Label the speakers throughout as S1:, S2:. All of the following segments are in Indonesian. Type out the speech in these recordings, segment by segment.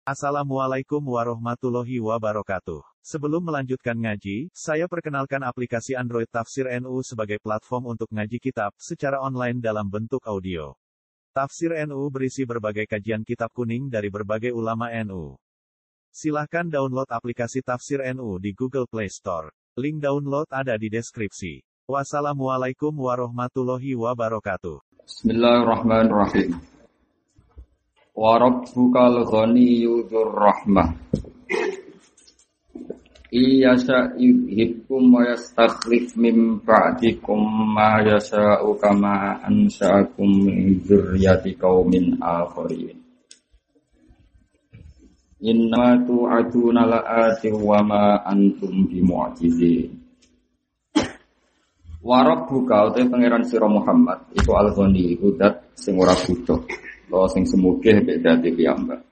S1: Assalamualaikum warahmatullahi wabarakatuh. Sebelum melanjutkan ngaji, saya perkenalkan aplikasi Android Tafsir NU sebagai platform untuk ngaji kitab secara online dalam bentuk audio. Tafsir NU berisi berbagai kajian kitab kuning dari berbagai ulama NU. Silahkan download aplikasi Tafsir NU di Google Play Store. Link download ada di deskripsi. Wassalamualaikum warahmatullahi wabarakatuh.
S2: Bismillahirrahmanirrahim. Wa rabbukal ghaniyyu dzur rahmah. Iyasha yuhibbukum wa yastakhlif min ba'dikum ma yasha'u kama ansha'akum min dzurriyyati qaumin akharin. Inna tu'aduna la'ati wa ma antum bimu'jizin. Wa rabbuka uta pangeran sira Muhammad iku al-ghani iku zat sing ora butuh. Lo sing semuge mek dadi piyambak.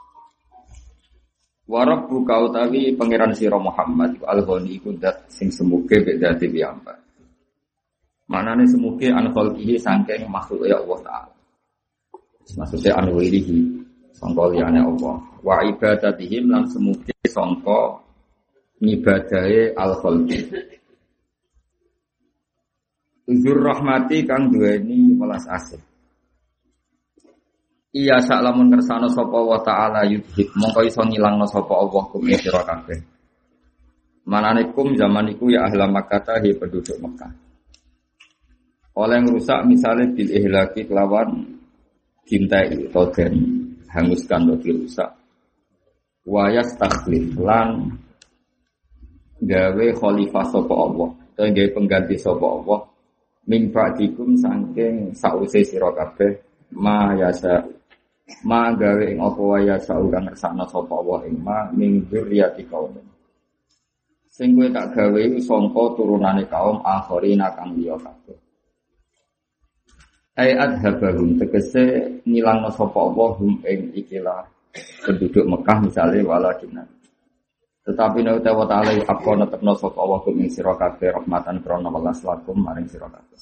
S2: Wa rabbuka utawi pangeran sira Muhammad iku al-ghani iku zat sing semuge mek dadi piyambak. Manane semuge an khalqihi saking makhluk ya Allah taala. Maksudnya an wilihi sangka liyane Allah. Wa ibadatihim lan semuge sangka ngibadahe al-khalqi. Uzur rahmati kang duweni welas asih. Iya sak lamun kersane sapa wa taala yudhib mongko iso ngilangno sapa Allah kum sira kabeh. Manane kum zaman iku ya ahla Makkah he penduduk Mekah. Oleh ngrusak misale bil ihlaki kelawan dintai utawa den hanguskan utawa dirusak. Wa yastakhlif lan gawe khalifah sapa Allah, utawa gawe pengganti sapa Allah min ba'dikum saking sause sira kabeh ma yasa ma gawe ing apa wae sauran kersane sapa wa ing ma ning dzurriyyati kaum sing kowe tak gawe sangka turunane kaum akhirina kang liya kabeh ai adhabahum tegese ngilangno sapa Allah hum ing ikilah penduduk Mekah misale walakinna tetapi nek wa ta'ala apa netepno sapa Allah hum ing sira kabeh rahmatan krana welas lakum maring sira kabeh.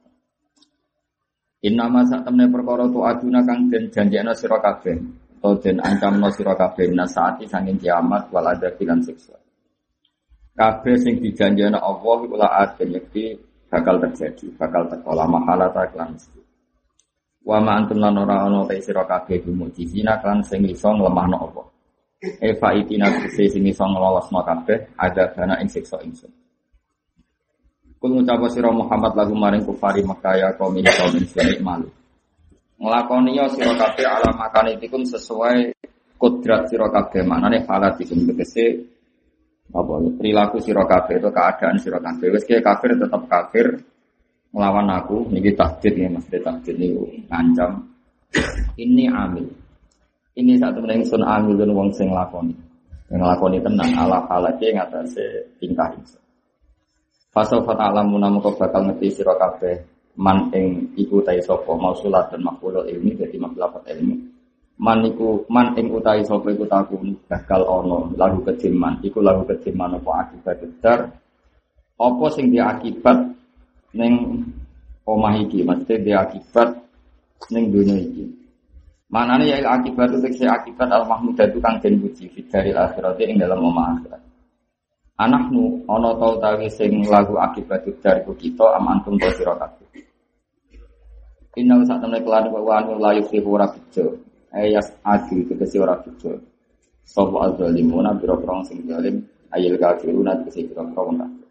S2: Inna masa temne perkara tu aduna kang den janjekna sira kabeh utawa den ancamna sira kabeh nasaati sanging kiamat wal adzab lan siksa. Kabeh sing dijanjekna Allah iku la aten yakti bakal terjadi, bakal teko la mahala ta lan mesti. Wa ma antum lan ora ana ta sira kabeh mujizina kan sing iso nglemahno apa. Eva itina sing iso nglolosno kabeh ada dana ing siksa ingsun. Kul ngucapa sira Muhammad lagu maring kufari Mekah ya kaum Islam malu. Nglakoni ya sira kabeh ala makanitikum sesuai kodrat sira kabeh manane halatikum tegese apa perilaku sira kabeh itu keadaan sira kabeh wis kafir tetap kafir nglawan aku niki takdir ya Mas takdir niku ngancam ini amil. Ini satu ingsun amilun wong sing nglakoni. Yang nglakoni tenan ala halake ngatasé tingkah ingsun. Fasawfa ta'lamuna moko bakal ngerti sira kabeh man ing iku ta sapa mausulat dan maqulul ilmi dadi maklafat ilmi man ing utahe sapa iku takun bakal ana lagu kediman iku lagu kediman apa akibat dar apa sing diakibat ning omah iki mesti diakibat ning donya iki manane ya akibat itu akibat al mahmudah itu kang den puji fidaril akhirat ing dalam omah akhirat. Anakmu ana ta utawi sing lagu akibat dariku kita amantum ta sira kabeh. Inna sak temne kelan wa anu la yufihu ora bejo. Ayas adi tegese ora bejo. Sapa azzalimuna biro-biro sing zalim ayil kafiruna tegese biro-biro kafir.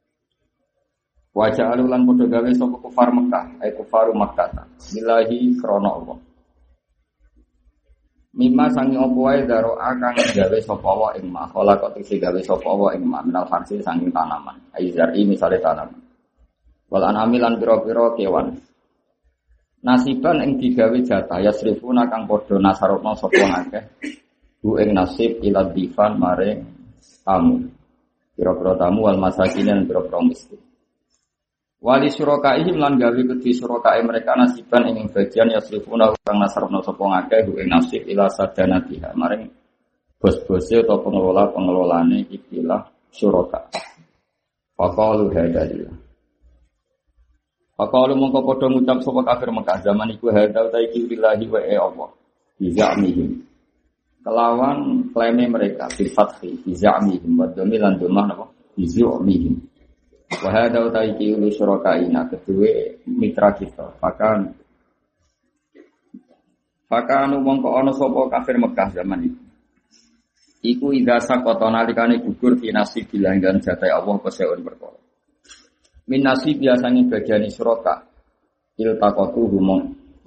S2: Wa ja'alu lan padha gawe sapa kufar Mekah, ay kufaru Makkah. Billahi krana Allah. Mimma sangi opo wae daro akang gawe sapa wa ing ma khalaqat sing gawe sapa wa ing ma minal farsi sangi tanaman aizari misale tanaman wal anami lan pira-pira kewan nasiban ing digawe jatah yasrifuna kang padha nasarupna sapa akeh bu ing nasib ila difan maring tamu pira-pira tamu wal masakin lan pira-pira miskin wali surakaihim lan gawe kedhi surakae mereka nasiban ing bagian yasrifuna kang nasarna sapa ngakeh ing nasib ila sadanatiha maring bos-bose atau pengelola-pengelolane ikilah suraka. Faqalu hadalillah. Faqalu mongko padha ngucap sapa kafir Mekah zaman iku hadal ta iki billahi wa Allah. Bizamihim. kelawan klaim mereka bil fathi bi za'mihim wa dhammi lan dhammah napa bi zu'mihim wa hadza utaiki ulu syurakaina kedue mitra kita Fakanu mongko ana sapa kafir Mekah zaman itu. Iku idza saqata nalikane gugur fi nasib bilanggan jatahe Allah keseun perkara. Min nasib biasane bagian suraka. Iltaqatu humong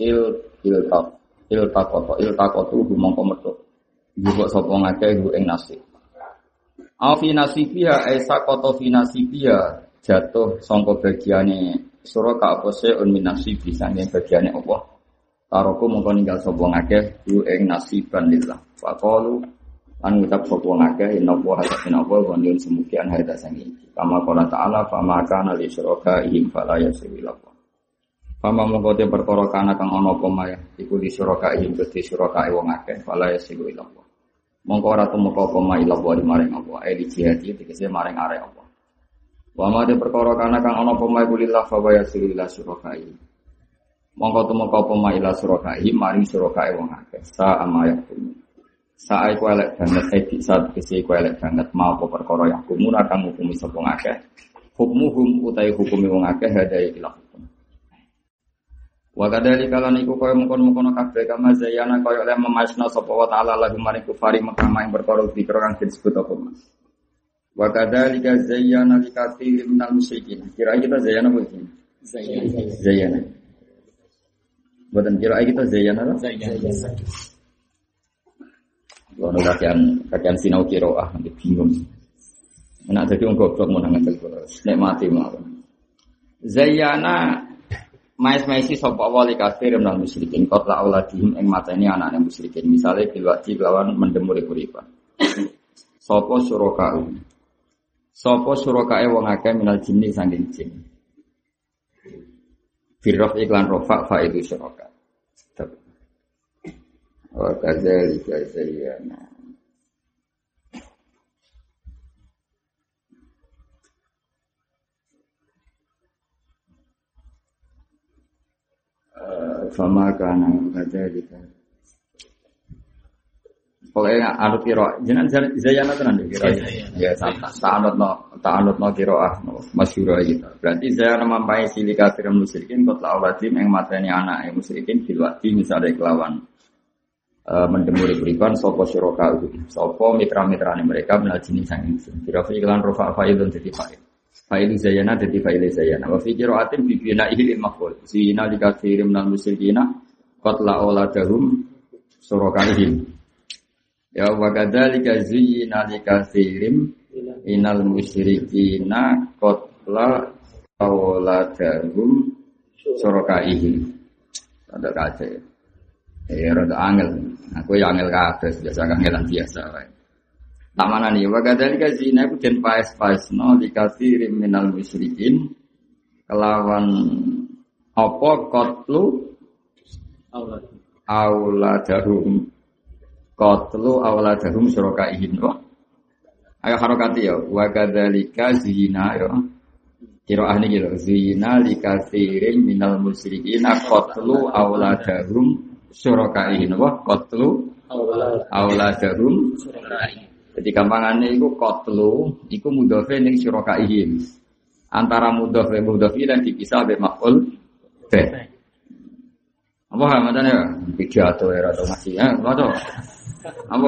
S2: iltaqatu humong kometu. Juga sapa ngakeh ing nasib. Afi nasibia saqata fi nasibia jatuh sangka bagiane suraka apa seun min nasib biasane bagiane Allah. Taroku mongko ninggal sapa ngakeh ku ing nasiban lillah. Faqalu an ngucap sapa ngakeh inna wa hasana wa waniyun semukian haida sangi. Kama qala ta'ala fama kana li syurakaihim fala yasila. Fama mongko te perkara kana kang ana apa maya iku li syurakaihim kedhe syurakae wong akeh fala yasila. Mongko ora tumeka apa maya ila wa maring apa eli jihadi tegese maring arek apa. Wa ma te perkara kana kang ana apa maya kulillah fa yasila syurakaihim. Mongko tumeka apa maila surakahi maring surakae wong akeh sa amayak kumu sa iku elek banget saat kese iku elek banget mau apa perkara yakumu kang ngukumi sapa akeh hukmuhum utahe hukume wong akeh hadae ila hukum wa kadali kalan iku kaya mengkon-mengkon kabeh kama zayana kaya oleh memasna sapa wa taala lagu maring kufari Mekah ing perkara dikira kang disebut apa mas wa kadali zayyana likatsirin minal musyrikin kira kita zayyana apa zayyana buatan kira kita Zayyana lah. Kalau kajian sinau kiroah nanti bingung. Nak jadi orang goblok mau nangan terus. Nek mati mau. Zayyana mais-maisi sapa wali kafir lan musyrikin kot la auladihim ing mateni anake musyrikin. Misale bilwati lawan mendemuri kuripan. Sapa surakae wong akeh minal jinni saking jin. Firrof iklan rofa fa itu syuraka. Wa kadzalika zayyana. Fama kana kadzalika. Pokoke anut kira jenengan Zayyana tenan kira. Ya ta'anutno kira masyhur kita. Berarti Zayyana mampai sili kafir musyrikin kot lawadim ing mateni anake musyrikin bilwati misale kelawan mendemuri berikan sapa syuraka sapa mitra-mitrane mereka menal jenis sang ingsun. Kira iklan rofa fa'ilun dadi fa'il. Fa'il Zayyana dadi fa'il Zayyana. Wa fi qira'atin bi bina'ihi lil maf'ul. Zina li katsirin minal musyrikina qad la'auladahum surakaihim. Ya wa kadzalika zuyyina likatsirin inal musyrikina qatla auladahum surakaihim. Ada kace. Ya rada angel. Aku ya angel kabeh biasa angelan biasa wae. Tak manani wa kadzalika zina ku den paes-paesno likatsirin minal musyrikin kelawan apa qatlu auladahum qatlu auladahum surakaihim. Ayo harokati ya wa kadzalika zina ya qiraah niki lho zina likatsirin minal musyrikin qatlu auladahum surakaihim wa qatlu auladahum surakaihim. Jadi gampangane iku qatlu iku mudhofe ning surakaihim. Antara mudhof lan mudhof lan dipisah be maf'ul be. Apa hamane ya? Pidato era to masih ya, apa? Apa?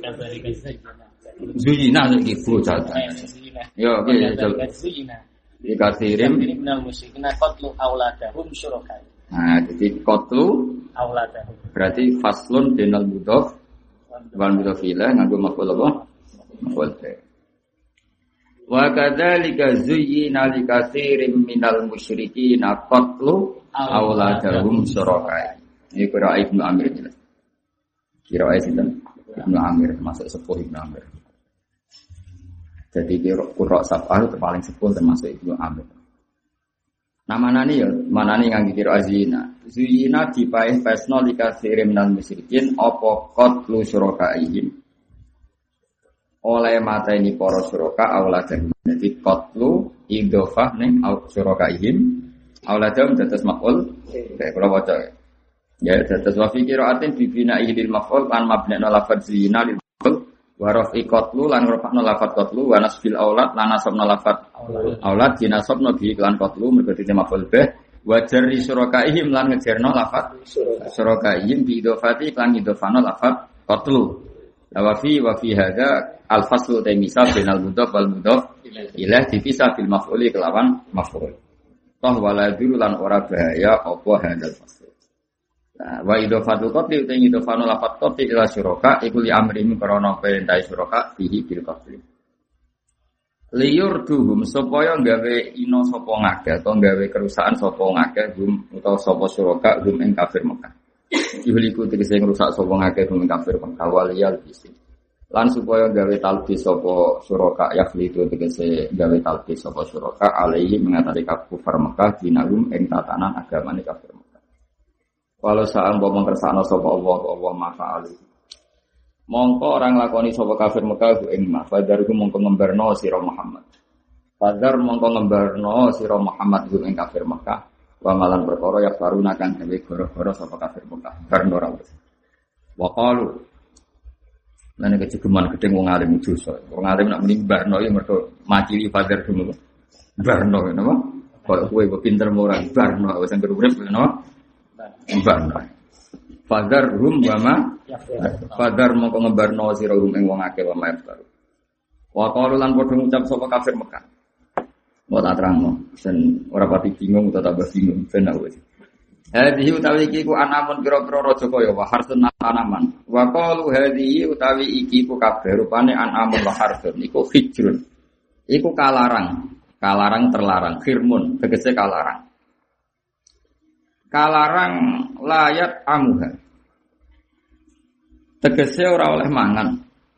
S2: Zuyina iki bocah. Yo, oke, zuyina. Dikasirim minal musyrikin qatlu auladahum syuraka. Nah, jadi qatlu auladahum. Berarti faslun binal mudhof wal mudhof ilaih nganggo maf'ul apa? Maf'ul. Wa kadzalika zuyyina likatsirin minal musyrikin qatlu auladahum syuraka. Ini qira'a Ibnu Amir jelas. Qira'a sinten? Ibnu Amir masuk sepuh Ibnu Amir. Jadi qira'a sab'ah itu paling sepuh termasuk Ibnu Amir. Nah manani ya, manani nganggo qira'a zina. Zina dipaes-paesno likatsirin minal musyrikin apa qatlu syurakaihim. Oleh mata ini para syuraka auladahum. Jadi qatlu idhofah ning syurakaihim auladahum dados maf'ul. Kayak kula waca. Ya, terus wa fi qira'atin bi bina'ihi lil maf'ul lan mabni'na lafadz zina lil maf'ul wa raf'i qatlu lan rafa'na lafadz qatlu wa nasbil aulad lan nasabna lafadz aulad dinasabna bi lan qatlu mergo dite maf'ul bih wa jarri surakaihim lan ngejerno lafadz surakaihim bi idhofati lan idhofana lafadz qatlu. Wa fi hadza al faslu ta misal bainal mudhaf wal mudhaf ilaih dipisah bil maf'uli kelawan maf'ul. Toh wala dulu lan ora bahaya apa hadzal fasl. Nah, wa idhofatul qatli uta idhofanu lafadz qatli ila syuraka iku li amrihim krana perintah syuraka fihi bil qatli. Liyurduhum supaya gawe ino sapa ngakeh atau gawe kerusakan sapa ngakeh hum utawa sapa syuraka hum ing kafir Mekah. Ihliku tegese ngrusak sapa ngakeh hum ing kafir Mekah waliyal bisi. Lan supaya gawe talbis sapa syuraka yakhlitu tegese gawe talbis sapa syuraka alaihi mengatasi kafir Mekah dinagum ing tatanan agamane kafir Mekah. Walau sa'am wa mengkersakna sapa Allah mafa'ali. Mongko orang lakoni sapa kafir Mekah ing mafadharku mongko ngembarno sira Muhammad. Fadhar mongko ngembarno sira Muhammad ing kafir Mekah. Wa malan perkara ya faruna kang gawe goro-goro sapa kafir Mekah. Barno ora wis. Wa qalu lan kejegeman gedeng wong alim dosa. Wong alim nak muni barno ya mergo macili fadhar dulu. Barno napa? Kok kowe pinter ora barno wis anggere urip napa? Barno. Fadhar hum wama fadhar mongko ngembarno sira hum ing wong akeh wa maftar. Wa qalu lan padha ngucap sapa kafir Mekah. Wa tak terangno, sen ora pati bingung utawa tambah bingung ben wis. Hadhihi utawi iki ku anamun pira-pira raja kaya wa harsun tanaman. Wa qalu hadhihi utawi iki ku kabeh rupane anamun wa harsun iku hijrun. Iku kalarang terlarang, khirmun tegese kalarang. Kalarang layat amuha. Tegese ora oleh mangan.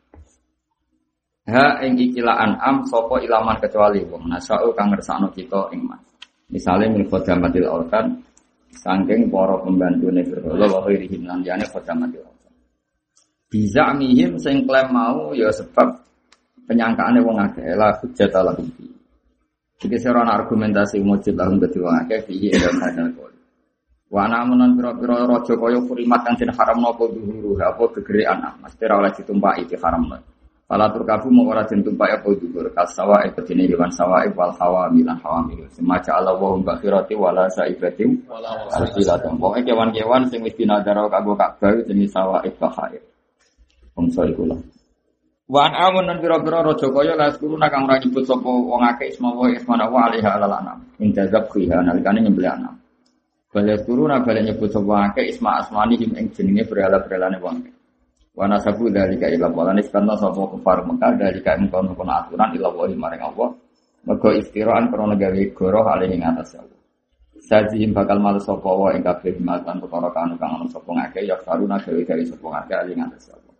S2: Ha ing ikilah an'am sapa ilaman kecuali wong nasau kang ngersakno kita ing mas. Misale min khadamatil autan saking para pembantune berhala wa khairihim lan liyane khadamatil autan. Bisa mihim sing klaim mau ya sebab penyangkaane wong akeh la hujjat lahum. Iki serana argumentasi mujud lahum dadi wong akeh fihi ila hadal qaul. Wa namunan pira-pira raja kaya kurimat kang den haramno apa dhuhuru apa gegere anak mesti ora oleh ditumpaki di haramno. Fala turkabu mung ora den tumpaki apa dhuhur kasawa ibadine hewan sawa wal hawa milan hawamil. Semaja Allah wa bakhirati wala saibatim wala silatum. Pokoke kewan-kewan sing wis dinadaro kanggo Ka'bah jenis sawa ibhair. Bangsa iku lah. Wa amun pira-pira raja kaya laskuruna kang ora nyebut sapa wong akeh ismawa wa alaiha alalana. Intazab khiha nalikane nyembelih anak. Balik turuna balik nyebut sapa akeh asmani him ing jenenge berhala-berhalane wong. Wa nasabu dalika ila walane kanto sapa kufar Mekah dalika ing kono aturan ila wa maring Allah. Mergo istiraan krana gawe goroh alih ing atas Allah. Sajihim bakal malu sapa wa ing kabeh matan perkara kang ana sapa akeh ya karuna gawe sapa akeh alih ing atas Allah.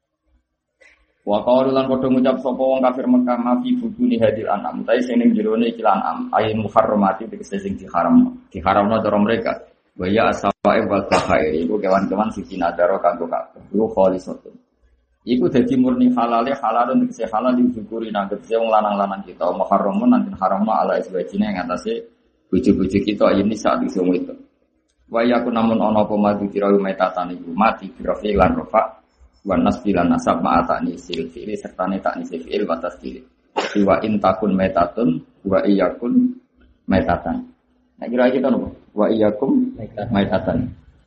S2: Wa qalu lan padha ngucap sapa wong kafir Mekah mafi buduni hadil anam ta sing ning jerone iki lanam ayin muharramati tegese sing diharamno cara mereka wa ya asawae wal bahair iku kewan-kewan sing dinadaro kanggo kabeh iku khalisatun iku dadi murni halale halalun tegese halal disyukuri nang tegese wong lanang-lanang kita muharramun nang haramno ala iswajine ing atase bojo-bojo kita ini saat iso itu wa yakun namun ana apa madu kira metatan iku mati birafi lan rofa wa nasbilan nasab ma'atani sil fi'li serta netani sil fi'il wa tasdil wa in takun metatun wa iyakun metatan. Nah kira kita nopo wa iyakum metatan.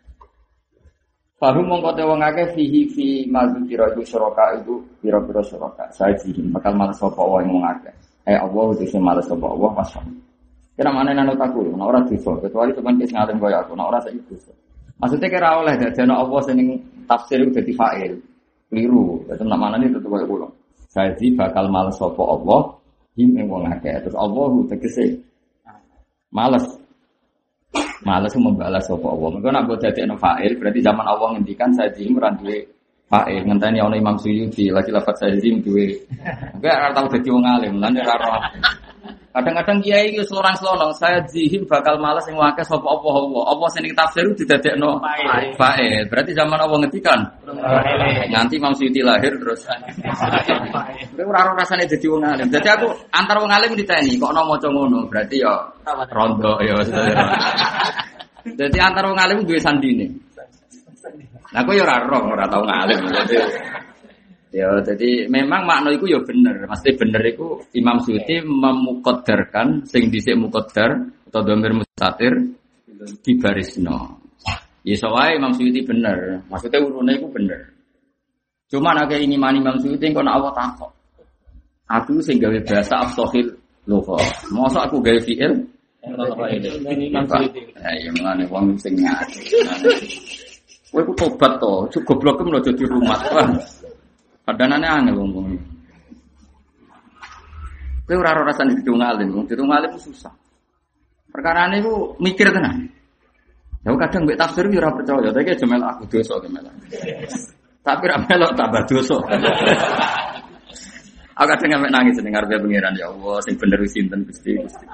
S2: Fahum mongko te wong akeh fihi fi madzkira iku syuraka iku pira-pira syuraka saji bakal malas sapa wae wong akeh. Allah dise malas sapa Allah pasang. Kira maneh nang otakku ora ora dosa kecuali teman wis ngalim kaya aku ora saiki dosa. Maksudnya kira oleh dadana Allah sing tafsir itu dadi fa'il. Keliru. Dadi nak manane tetep kaya kula. Saji bakal males sapa Allah him ing wong akeh. Terus Allah tegese males. Males membalas sapa Allah. Mergo nek mbok dadekno fa'il berarti zaman Allah ngendikan saji ora duwe fa'il. Ngenteni ana Imam Suyuti lagi lafaz saji duwe. Enggak ora tau dadi wong alim. Lan ora kadang-kadang kiai wis lorang-lorong saya jihim bakal malas sing akeh sapa Allah. Apa sing tafsir didadekno fa'il. Berarti zaman Allah ngendikan. Nanti Imam Suyuti lahir terus. Ora rasane dadi wong alim. Dadi aku antar wong alim diteni kok ana maca ngono. Berarti ya rondo ya. Dadi antar wong alim duwe sandine. Nah, aku ya ora tau ngalim. Jadi memang makna itu ya bener. Mesti bener itu Imam Suyuti memuqaddarkan sing dhisik muqaddar atau dhamir mustatir di barisno. Ya soalnya Imam Suyuti bener. Maksudnya urune itu bener. Cuma nek ini mani Imam Suyuti kok Allah takok. Aku sing gawe bahasa afsahil lugha. Mosok aku gawe fi'il Imam Suyuti. Ya ngene wong sing ngaji. Kowe ku tobat to, goblok mlo dadi rumah. Padanane angel wong-wong. Kowe ora rasane didung alim susah. Perkarane iku mikir tenan. Ya kadang mbek tafsir yo ora percaya, tapi aja melok aku dosa ke melok. Tapi ra melok tambah dosa. Aku kadang mek nangis ning ngarepe pangeran ya Allah, sing bener sinten Gusti.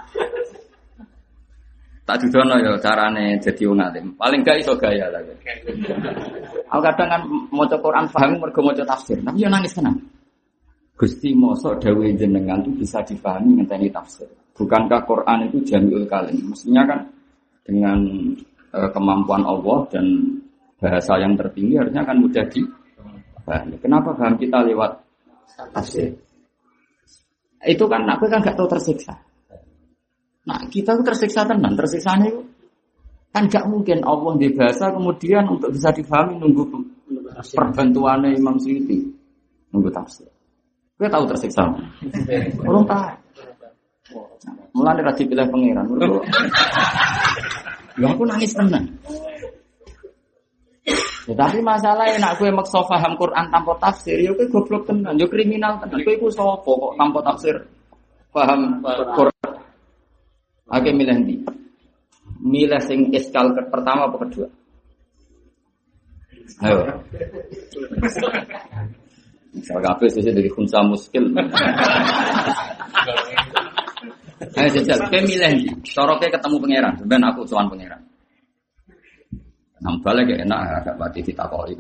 S2: Tak dudono ya carane dadi wong alim. Paling gak iso gaya lah. Aku kadang kan maca Quran paham mergo maca tafsir, tapi yo nangis tenan. Gusti mosok dawuh jenengan itu bisa dipahami ngenteni tafsir. Bukankah Quran itu jami'ul kalim? Mestinya kan dengan kemampuan Allah dan bahasa yang tertinggi harusnya kan mudah dipahami. Kenapa paham kita lewat tafsir? Itu kan aku kan gak tahu tersiksa. Nah kita tuh tersiksa tenan, tersiksanya itu kan gak mungkin Allah di bahasa kemudian untuk bisa dipahami nunggu perbantuannya Imam Suyuti, nunggu tafsir. Kita tahu tersiksa, belum tahu. Mulai dari pilih pangeran, ya aku nangis tenan. Ya, tapi masalahnya nak gue maksa paham Quran tanpa tafsir, ya gue goblok tenan, ya kriminal tenan. Gue iku sapa kok tanpa tafsir paham Quran. Oke, milih ndi? Milih sing iskal pertama apa kedua? Ayo. Misal kabeh sesuk dari khunsa muskil. Ayo jajal, kowe milih ndi? Soroke ketemu pangeran, ben aku sowan pangeran. Nang balik ya enak agak pati ditakoki.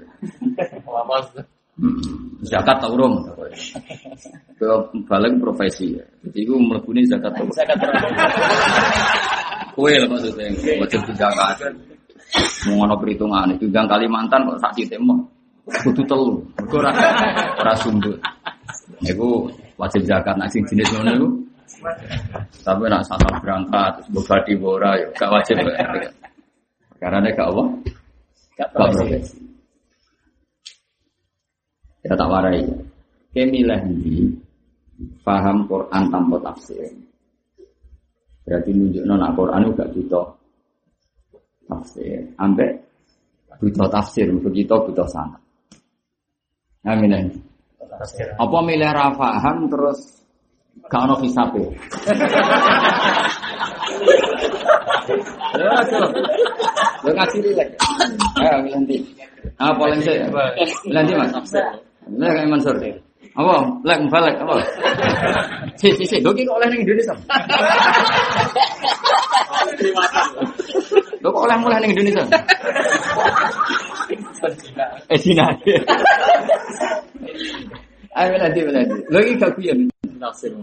S2: Zakat ta urung? Kowe balik profesi. Jadi iku mlebune zakat. Kowe lho maksudnya wajib zakat. Mau ngono perhitungan itu gang Kalimantan kok sak titik mah kudu telu. Ora sundut. Niku wajib zakat nek sing jenis ngono niku. Tapi nek asal berangkat terus badi ora ya gak wajib. Karena gak apa? Gak profesi. Ya tak warai. Kemilah ini paham Quran tanpa tafsir. Berarti nunjukno nek Quran juga butuh tafsir. Ambek butuh tafsir, begitu butuh sanad. Nah, milih. Apa milih ra paham terus gak ono hisabe. Lo ngaji lek. Ayo milih ndi? Apa lek sik? Milih ndi Mas? Lek Kang Mansur. Apa? Lek balik apa? Si, doki kok oleh ning Indonesia. Lo kok oleh mulai ning Indonesia? Cina. Ayo nanti. Lo iki gak kuyen tafsir.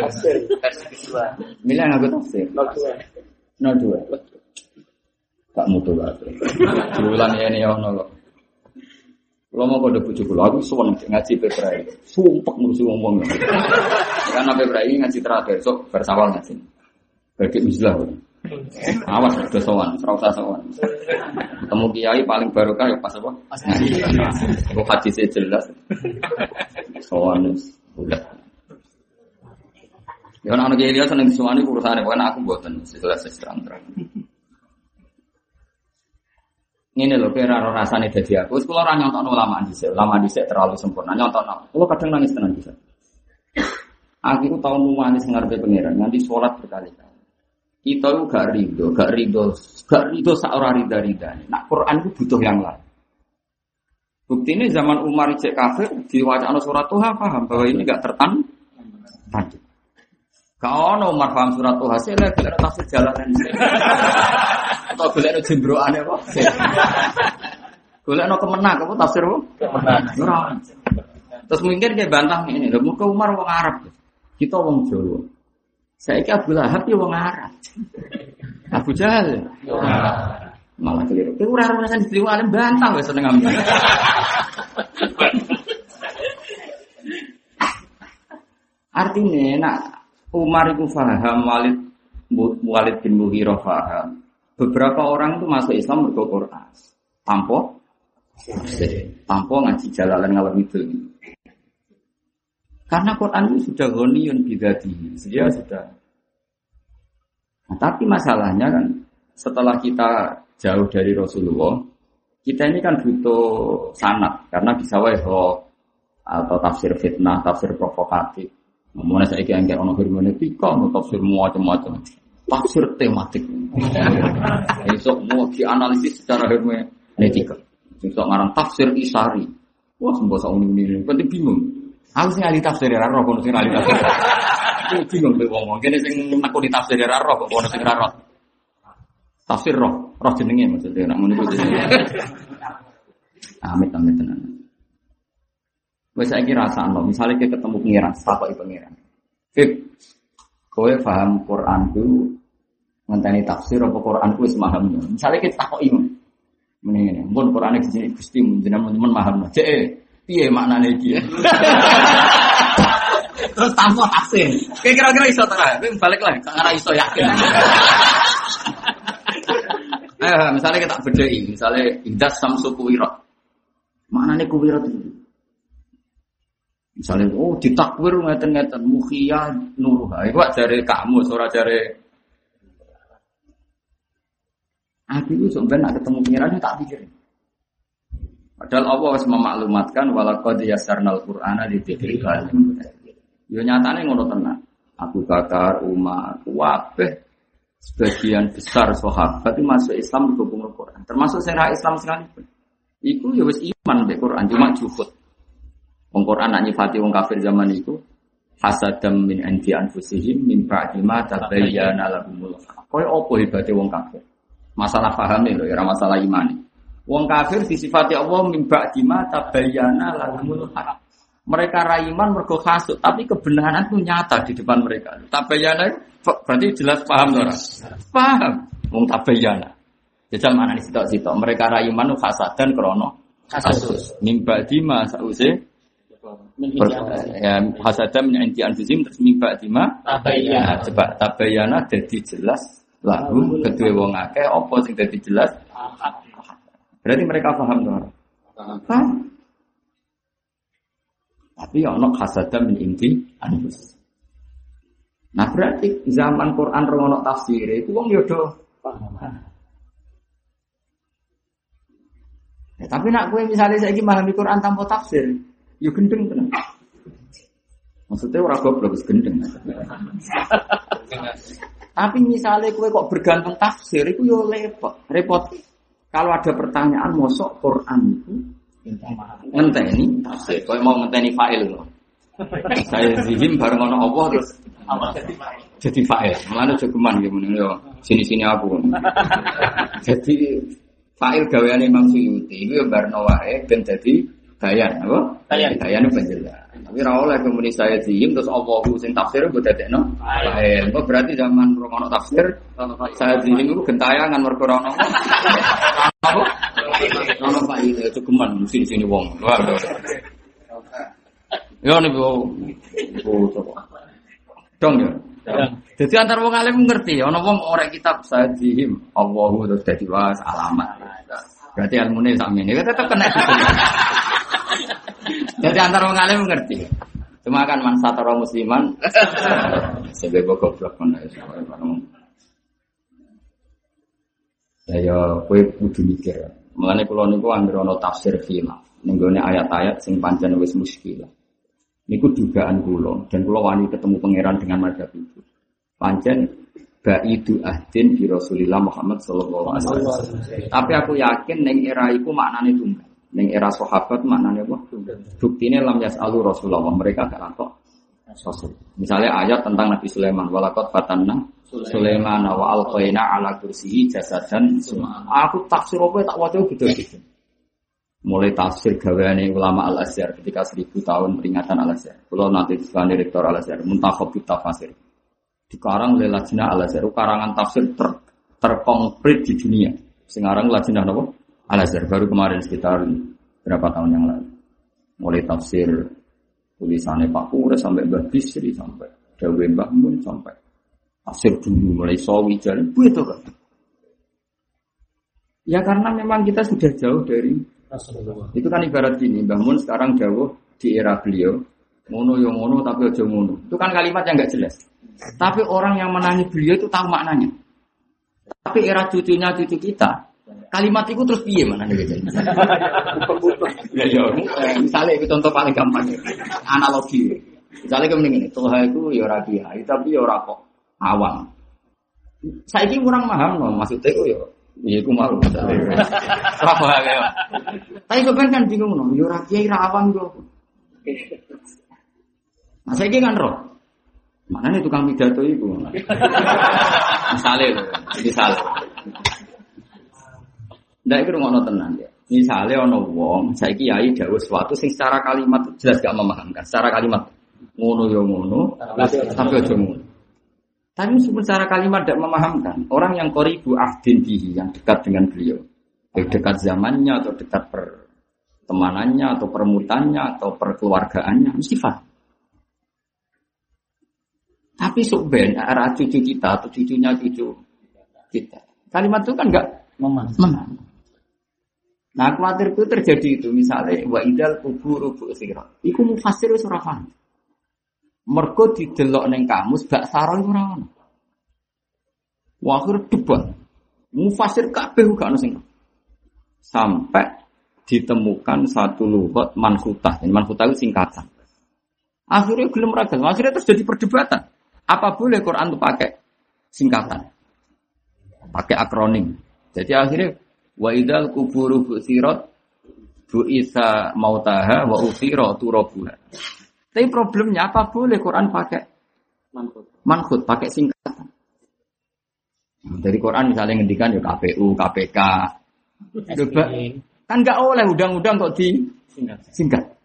S2: Milih aku tafsir. 02. Tak mutu lah. Bulan ini ono kok. Kalau mau kode bujuk kula aku suwon ngaji Februari. Sumpek ngurusi ngomong. Kan Februari ngaji terakhir sok bersawal ngaji. Bagi uzlah. Awas udah sowan, ora usah sowan. Ketemu kiai paling barokah ya pas apa? Pas ngaji. Kok hadisnya jelas. Sowan udah. Ya ana kiai dia seneng sowan iku urusane bukan aku mboten jelas terang-terang. Ini loh, kira rasanya dadi aku. Kalau orang nyontok ulama dhisik terlalu sempurna. Nyontok, kalau kadang nangis tenan bisa. Aku itu tahu nuwanis ngarepe pangeran, nanti sholat berkali-kali. Kita itu gak rido seorang rida. Nah, Quran itu butuh yang lain. Bukti ini zaman Umar cek kafir diwacana surat Tuhan paham bahwa ini gak tertanduk. Kau no Umar paham surat Tuhan, saya lagi tafsir jalanan. Atau golekno jembroane apa? Golekno kemenak apa tafsir apa? Kemenak. Terus mungkin dia bantah ini, lho muka Umar wong Arab. Kita wong Jawa. Saiki Abu Lahab ya wong Arab. Abu Jahal. Malah keliru. Kowe ora rasane diliwat alim bantah wis seneng ambil. Artinya nak Umar itu paham, Walid bin Mughirah paham. Beberapa orang itu masuk Islam mergo Quran. Tanpa ngaji Jalalan ngalor itu. Karena Quran itu sudah ghaniyun bidati. Dia sudah. Nah, tapi masalahnya kan setelah kita jauh dari Rasulullah, kita ini kan butuh sanad karena bisa wae atau tafsir fitnah, tafsir provokatif. Ngomongnya saya kira yang ono hermeneutika, tafsir macam-macam, tafsir tematik. Esok mau dianalisis secara hermeneutika. Esok ngarang tafsir isari. Wah, semua saung ini, penting bingung. Aku sing ahli tafsir ora roh, kono sing ahli tafsir. Aku bingung kowe wong, kene sing nakoni tafsir ora roh, kok kono sing ora roh. Tafsir roh jenenge maksudnya nak ngono kuwi. Amit tenan. Wes saiki rasakno, misale kita ketemu pengiran, takoki pengiran. Fik, kowe paham Quran ku ngenteni tafsir apa Quran ku wis paham. Misale kita takoki ngene, mun Qurane dijine Gusti jenengan paham. Cek piye maknane iki? Terus tanpa tafsir. Kira-kira iso ta? Kowe balik lagi, ora iso yakin. Misalnya kita bedai, misalnya indas samsu kuwirat. Maknane kuwirat itu? Misalnya, ditakwir ngeten-ngeten mukhiyah nuruha. Iku jare kamu, ora jare. Aku itu sebenarnya nak ketemu pengiran tak pikirin. Padahal Allah wis memaklumatkan walaqad yassarnal qur'ana lidzikri fahal min mudzakir. Yo nyatane ngono tenan. Abu Bakar, Umar, kabeh sebagian besar sahabat itu masuk Islam berhubung Al-Quran. Termasuk secara Islam sekalipun. Iku ya wis iman be Quran cuma juhud. Wong Quran nak nyifati wong kafir zaman itu hasadam min indi anfusihim min ba'di ma tabayyana lahumul haq. Koyo opo hebate wong kafir? Masalah pahame lho, ora masalah imane. Wong kafir disifati Allah min ba'di ma tabayyana lahumul haq. Mereka raiman mergo hasud, tapi kebenaran itu nyata di depan mereka. Tabayyana berarti jelas paham ora? Paham. Wong tabayyana. Jajal mana nih sitok-sitok. Mereka raiman hasadan krana hasud. Min ba'di ma sause ya hasadam min inti anfusim terus mimba dima tabayyana coba tabayyana dadi jelas lagu kedue wong akeh apa sing dadi jelas berarti mereka paham to paham tapi ana hasadam min inti anfus. Nah berarti zaman Quran rono tafsir iku wong yo do paham. Tapi nak kowe misale saiki memahami Quran tanpa tafsir ya gendeng tenan. Maksudnya ora goblok wis gendeng. Tapi misalnya kowe kok bergantung tafsir iku yo repot. Kalau ada pertanyaan mosok Quran itu ngenteni tafsir, kowe mau ngenteni fa'il lho. Saya zihim bareng ana Allah terus jadi fa'il. Mulane jogeman nggih meneh yo sini-sini aku. Jadi fa'il gaweane Imam Suyuti iku yo barno wae ben dadi bayan, apa? Bayan penjelas. Tapi ora oleh kemudian saya zihim terus Allahu sing tafsir mbok dadekno. Bae. Kok berarti zaman romono tafsir saya zihim iku gentayangan mergo ora ono. Apa? Ono faile cukuman sini-sini wong. Waduh. Yo niku. Dong ya. Jadi antar wong alim ngerti, ana wong ora kitab saya zihim Allahu terus dadi was alamat. Berarti ilmune sakmene tetep kena. Jadi antara wong alim ngerti. Cuma kan man satara musliman sebab goblok kon ae. Ya kowe kudu mikir. Mulane kula niku anggere ana tafsir khilaf ning gone ayat-ayat sing pancen wis muskil. Niku dugaan kula dan kula wani ketemu pangeran dengan madzhab itu. Pancen baidu ahdin bi Rasulillah Muhammad sallallahu alaihi wasallam. Tapi aku yakin ning era iku maknane tunggal. Ning era sahabat maknane apa? Buktine lam yasalu Rasulullah, mereka gak takok Rasul. Misalnya ayat tentang Nabi Sulaiman, walaqad fatanna Sulaiman wa alqaina ala kursiyi jasadan semua. Aku tafsir apa tak waca gitu-gitu. Mulai tafsir gaweane ulama Al-Azhar ketika 1000 tahun peringatan Al-Azhar. Kalau nanti sebagai direktur Al-Azhar, muntakhab tafsir. Dikarang oleh Lajnah Al-Azhar, karangan tafsir terkonkret di dunia. Sekarang lajnah napa? Al-Azhar baru kemarin sekitar berapa tahun yang lalu. Mulai tafsir tulisannya Pak Pura sampai Mbah Bisri sampai Dawe Mbah Mun sampai tafsir dulu mulai Sawi jalan itu kan. Ya karena memang kita sudah jauh dari Rasulullah. Itu kan ibarat gini, Mbah Mun sekarang jauh di era beliau, ngono yo ngono tapi aja ngono. Itu kan kalimat yang enggak jelas. Tapi orang yang menangi beliau itu tahu maknanya. Tapi era cucunya cucu kita, kalimat itu terus piye maknanya gitu. Ya, misalnya itu contoh paling gampang ya. Analogi. Misalnya kayak ngene, Toha itu ya ora kiai, tapi ya ora kok awam. Saiki kurang paham no, maksudnya itu ya iku mau. Ora paham ya. Tapi sampean kan bingung no, ya ora kiai ra awam kok. Nah saiki kan roh. Maknanya tukang pidato itu. Misalnya. Ndak iki ngono tenan ya. Misale ana wong saiki yai dawuh sesuatu sing secara kalimat jelas gak memahamkan. Secara kalimat ngono ya ngono, tapi aja ngono. Tapi meskipun secara kalimat tidak memahamkan, orang yang qoribu ahdin bihi yang dekat dengan beliau, dekat zamannya atau dekat pertemanannya atau permutannya atau perkeluargaannya mesti paham. Tapi subben arah cucu kita atau cucunya cucu kita. Kalimat itu kan enggak memahami. Nah, khawatir itu terjadi itu misalnya wa idal kuburu bu'sirat. Iku mufassir wis ora paham. Mergo didelok ning kamus bak sarah iku ora ono. Wa akhir debat. Mufassir kabeh gak ono sing. Sampai ditemukan satu lughat manhutah. Manhutah itu singkatan. Akhirnya gelem ra gelem. Akhirnya terus jadi perdebatan. Apa boleh Quran itu pakai singkatan? Pakai akronim. Jadi akhirnya wa idzal quburu bu'sirat bu'itsa mautaha wa usira turabuha. Tapi problemnya apa boleh Quran pakai manhut, pakai singkatan. Dari Quran misalnya ngendikan ya KPU, KPK. Coba kan enggak oleh undang-undang kok singkat.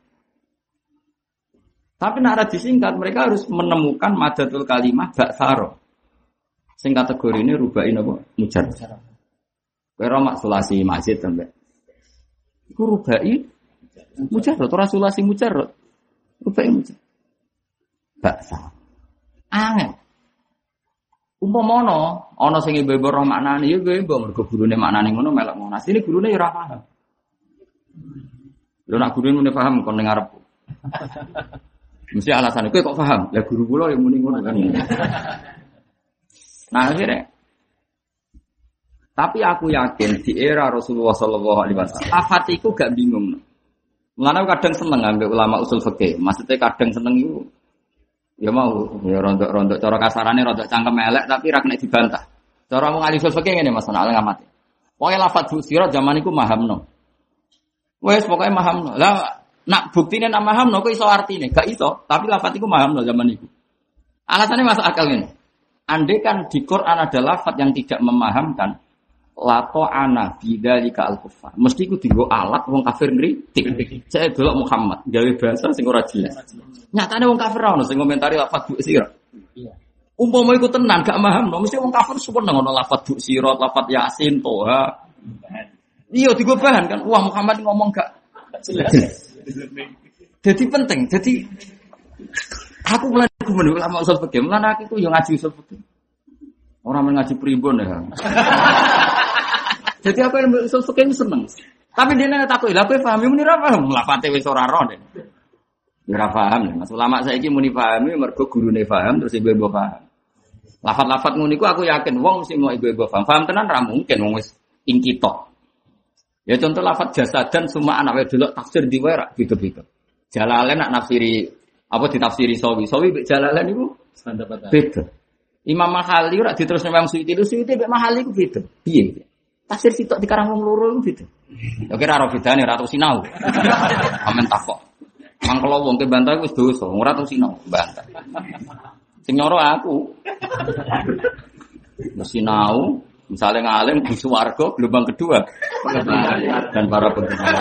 S2: Tapi nak disingkat mereka harus menemukan madatul kalimah baksaro. Sing kategori ini rubai napa? Mujarrad. Kira maksulasi masjid sampai. Iku rubai mujarrad, ora sulasi mujarrad. Rubai mujarrad. Baksaro. Angel. Umpama ana sing ibu-ibu roh maknane ya ibu mergo gurune maknane ngono melok ngono. Asline gurune ya ora paham. Lho nak gurune muni paham kon ning arepku. Mesti alasan kowe kok paham? Ya guru kula yang muni ngono kan. Nah akhirnya tapi aku yakin di era Rasulullah sallallahu alaihi wasallam afat iku gak bingung. Mulane kadang seneng ambek ulama usul fikih. Maksudnya kadang seneng iku ya mau ya rontok-rontok cara kasarane rontok cangkem elek tapi ra kena dibantah. Cara wong ahli usul fikih ngene Mas ana ngamati. Pokoke lafadz busirat zaman iku mahamno. Wes pokoke mahamno. Lah nak buktine nak mahamno kok iso artine? Gak iso, tapi lafadz iku mahamno zaman iku. Alasannya masuk akal ini. Andai kan di Quran ada lafadz yang tidak memahamkan lato ana bidzalika al-kuffar. Mesti iku dienggo alat wong kafir ngritik. Saya delok Muhammad gawe bahasa sing ora jelas. Nyatane wong kafir ora ono sing komentari lafadz busirat. Iya. Umpama iku tenan gak mahamno, mesti wong kafir supaya ngono lafadz busirat, lafadz Yasin, Toha. Iya digo bahan kan. Wah Muhammad ngomong gak jelas. Jadi penting. Jadi aku mulai ulama usul fikih, mulai aku yo ngaji usul fikih. Orang ngaji primbon ya. Jadi aku yang usul fikih seneng. Tapi dia nanya takut, lah kowe paham muni ra paham, lafate wis ora ro den. Ora paham. Mas ulama saiki muni pahami mergo gurune paham terus ibu-ibu paham. Lafat-lafat ngono iku aku yakin wong mesti mau ibu-ibu paham. Paham tenan ra mungkin wong wis ingkitok. Ya contoh lafaz jasadan semua anak wedok tafsir diwerak gitu-gitu. Jalalain nak nafsiri apa ditafsiri Sawi mbek Jalalain niku beda. Imam Mahali ora diterusno Imam Suyuti mbek Mahali ku beda. Piye? Tafsir sitok dikarang wong loro iku beda. Ya kira ora bedane ora tau sinau. Amen takok. Mangkelo wong ke bantah wis dosa, ora tau sinau bantah. Sing nyoro aku. Sinau misalnya ngalim di swarga gelombang kedua dan para pendengar.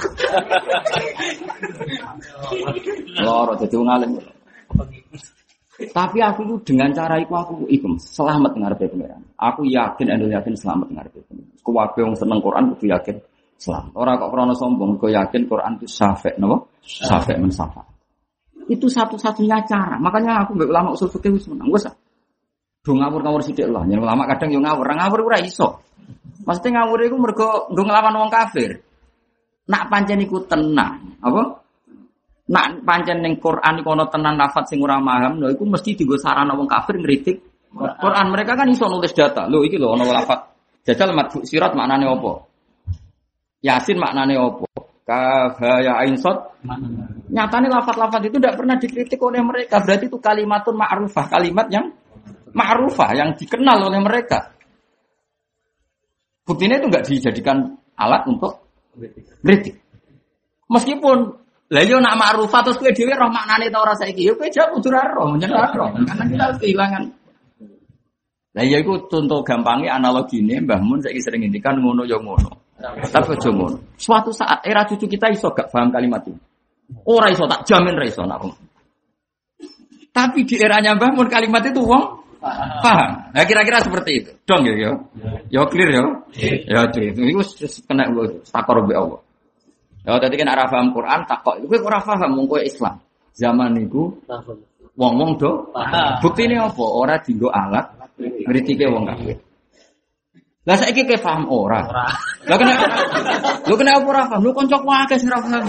S2: Loro jadi ngalim. Tapi aku itu dengan cara aku selamat ngarepe pangeran. Aku yakin selamat ngarepe pangeran. Kuwabe wong seneng Quran kudu yakin selamat. Ora kok krana sombong, kok yakin Quran itu syafi' napa? Syafi' mensyafa'. Itu satu-satunya cara. Makanya aku mbek ulama usul fikih wis menang. Wes. Do ngawur-ngawur sithik lah. Yen ulama kadang yo ngawur ora iso. Mesti ngawur iku mergo nggo nglawan wong kafir. Nak pancen iku tenang, apa? Nak pancen ning Quran iku ana tenan lafaz sing ora paham, lho iku mesti dienggo sarana wong kafir ngritik Quran. Mereka kan iso nulis data. Lho iki lho ana lafaz. Jajal madfu sirat maknane apa? Yasin maknane apa? Kaf ya ain sad. Nyatane lafaz-lafaz itu tidak pernah dikritik oleh mereka. Berarti itu kalimatun ma'rufah, kalimat yang ma'rufah yang dikenal oleh mereka. Buktinya itu enggak dijadikan alat untuk kritik. Meskipun lah yo nak ma'rufah terus kowe dhewe roh maknane ta ora saiki. Yo kowe jawab kudu roh, menyen roh. Karena kita harus kehilangan. Lah ya iku contoh gampangnya analogine Mbah Mun saiki sering ngendikan ngono yo ngono. Tapi aja ngono. Suatu saat era cucu kita iso gak paham kalimat itu. Ora iso, tak jamin ra iso nak. Tapi di eranya Mbah Mun kalimat itu wong paham. Nah kira-kira seperti itu. Dong ya. Ya clear ya. Ya itu kena takor mbek Allah. Ya tadi kan ora paham Quran takok. Kowe ora paham wong kowe Islam. Zaman niku wong-wong do buktine apa? Ora dienggo alat ngritike wong kafir. Lah saiki kowe paham ora? Lah kena apa ora paham? Lu kancaku akeh sing ora paham.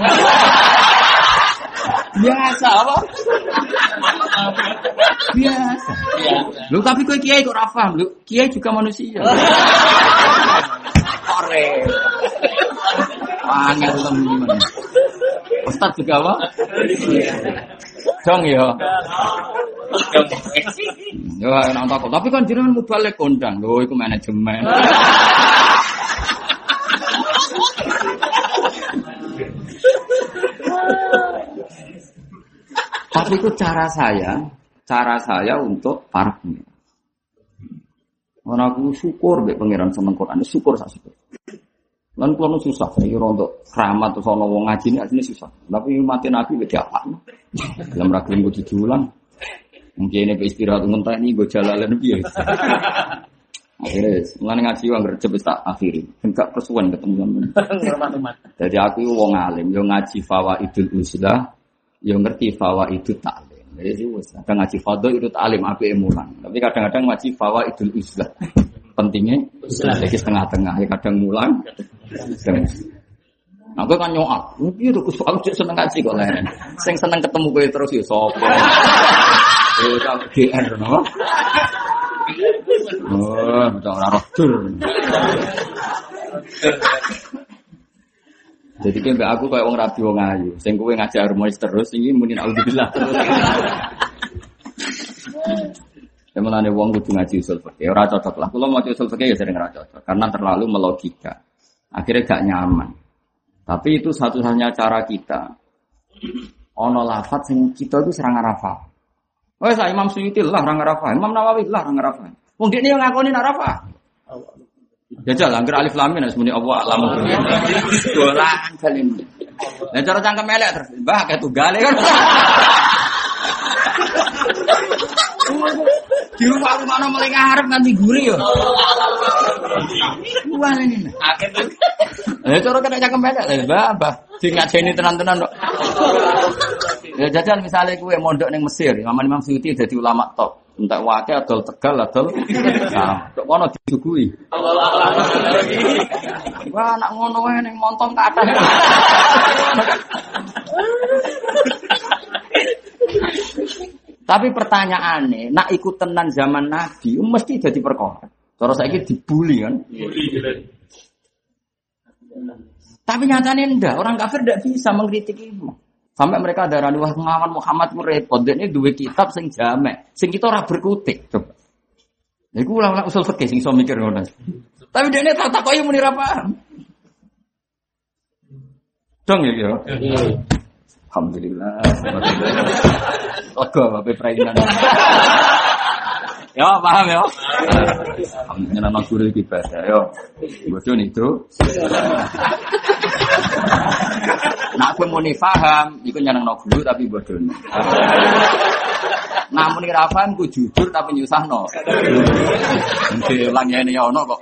S2: Biasa apa? Biasa. Lu tapi kowe kiai kok ora paham? Lu kiai juga manusia. Ore. Angel temen. Ustaz juga apa? Dong ya. Yo enak takut. Tapi kan jenengan mubalik kondang. Lho iku manajemen. Tapi itu cara saya untuk para pengiran. Orang aku syukur mbek pangeran seneng Quran, syukur sak syukur. Lan kulo susah, iki untuk keramat terus ana wong ngaji ini susah. Tapi mati Nabi wis diapakno. Dalam ragam kudu diulang. Mungkin ini istirahat ngentah ini gue jalalan piye. Akhirnya mulane ngaji wong recep wis tak akhiri. Enggak persuan ketemu sampean. Jadi aku wong alim, yo ngaji fawaidul uslah, yo ngerti fawaidut ta'lim. Jadi wis kadang ngaji fadhil itu ta'lim apike mulang. Tapi kadang-kadang ngaji fawaidul uslah. Pentingnya lagi setengah-tengah, ya kadang mulang. Aku kan nyoak, mungkin aku seneng ngaji kok lain. Sing seneng ketemu kowe terus ya sapa. Ya tak GR no. Oh, ora rodur. Jadi ki mbak aku kayak wong rabi wong ayu, sing kowe ngaji harmonis terus iki muni naudzubillah terus. Sebenarnya wong kudu ngaji usul fikih, ora cocok lah. Kalau mau usul fikih ya sering ora cocok karena terlalu melogika. Akhirnya gak nyaman. Tapi itu satu-satunya cara kita. Ono lafaz sing kita itu serang arafah. Wes Imam Suyuti lah rang arafah, Imam Nawawi lah rang arafah. Wong dekne yo ngakoni arafah. Jajal angger alif lam mim semuanya Allah alamu. Dolan salim. Lah cara cangkem elek terus, Mbah kayak tunggale kan. Di rumah mana mulai ngarep nganti guri yo. Wah ini. Akhirnya. Cara kena cangkem elek lah, Mbah. Sing ngajeni tenan-tenan kok. Ya jajal misalnya kowe mondok ning Mesir, Imam Suyuti dadi ulama top. Entek wae adol Tegal adol. Nah, kok kono disuguhi. Wah, nak ngono wae ning montong kathah. Tapi pertanyaannya, nak ikut tenan zaman Nabi, mesti jadi perkara. Cara saiki dibully kan? Tapi nyatanya enggak, orang kafir tidak bisa mengkritik itu. Sampai mereka darani wah ngawan Muhammad ku repot, dene duwe kitab sing jamek, sing kita ora berkutik. Coba. Iku ulama usul fikih sing iso mikir ngono. Tapi dene tak takoki muni ra paham. Dong ya. Alhamdulillah. Lega bae prainan. Ya, paham ya. Alhamdulillah nang guru iki bahasa yo. Bodoh itu. Nak aku muni paham, iku nyenengno guru tapi bodoh. Namun ora paham ku jujur tapi nyusahno. Diulang ngene ya ono kok.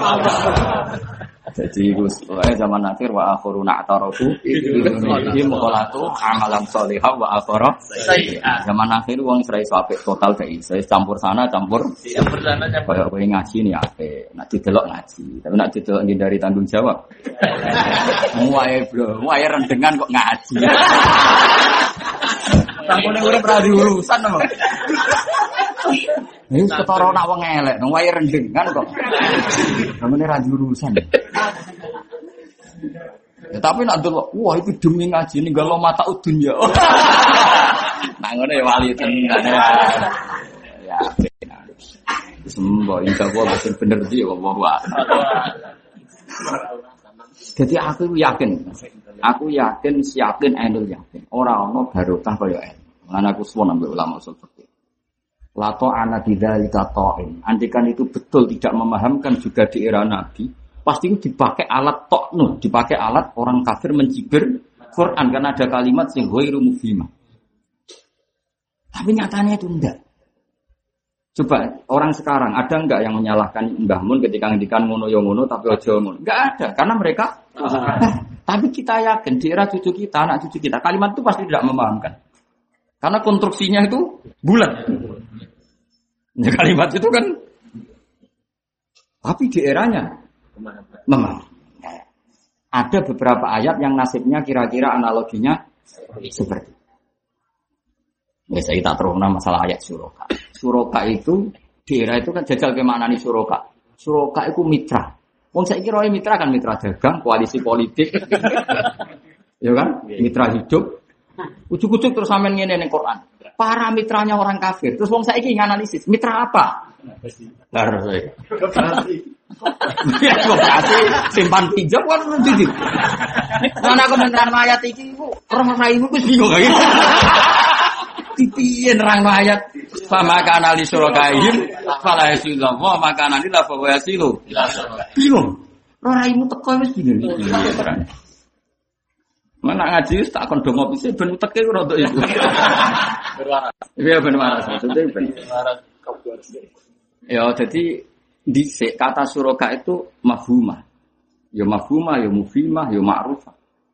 S2: Jadi zaman akhir wa akhiruna atarafu iki mukhalatu amalan sholihah wa akhara zaman akhir wong serai apik total gak iso campur sana campur sana kaya kowe ngaji ni apik nek didelok ngaji tapi nek didelok ngindari tanggung jawab muae bro muae rendengan kok ngaji sampune urip ra diurusan to ini ketara nak wong elek, nang wae rendeng kan kok. Namane ra diurusan. Ya tapi nak delok, wah itu demi ngaji ninggal mata dunya. Nah ngono ya wali tenan. Ya benar. Sembo insyaallah betul bener iki wae. Jadi aku yakin siapin ainul yakin. Ora ono barokah kaya ilmu. Lan aku suwun ambek ulama seperti Lato ana bidzalika ta'in. Andikan itu betul tidak memahamkan juga di era Nabi, pasti itu dipakai alat toknu, dipakai alat orang kafir mencibir Quran karena ada kalimat sing ghairu mufhimah. Tapi nyatanya itu enggak. Coba orang sekarang ada enggak yang menyalahkan Mbah Mun ketika ngendikan ngono yo ngono tapi aja ngono? Enggak ada karena mereka tapi kita yakin di era cucu kita, anak cucu kita kalimat itu pasti tidak memahamkan. Karena konstruksinya itu bulat. Ya, kalimat itu kan. Tapi di eranya memang ada beberapa ayat yang nasibnya kira-kira analoginya seperti. Ya saya tak terus masalah ayat suroka. Suroka itu di era itu kan jajal ke maknani suroka. Suroka itu mitra. Wong saya kira mitra kan mitra dagang, koalisi politik. Ya kan? Mitra hidup. Ujuk-ujuk terus sampean ngene ning Quran. Para mitranya orang kafir. Terus wong saiki nganalisis, mitra apa? Garasi. Ya kok simpan pinjam kan jadi. Ana komentar ayat iki ku roh raimu wis bingung iki. Piye nerangno ayat sama kana li surakaihim fala yasillah wa makana lillah fa yasilu. Bingung. Roh raimu teko wis bingung. Mana ngaji tak kon dongo pise ben uteke ora untuk itu. Berwaras. Iya ben waras maksudnya ben waras kabuar. Ya jadi dhisik kata suraka itu mafhumah. Ya mafhumah, ya mufhimah, ya ma'rufah.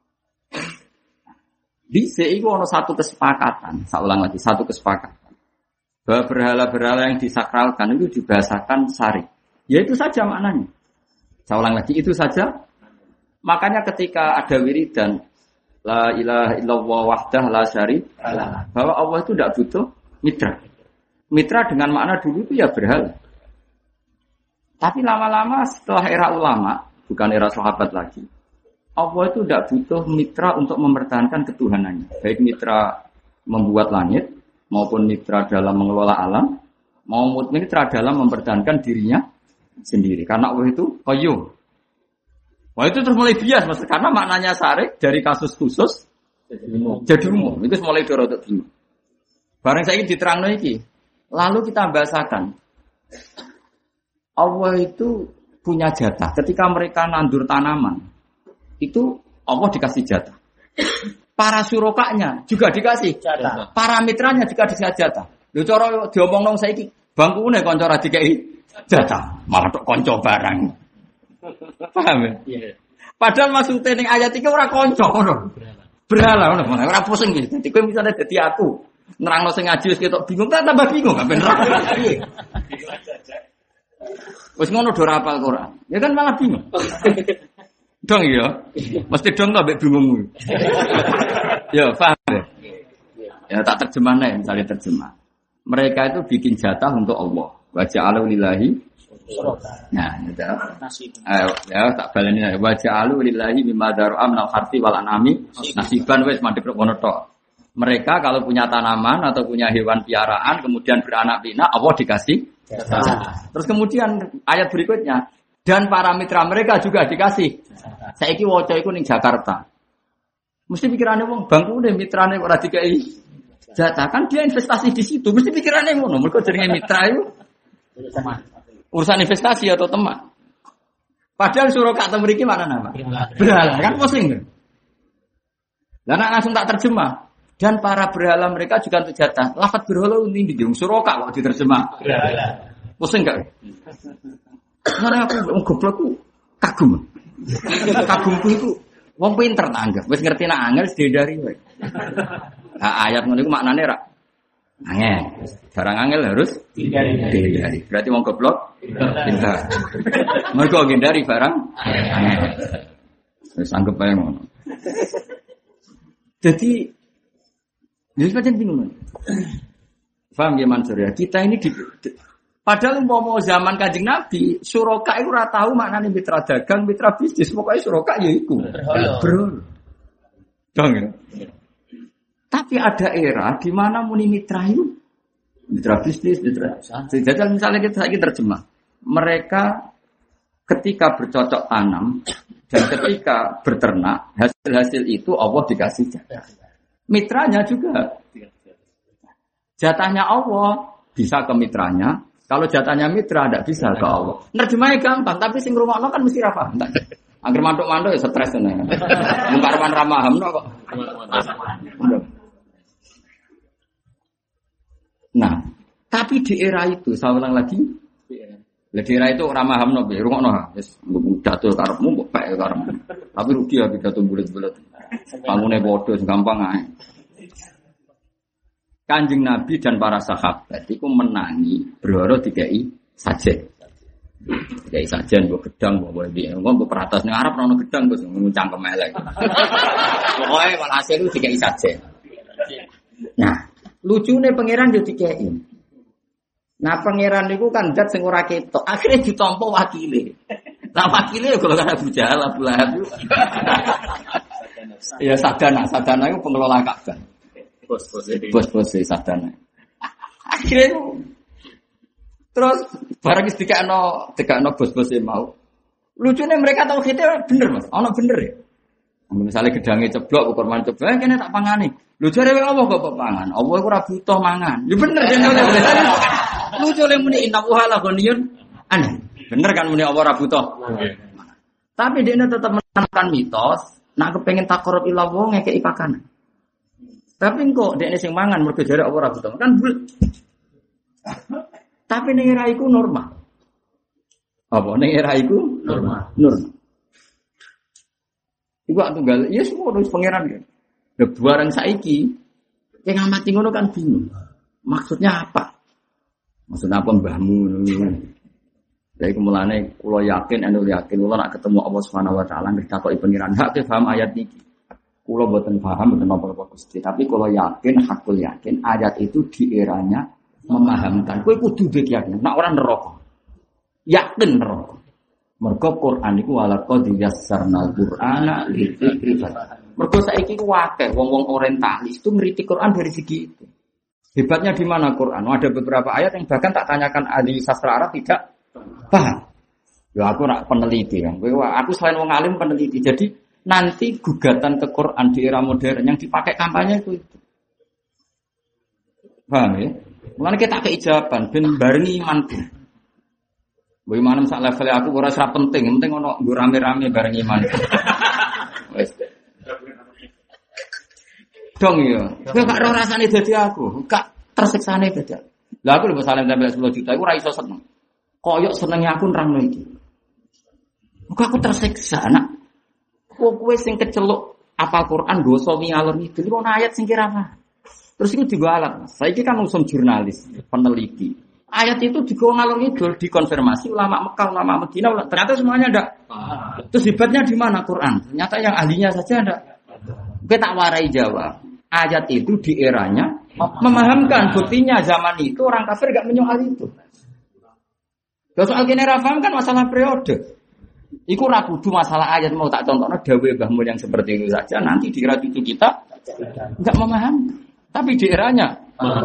S2: Dhisik iku ana satu kesepakatan, saya ulang lagi satu kesepakatan. Bahwa berhala-berhala yang disakralkan itu dibahasakan syar'i. Ya itu saja maknanya. Saya ulang lagi itu saja. Makanya ketika ada wiridan la ilaha illallah wahdah la syarika bahwa Allah itu tidak butuh mitra. Mitra dengan makna dulu itu ya berhala. Tapi lama-lama setelah era ulama, bukan era sahabat lagi, Allah itu tidak butuh mitra untuk mempertahankan ketuhanannya. Baik mitra membuat langit, maupun mitra dalam mengelola alam, maupun mitra dalam mempertahankan dirinya sendiri. Karena Allah itu qayyum. Wah itu terus mulai bias, maksudnya karena maknanya syar'i dari kasus khusus jadi umum. Itu mulai dorotok bingung. Barang saya ini diterangno iki. Lalu kita bahasakan Allah itu punya jatah. Ketika mereka nandur tanaman, itu Allah dikasih jatah. Para surokanya juga dikasih jatah. Para mitranya juga dikasih jatah. Lho cara diomong nang saiki bangkune kanca ra dikai jatah, malah tok kanca barang. Paham ya? Iya. Padahal maksudnya ning ayat iki ora kanca ngono. Berhala ngono, ora pusing iki. Dadi kowe misale dadi aku nerangno sing ngaji wis ketok bingung, tak tambah bingung gak bener. Wis ngono do rapal Quran. Ya kan malah bingung. Dong ya. Mesti dong to mbek bingungmu. Ya, paham ya? Ya tak terjemahne misalnya terjemah. Mereka itu bikin jatah untuk Allah. Wa ja'alu lillahi. Nah, ya tak baleni wa ja'alu lillahi mimma dar'a minal harthi wal anami nasiban wis mandek kono tok. Mereka kalau punya tanaman atau punya hewan piaraan kemudian beranak pinak Allah dikasih jatah. Terus kemudian ayat berikutnya dan para mitra mereka juga dikasih. Saiki waca iku ning Jakarta. Mesti pikirane wong bangkune mitrane ora dikai jatah kan dia investasi di situ. Mesti pikirane ngono. Mergo jenenge mitra itu urusan investasi atau teman. Padahal suraka atau mriki mana nama? Berhala kan pusing. Lah nek langsung tak terjemah. Dan para berhala mereka juga untuk jatah. Lafaz berhala ini di Suroka kok diterjemah. Pusing enggak? Karena aku goblokku kagum. Kagumku itu wong pinter tak anggap. Wis ngerti nak angel sedari wae. Nah, ayat ngono iku maknane ra angel. Barang angel harus dihindari. Berarti wong goblok pinter. Mergo ngindari barang angel. Wis anggap ae ngono. Jadi jadi macam bingung. Paham ya Mansur ya? Kita ini padahal mau zaman Kanjeng Nabi, Suroka itu ora tahu maknane mitra dagang, mitra bisnis, pokoknya Suroka ya iku. Bro. Dong ya. Tapi ada era di mana muni mitra itu mitra bisnis, mitra. Jadi misalnya kita terjemah, mereka ketika bercocok tanam dan ketika berternak, hasil-hasil itu Allah dikasih jatah. Mitranya juga. Jatahnya Allah bisa ke mitranya. Kalau jatahnya mitra tidak bisa ke Allah. Nerjemahnya gampang, tapi sing ngrungokno kan mesti ra paham. Angger mantuk-mantuk ya stres tenan. Mung karepan ra pahamno kok. Nah, tapi di era itu saya ulang lagi. Di era itu ra pahamno piye rungokno wis pidato karepmu mbok pek karepmu. Tapi rugi ya pidato bulet-bulet. Pangune padha gampang ae. Kanjeng Nabi dan para sahabat itu menangi berhoro dikai sajen. Dikai sajen mbok gedang mbok piye. Mbok peratas ning arep ono gedang terus nguncang kemelek. Pokoke walhasil itu dikai sajen. Nah, lucune pangeran yo dikai. Nah, pangeran niku kan zat sing ora ketok. Akhire ditampa wakile. Lah wakile yo golongan Abu Jahal, Abu Lahab. Ya sadana itu pengelola Ka'bah. Bos-bos sadana. Akhirnya terus barang wis dikakno bos-bos mau. Lucunya mereka tahu kita bener Mas. Ono bener ya. Misalnya gedangnya ceblok ukur man ceblok kene tak pangani. Lho jare Allah kok pangan. Allah iku ora butuh mangan. Ya bener jane. Lucu le muni inna wahala ghaniyun aneh. Bener kan muni Allah ora butuh. Tapi dia tetap menanamkan mitos. Nak kepengen takorup ilah wong ngekei pakanan. Tapi kok dekne sing mangan mergo jare apa ora butuh. Kan tapi ning era iku normal. Apa ning era iku normal. Iku tunggal ya semua wis pangeran kan. Lah barang saiki sing ngamati ngono kan bingung. Maksudnya apa? Maksudnya apa mbahmu ngono. Jadi mulane kula yakin kula nak ketemu Allah Subhanahu wa taala nggih takoki pangeran hak paham ayat iki. Kula mboten paham mboten apa-apa Gusti, tapi kula yakin hakul yakin ayat itu di eranya memahamkan. Kowe kudu yakin nek ora neraka. Yakin neraka. Mergo Quran iku walaqad yassarnal Qur'ana lidzikri. Mergo saiki ku akeh wong-wong orientalis itu ngerti Quran dari segi itu. Hebatnya di mana Quran? Ada beberapa ayat yang bahkan tak tanyakan ahli sastra Arab tidak paham. Ya aku nak peneliti kan. Aku selain wong alim peneliti. Jadi nanti gugatan ke Quran di era modern yang dipakai kampanye itu. Paham ya? Mulane kita keijaban ben barengi imanku. Mbok iman sak level aku ora penting ono nggo rame-rame bareng iman. Wis. Dong ya. Kowe gak ora rasane dadi aku, gak tersiksane dadi. Lah aku lho salam tempel 10 juta iku ora iso seneng. Koyok senenge aku nerangno iki. Muga aku tersiksa nak. Kowe sing keceluk apal Quran dosa ngalor ngidul iku ana ayat sing kira apa. Terus iku digo alat. Saiki kan usum jurnalis, peneliti. Ayat itu digo ngalor ngidul dikonfirmasi ulama Mekah, ulama Madinah, ternyata semuanya ndak. Terus hebatnya di mana Quran? Ternyata yang ahlinya saja ndak. Kowe tak warai jawab. Ayat itu di eranya memahamkan buktinya zaman itu orang kafir enggak menyoal itu. Kalau soal kene ra paham kan masalah periode. Iku ra kudu masalah ayat mau tak contohno dawuh Mbah Mun yang seperti itu saja nanti di era cucu kita enggak memahami. Tapi di eranya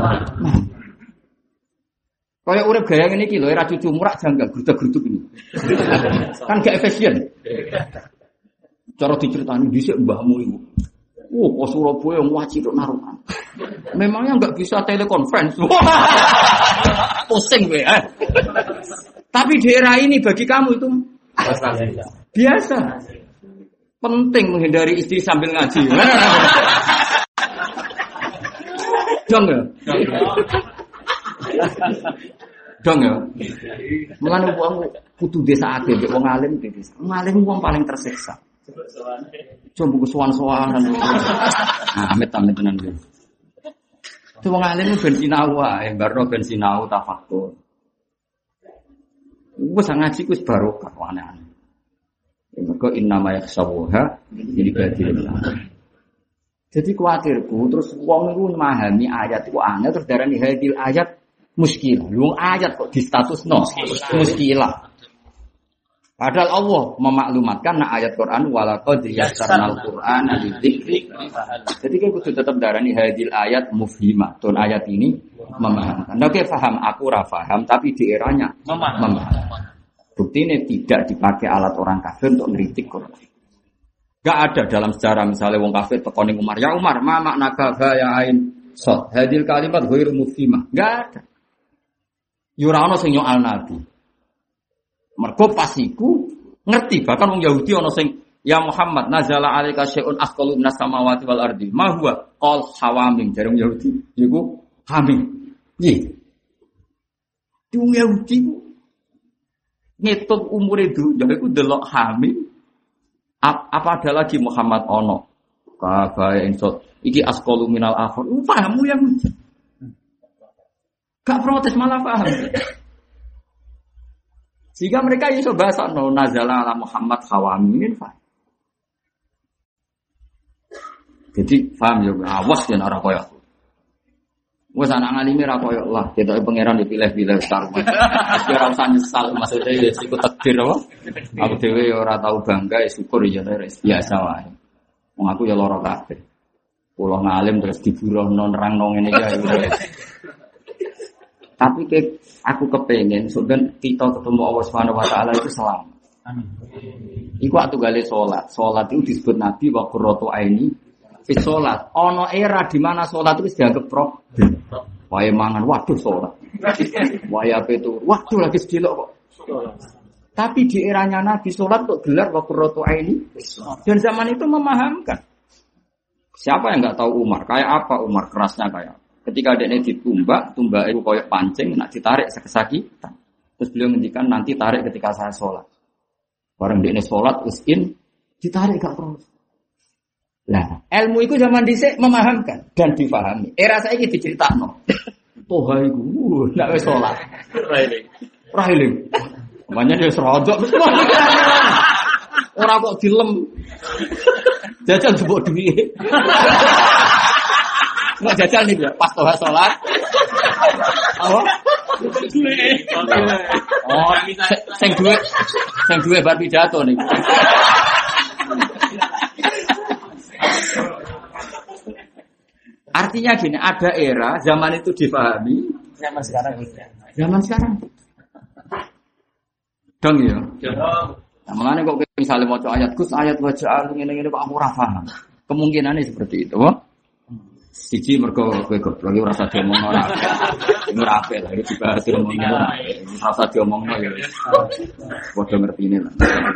S2: kayak urip gaya ngene iki lho era cucu murak janggal gruduk-gruduk ini. Kan gak efisien. Cara diceritani dhisik mbahmu iku. Kok Surabaya wajib naruhan. Memangnya enggak bisa telekonferensi. Pusing kowe. Tapi di era ini bagi kamu itu biasa. Penting menghindari istri sambil ngaji. Dong ya. Dong ya. Mulane wong kudu desa akeh mbek wong alim iki. Wong alim wong paling tersiksa. Coba buku sowan-sowanan. Nah, amit-amit tenan iki. Itu wong alim ben sinau wae, barno ben sinau tafakkur. Wes ngaji ku wis barokah aneh-aneh. Mergo innama yakhsawha jadi badil. Jadi kuatirku terus wong iku memahami ayat iku angel terus darani hadil ayat muskilah. Lu ayat kok di statusno muskilah. Padahal Allah memaklumatkan ayat Quran walaqad yassarnal Qur'ana lidzikri. Jadi kita kudu tetap darani hadil ayat mufhimah. Ton ayat ini memahamkan. Oke, paham aku ora paham tapi di eranya memaham. Bukti ini tidak dipakai alat orang kafir untuk ngeritik Quran. Gak ada dalam sejarah misalnya wong kafir tekoni Umar, ya Umar, ma makna kafa ya ain sod. Hadil kalimat ghairu mufhimah. Gak ada. Yura ono sing nyoal Nabi. Mergo pasiku ngerti bahkan wong Yahudi ono sing ya Muhammad nazala alaika syai'un asqalu minas samawati wal ardi. Ma huwa qal hawamim jare wong Yahudi iku hamim. Nggih. Wong Yahudi ngitung umure dunya iku delok hamim. Apa ada lagi Muhammad ono? Kafaya insot. Iki asqalu minal akhir. Pahamu yang gak protes malah paham. Jika mereka iso bahasa no nazala ala Muhammad hawamin fa. Jadi paham ya awas yen ora koyo aku. Wes anak ngalime ra koyo lah, ketoke pangeran dipilih-pilih sarung. Wis ora usah nyesal maksudnya ya iku takdir apa? Aku dhewe ora tau bangga syukur ya biasa wae. Wong aku ya lara kabeh. Kula ngalim terus diburuhno nerangno ngene iki. Tapi aku kepengen sebenarnya kita ketemu Allah Subhanahu wa taala itu selamat. Amin. Iku waktu gale salat. Salat itu disebut Nabi wa qurratu aini fi salat. Ono era di mana salat itu dianggap problem. Wae mangan waduh salat. Wae ape itu waduh lagi sedelok kok. Tapi di eranya Nabi salat kok gelar wa qurratu aini. Dan zaman itu memahamkan. Siapa yang enggak tahu Umar? Kayak apa Umar kerasnya kayak ketika adanya ditumbak, tumbak itu koyok pancing, nak ditarik sekesakitan. Terus beliau ngendikan nanti tarik ketika saya sholat. Barang dia sholat, usin, ditarik gak terus. Nah, ilmu itu zaman dhisik memahamkan dan difahami. Era saya ini diceritakan. Toha itu, nak wis sholat. Rahiling. Namanya dia serodok. Orang kok dilem. Jajan sebut duit. Nggak jajal nih ya, pas toha sholat. Apa? Oh, sing duwe bar pidato nih. Artinya gini, ada era zaman itu dipahami. Zaman sekarang. Dong ya. Nah, makanya kok misalnya mau ayat Gus ayat wajah ngene-ngene kok aku ora paham. Kemungkinannya seperti itu. Siji mergo kowe goblok ora usah diomongno ora. Ora apik lah iki dibahas diomongno ora. Ora usah diomongno ya wis. Padha ngertine lah.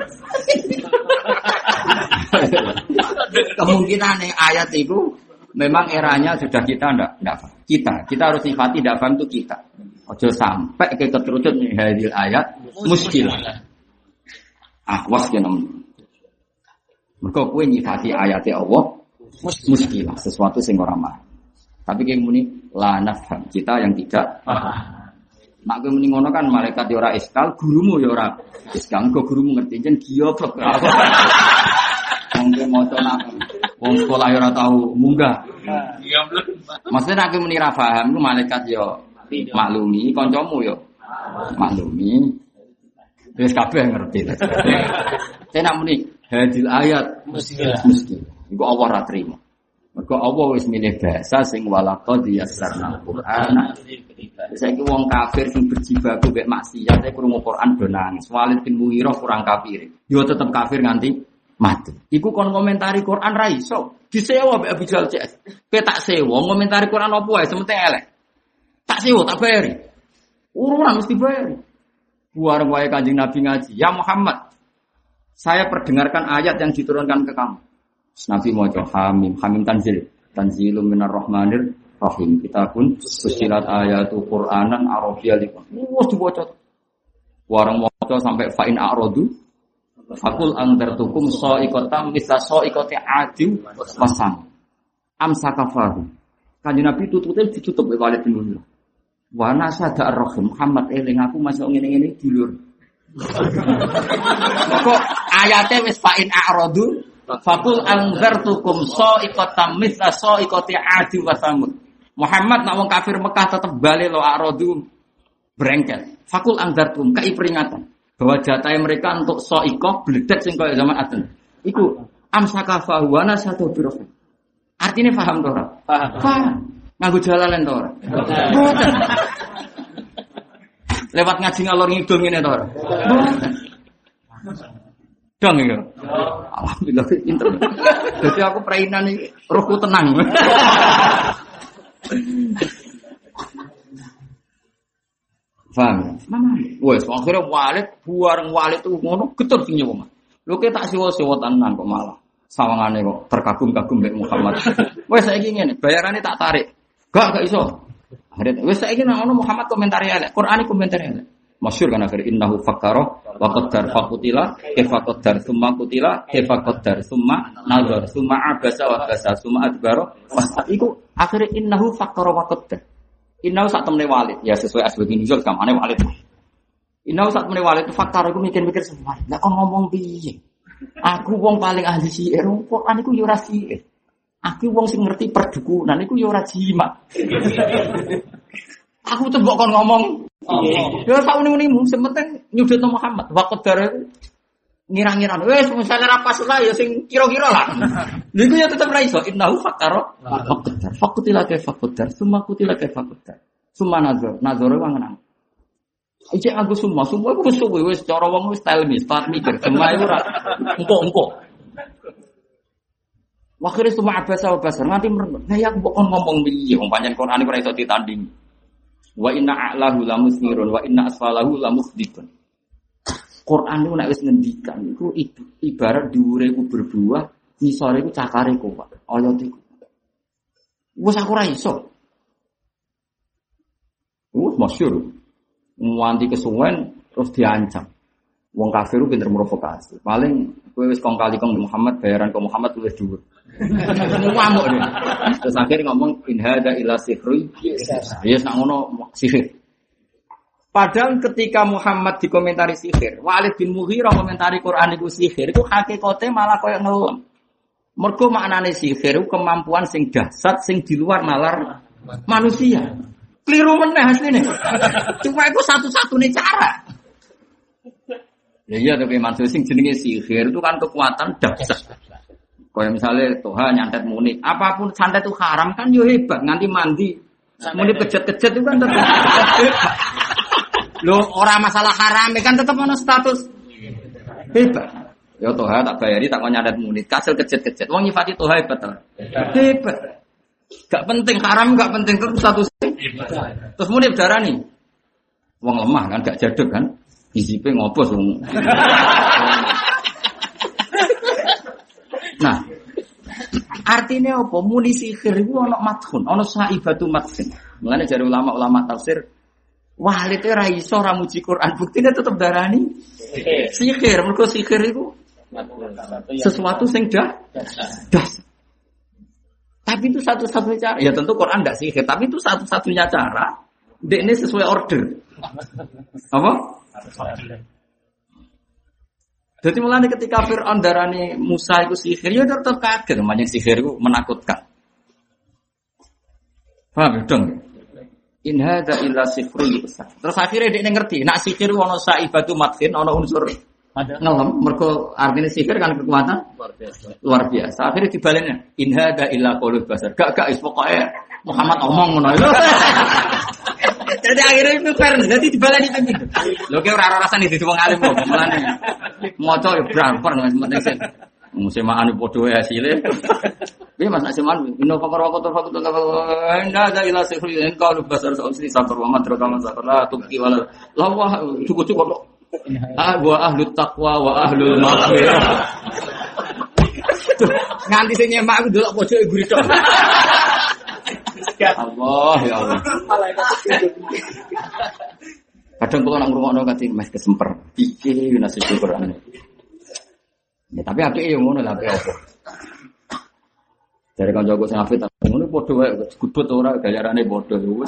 S2: Kemungkinan ayat itu memang eranya sudah kita enggak kita harus sifati tidak paham itu kita. Ojo sampai ke keterucut nih hadil ayat muskilah. Awas ya namanya. Mergo kowe nyifati ayat Allah muskilah, sesuatu sing ora mah. Tapi kayak muni la nafham, kita yang tidak paham. Nak kowe muni ngono kan malaikat ya ora iskal, gurumu ya ora iskal, kok gurumu ngerti jen goblok. Wong kowe maca nak wong sekolah ya ora tau munggah. Iya belum. Maksudnya nak kowe muni ra paham, ku malaikat ya maklumi, kancamu ya maklumi. Wis kabeh ngerti. Tenak muni hadil ayat muskilah. Iku Allah ra trimo. Mergo Allah wis milih bahasa sing walaqad yassarnal Qur'ana. Saiki wong kafir sing berjibaku mek maksiat e krungu Quran do nangis. Walid bin Mughirah kurang kafir. Yo tetep kafir nganti mati. Iku kon komentari Quran ra iso. Disewa mek Abu Jahal cek. Kowe tak sewa komentari Quran opo wae sementing elek. Tak sewa tak bayari. Urunan mesti bayari. Buar wae Kanjeng Nabi ngaji. Ya Muhammad, saya perdengarkan ayat yang diturunkan ke kamu. Nabi maca hamim tanzilum minar rahmanir Rahim. Kitabun fussilat ayatu Qur'anan Arabiyyan liqan. Wes diwaca. Warang maca sampai fa'in a'radu fakul andartukum sa'iqatam misla sa'iqati 'adim wasam. Amsakafahu. Kanjeng Nabi tutute ditutup oleh Walid bin Mughirah. Wa nasada ar-rahim Muhammad eling aku masuk ngene-ngene dilur. Kok ayate wis fa'in a'radu fakul andartukum sa'iqatam misla sa'iqati 'adim wasam. Muhammad nak wong kafir Mekah tetep bali lo a'radu brengket. Fakul andartum kai peringatan bahwa jatah mereka untuk soikoh bledek sing kaya zaman Aden. Iku amsaka fahuana satu biro. Artinya paham to ora? Paham. Nganggo jalalan to ora? Mboten. Lewat ngaji ngalor ngidul ngene to ora? Mboten. Dong ya. Alhamdulillah pinter. Jadi aku prainan iki rohku tenang. Paham? Wes akhire Walid buareng Walid itu ngono getur sing nyewa. Lho ke tak siwa-siwa tenan kok malah. Sawangane kok terkagum-kagum mbek Muhammad. Wes saiki ngene, bayarane tak tarik. Gak iso. Akhire wes saiki nang ono Muhammad komentari elek, Qur'ane komentari elek. Masyhur kan akhire innahu fakkara wa qaddar faqutila kaifa qaddar summa qutila kaifa qaddar summa nazar summa abasa wa basa summa adbara. Iku akhire innahu fakkara wa qaddar. Inau saat temne Walid, ya sesuai asbab nuzul kamane Walid. Inau saat temne Walid faktor aku mikir-mikir semua. Lah kok ngomong piye? Aku wong paling ahli sihir, Quran iku yo ora sihir. Aku wong sing ngerti perdukunan iku yo ora jimat. Aku tuh kok ngomong. Ya sak muni-munimu, sementing nyudutno Muhammad. Waqdar ngira-ngira wis misale ra pas lah ya sing kira-kira lah. Niku ya tetep ra iso innahu fakkara waqdar faqutila kaifa qaddar summa qutila kaifa qaddar summa nazar wong nang iki aku summa iku suwe wis cara wong wis style mikir semua iku ora engko wakhire summa abasa wa basar nganti ya aku kok ngomong piye wong pancen Quran ora iso ditanding wa inna a'lahu lamusirun wa inna asfalahu lamusdikun. Quran itu nek wis ngendikan iku ibarat dhuwure iku berbuah, ngisore iku cakare kok. Ayat iku. Wes aku ora iso. Masyhur. Nganti kesuwen terus diancam. Wong kafir ku pinter provokasi. Paling kowe wis kong kali kong Muhammad bayaran ke Muhammad luwih dhuwur. Ngamuk deh. Terus akhirnya ngomong in hadza ila sihri. Ya sak ngono sihir. Padahal ketika Muhammad dikomentari sihir, Walid bin Mughirah komentari Quran itu sihir, itu hakikatnya malah koyo ngelem. Mergo maknane sihir itu kemampuan sing dahsyat sing di luar nalar manusia. Keliru meneh asline. Cuma itu satu-satunya cara. Ya iya tapi maksud sing jenenge sihir itu kan kekuatan dahsyat. Kayak misalnya Tuhan nyantet muni, apapun santet itu haram kan yo hebat, nganti mandi. Muni kejet-kejet itu kan tetap lho ora masalah haram kan tetep ana status hebat. Ya Tuhan tak bayari tak nyadat munit kasil kejet-kejet. Wong nyifati Tuhan hebat ta. Hebat. Gak penting haram gak penting tetep status hebat. Terus munit darani. Wong lemah kan gak jaduk kan. Isipe ngopos wong. Nah, artinya apa? Muni sihir iku ana madhun, ana saibatu madhun. Mulane jare ulama-ulama tafsir Walid itu ra iso ra muji Quran, buktine tetep darani sihir. Mergo sihir iku sesuatu sing das. Tapi itu satu-satunya cara. Ya tentu Quran enggak sihir, tapi itu satu-satunya cara. Dekne sesuai order. Apa? Jadi mulane ketika Fir'aun darani Musa iku sihir, ya tetep kaget, namanya sihir iku menakutkan. Paham dong? In hadza illa sihrun yusar. Terus akhirnya dia ngerti, nak sihir ono saibatu madhin, ono unsur ngelem, mergo artinya sihir kan kekuatan luar biasa. Akhirnya dibalennya, in hadza illa qaulul basar. Gak is pokoke Muhammad omong ngono. Jadi akhirnya itu fair, jadi dibaleni kan gitu. Lho ki ora rasane dadi wong alim kok, mulane maca yo bramper nang penting. Musemaan padha wae hasile. Piye Mas Asiman, inna faqara wa qatar faqat inna za ila sihri in qalu basar sa'usri sakar wa madra kama sakar la tubqi wala la wa cukup wa ahlut taqwa wa ahlul maghfirah. Nganti sing nyemak aku delok pojok guri tok. Allah, ya Allah. Kadang kalau nak ngrungokno kate mes kesemper. Iki nasi syukuran. Ya tapi apike yo ngono lah apike apa. Dari kancaku sing hafid ngono padha wae gudut ora gayarane padha wis.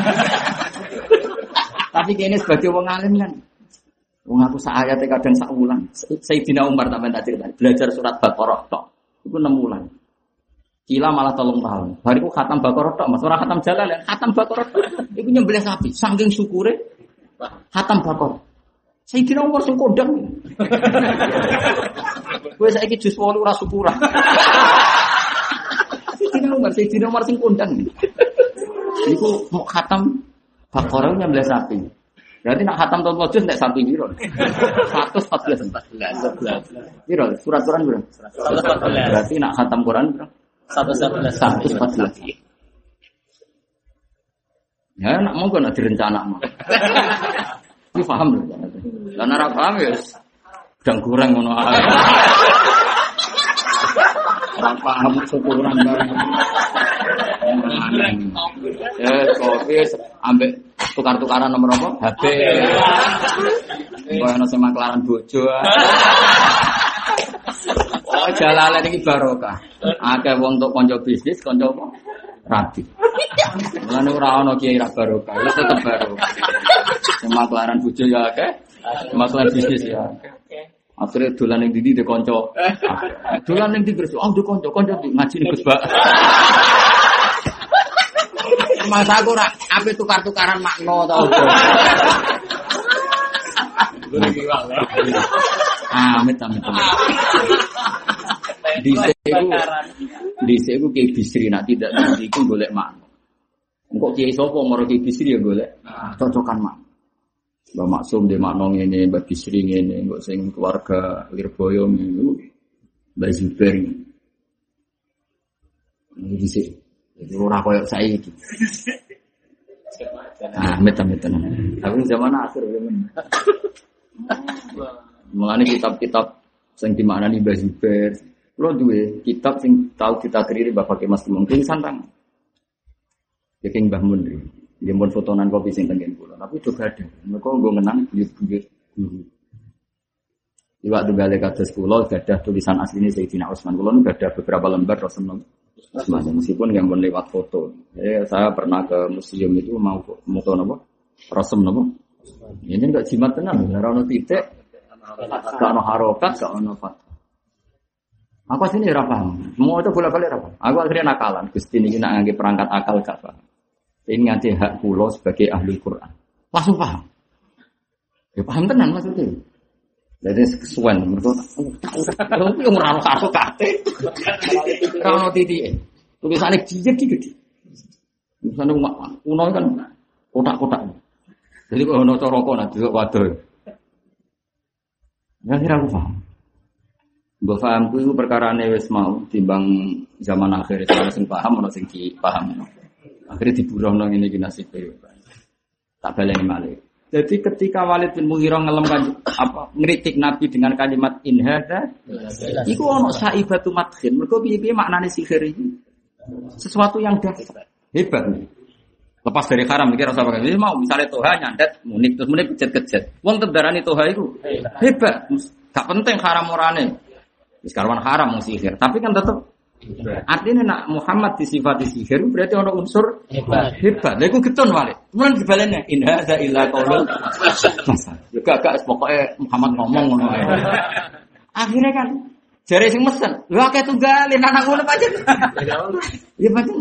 S2: Tapi kene sebagai wong alim kan. Wong aku sak ayate kadang sak wulan. Sayyidina Umar sampeyan tak critani, belajar surat Baqarah tok. Iku 6 wulan. Kila malah 3 tahun. Bariku khatam Baqarah tok, Mas ora khatam Jalalain, khatam Baqarah tok. Iku nyembelih sapi, saking syukure khatam Baqarah. Sayyidina Umar sing kondang. Kowe saiki jus 8 ora syukuran. Sayyidina Umar sing kondang. Iku mau khatam Baqarah nyembelih sapi. Berarti nak khatam tahun wajud nek sapi piro? 114. Piro? Surat Quran piro? 114. Berarti nak khatam Quran piro? 114. Ya nak monggo nak direncanakno. Iki paham lho. Lah nek ora paham ya sedang kurang ngono ae. Ora paham syukuran bareng. Ya kopi ambek tukar-tukaran nomor apa? HP. Kok ana sing maklaran bojo. Oh Jalalain iki barokah. Akeh wong tok kanca bisnis, kanca apa? Rabi. Mulane ora ana kiai ra barokah, wis tetep barokah. Sing maklaran bojo ya akeh, maklaran bisnis ya akeh. Akhirnya dolan ning ndi de kanca. Dolan ning ndi terus, oh de kanca ngaji ning Gus Bak. Masa aku ora ape tukar-tukaran makna ta opo. Amit. Dhisik iku Kiai Bisri nak tidak nanti iku golek makna. Engko Kiai sapa maro Kiai Bisri ya golek cocokan makna. Mbak Maksum de makna ngene, Mbak Bisri ngene, engko sing keluarga Lirboyo niku Mbak Zubair. Dhisik ora koyo saiki. Amit. Tapi zaman akhir zaman. Mulane kitab-kitab sing dimaknani Mbah Zubair. Kulo duwe kitab sing tau ditakriri Bapak Mas Mungkin santang. Ya King Mbah Mun. Nggih mun fotonan kopi sing tengen kula. Tapi juga ada. Mereka nggo ngenang buyut-buyut guru. Iwak tunggale kados kula gadah tulisan asline Sayyidina Utsman. Kula nu gadah beberapa lembar Rasulullah. Meskipun yang pun lewat foto. Saya pernah ke museum itu mau foto apa? Rasul apa? Ini enggak jimat tenan, ora ono titik, enggak ono harokat, enggak ono fat. Aku sini ora paham. Semua itu bola-balik ora paham. Aku akhirnya nakalan. Gusti niki nak ngangge perangkat akal gak paham. Ini nganti hak kula sebagai ahli Quran. Langsung paham. Ya paham tenan maksudnya. Jadi kesuwen mergo tak ora ono kartu kate. Ora ono titik. Tulisane jijik iki. Tulisane kuno kan kotak-kotak. Jadi kok ono cara kok nak delok waduh. Ya kira aku paham. Mbok pahamku iku perkarane wis mau timbang zaman akhir ana sing paham ana sing paham. Akhire diburohno ngene iki nasibe. Tak baleni malih. Jadi ketika Walid bin Mughirah ngelem ngritik Nabi dengan kalimat in hadza, iku ono saibatu madkhin. Mergo piye-piye maknane sihir iki? Sesuatu yang dahsyat. Hebat. Lepas dari haram iki rasa pakai. Mau misalnya toha nyandet munik terus munik kejet-kejet. Wong tedarani toha iku hebat. Gak penting haram orane. Wis karwan haram mung sihir, tapi kan tetep artinya nak Muhammad disifati sihir berarti ono unsur hebat. Lha iku getun Walid. Mulane dibalene in hadza illa qaulul masal. Ya gak pokoke Muhammad ngomong ngono ae. Akhirnya kan jare sing mesen, lho akeh tunggalin anak ngono pancen. Ya pancen.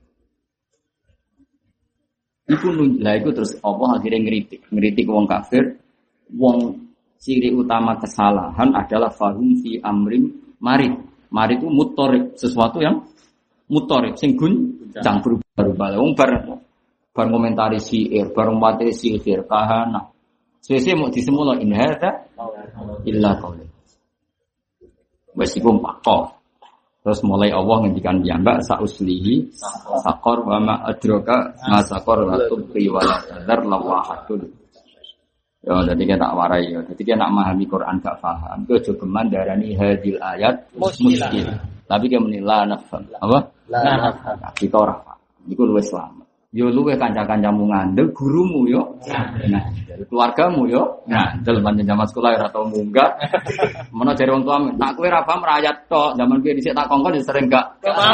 S2: Iku terus apa akhirnya ngritik wong kafir, wong ciri utama kesalahan adalah fahum fi amrim marid. Marid itu mutorik, sesuatu yang mutorik, sing guncang berubah-ubah. Wong bar komentari sihir, bar materi sihir, kahana. Sese mau disemula in hadza illa qaul. Wes iku pakok. Terus mulai Allah ngendikan piyambak sauslihi saqar wa ma adraka ma saqar la tubqi wa la tadar lawahatul. Ya, jadi kita tak warai ya. Jadi kita nak memahami Quran gak paham. Itu juga geman darani hadil ayat muskil. Tapi kita menilai nafam. Apa? La nafam. Kita orang paham. Iku luwih selamat. Yo luwih kanca-kancamu ngandel, gurumu yo. Nah, keluargamu yo. Nah, dalam zaman sekolah ora tau munggah. Menawa jare wong tuamu, nak kowe ra paham rakyat tok, zaman piye dhisik tak kongkon sering gak.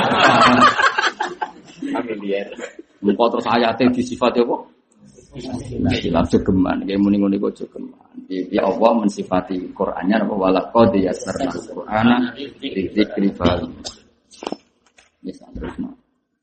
S2: Familiar. Muka terus ayate disifati apa? Nah, jogeman, kayak muni-muni kok jogeman. Ya Allah mensifati Qur'annya apa walaqad yassarna Qur'ana lidzikri fahal. Bisa terusno.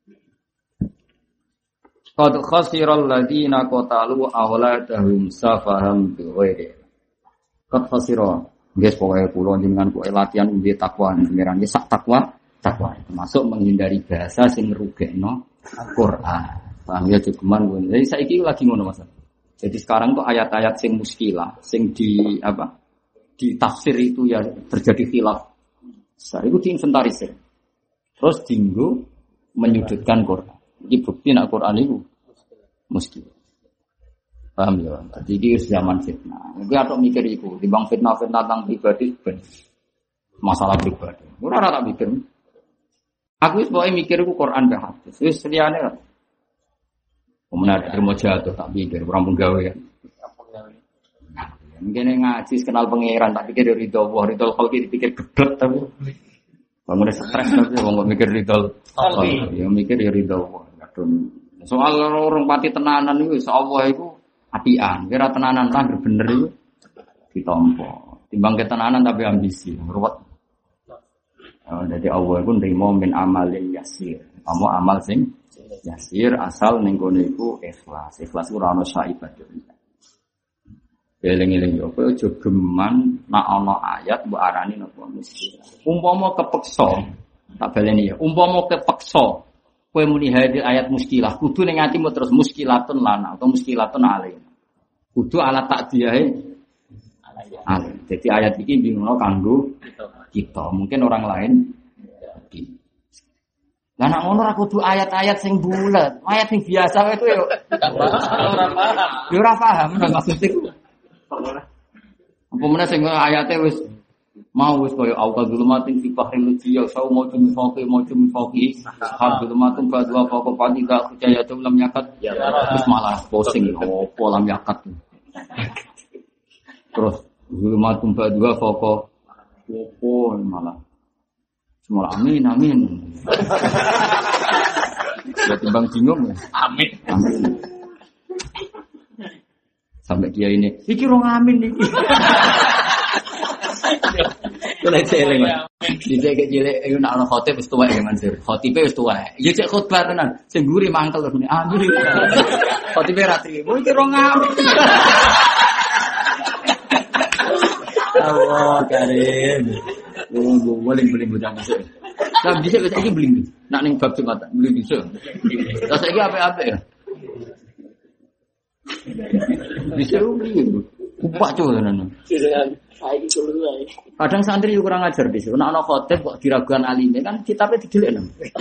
S2: Qad khasiral ladzina qatalu awladahum safaham bighairi. Qad khasira. Guys, pokoke kula jenengan kok latihan umbi takwa pengiran iki sak takwa, termasuk menghindari bahasa sing ngrugekno Quran. Paham ya jogeman kuwi. Jadi saiki lagi ngono Mas. Jadi sekarang tuh ayat-ayat sing muskilah, sing di apa? Di tafsir itu ya terjadi khilaf. Saya itu diinventarisir. Terus dinggo menyudutkan Quran. Iki bukti nak Quran itu muskil. Paham ya? Jadi iki zaman fitnah. Iki atok mikir iku, timbang fitnah-fitnah tentang pribadi ben masalah pribadi. Ora tak mikir. Aku wis pokoke mikir iku Quran be hadis. Wis liyane ora. Kemudian terima jatuh tak pikir orang penggawe ya. Mungkin ngaji kenal pangeran tak pikir ridho Allah, ridho khalqi dipikir geblek tapi bangun stres tapi wong mikir ridho khalqi. Ya mikir ya ridho Allah. Soal orang pati tenanan itu, Allah itu apian. Kira tenanan lah bener itu ditompo. Timbang ketenanan tapi ambisi, ruwet. Jadi Allah itu nerima min amalin yasir. Kamu amal sing yasir asal ning kono iku ikhlas. Ikhlas ora ono saibat. Eling-eling yo kowe aja geman nek ana ayat mbok arani napa mesti. Umpama kepeksa, tak baleni ya. Umpama kepeksa kowe muni hadil ayat muskilah, kudu ning atimu terus muskilatun lana atau muskilatun alaih. Kudu ala takdiyahe alaih. Jadi ayat iki bingono kanggo kita, mungkin orang lain. Lah nek ngono ora kudu ayat-ayat sing bulet, ayat sing biasa itu yo ora paham. Yo ora paham maksud iku. Apa meneh sing ayate wis mau wis koyo awal zulumatin fi bahril lujiyya sau mautum faqi hadulumatun badwa faqa padida khujayatum lam yakat terus malah posing opo lam yakat. Terus zulumatun badwa faqa opo malah semua amin. Ya timbang bingung ya. Amin. Sampai kiai ini, iki rong amin iki. Kalau celeng, dijek cilik, itu nak orang khotib wis tuwek ya Mansur. Khotibe wis tuwek. Ya cek khotbah tenan, sing mburi mangkel terus amin. Khotibe ra trimo, iki rong amin. Allah karim. Boleh bocah masuk. Lah bisa iki beli. Nak ning bab Jumatan beli bisa. Lah saiki apik-apik ya. Bisa beli. Kupak cuy tenan. Kadang santri kurang ajar di sini. Nek ana khotib kok diragukan alime kan kitabe didelikno.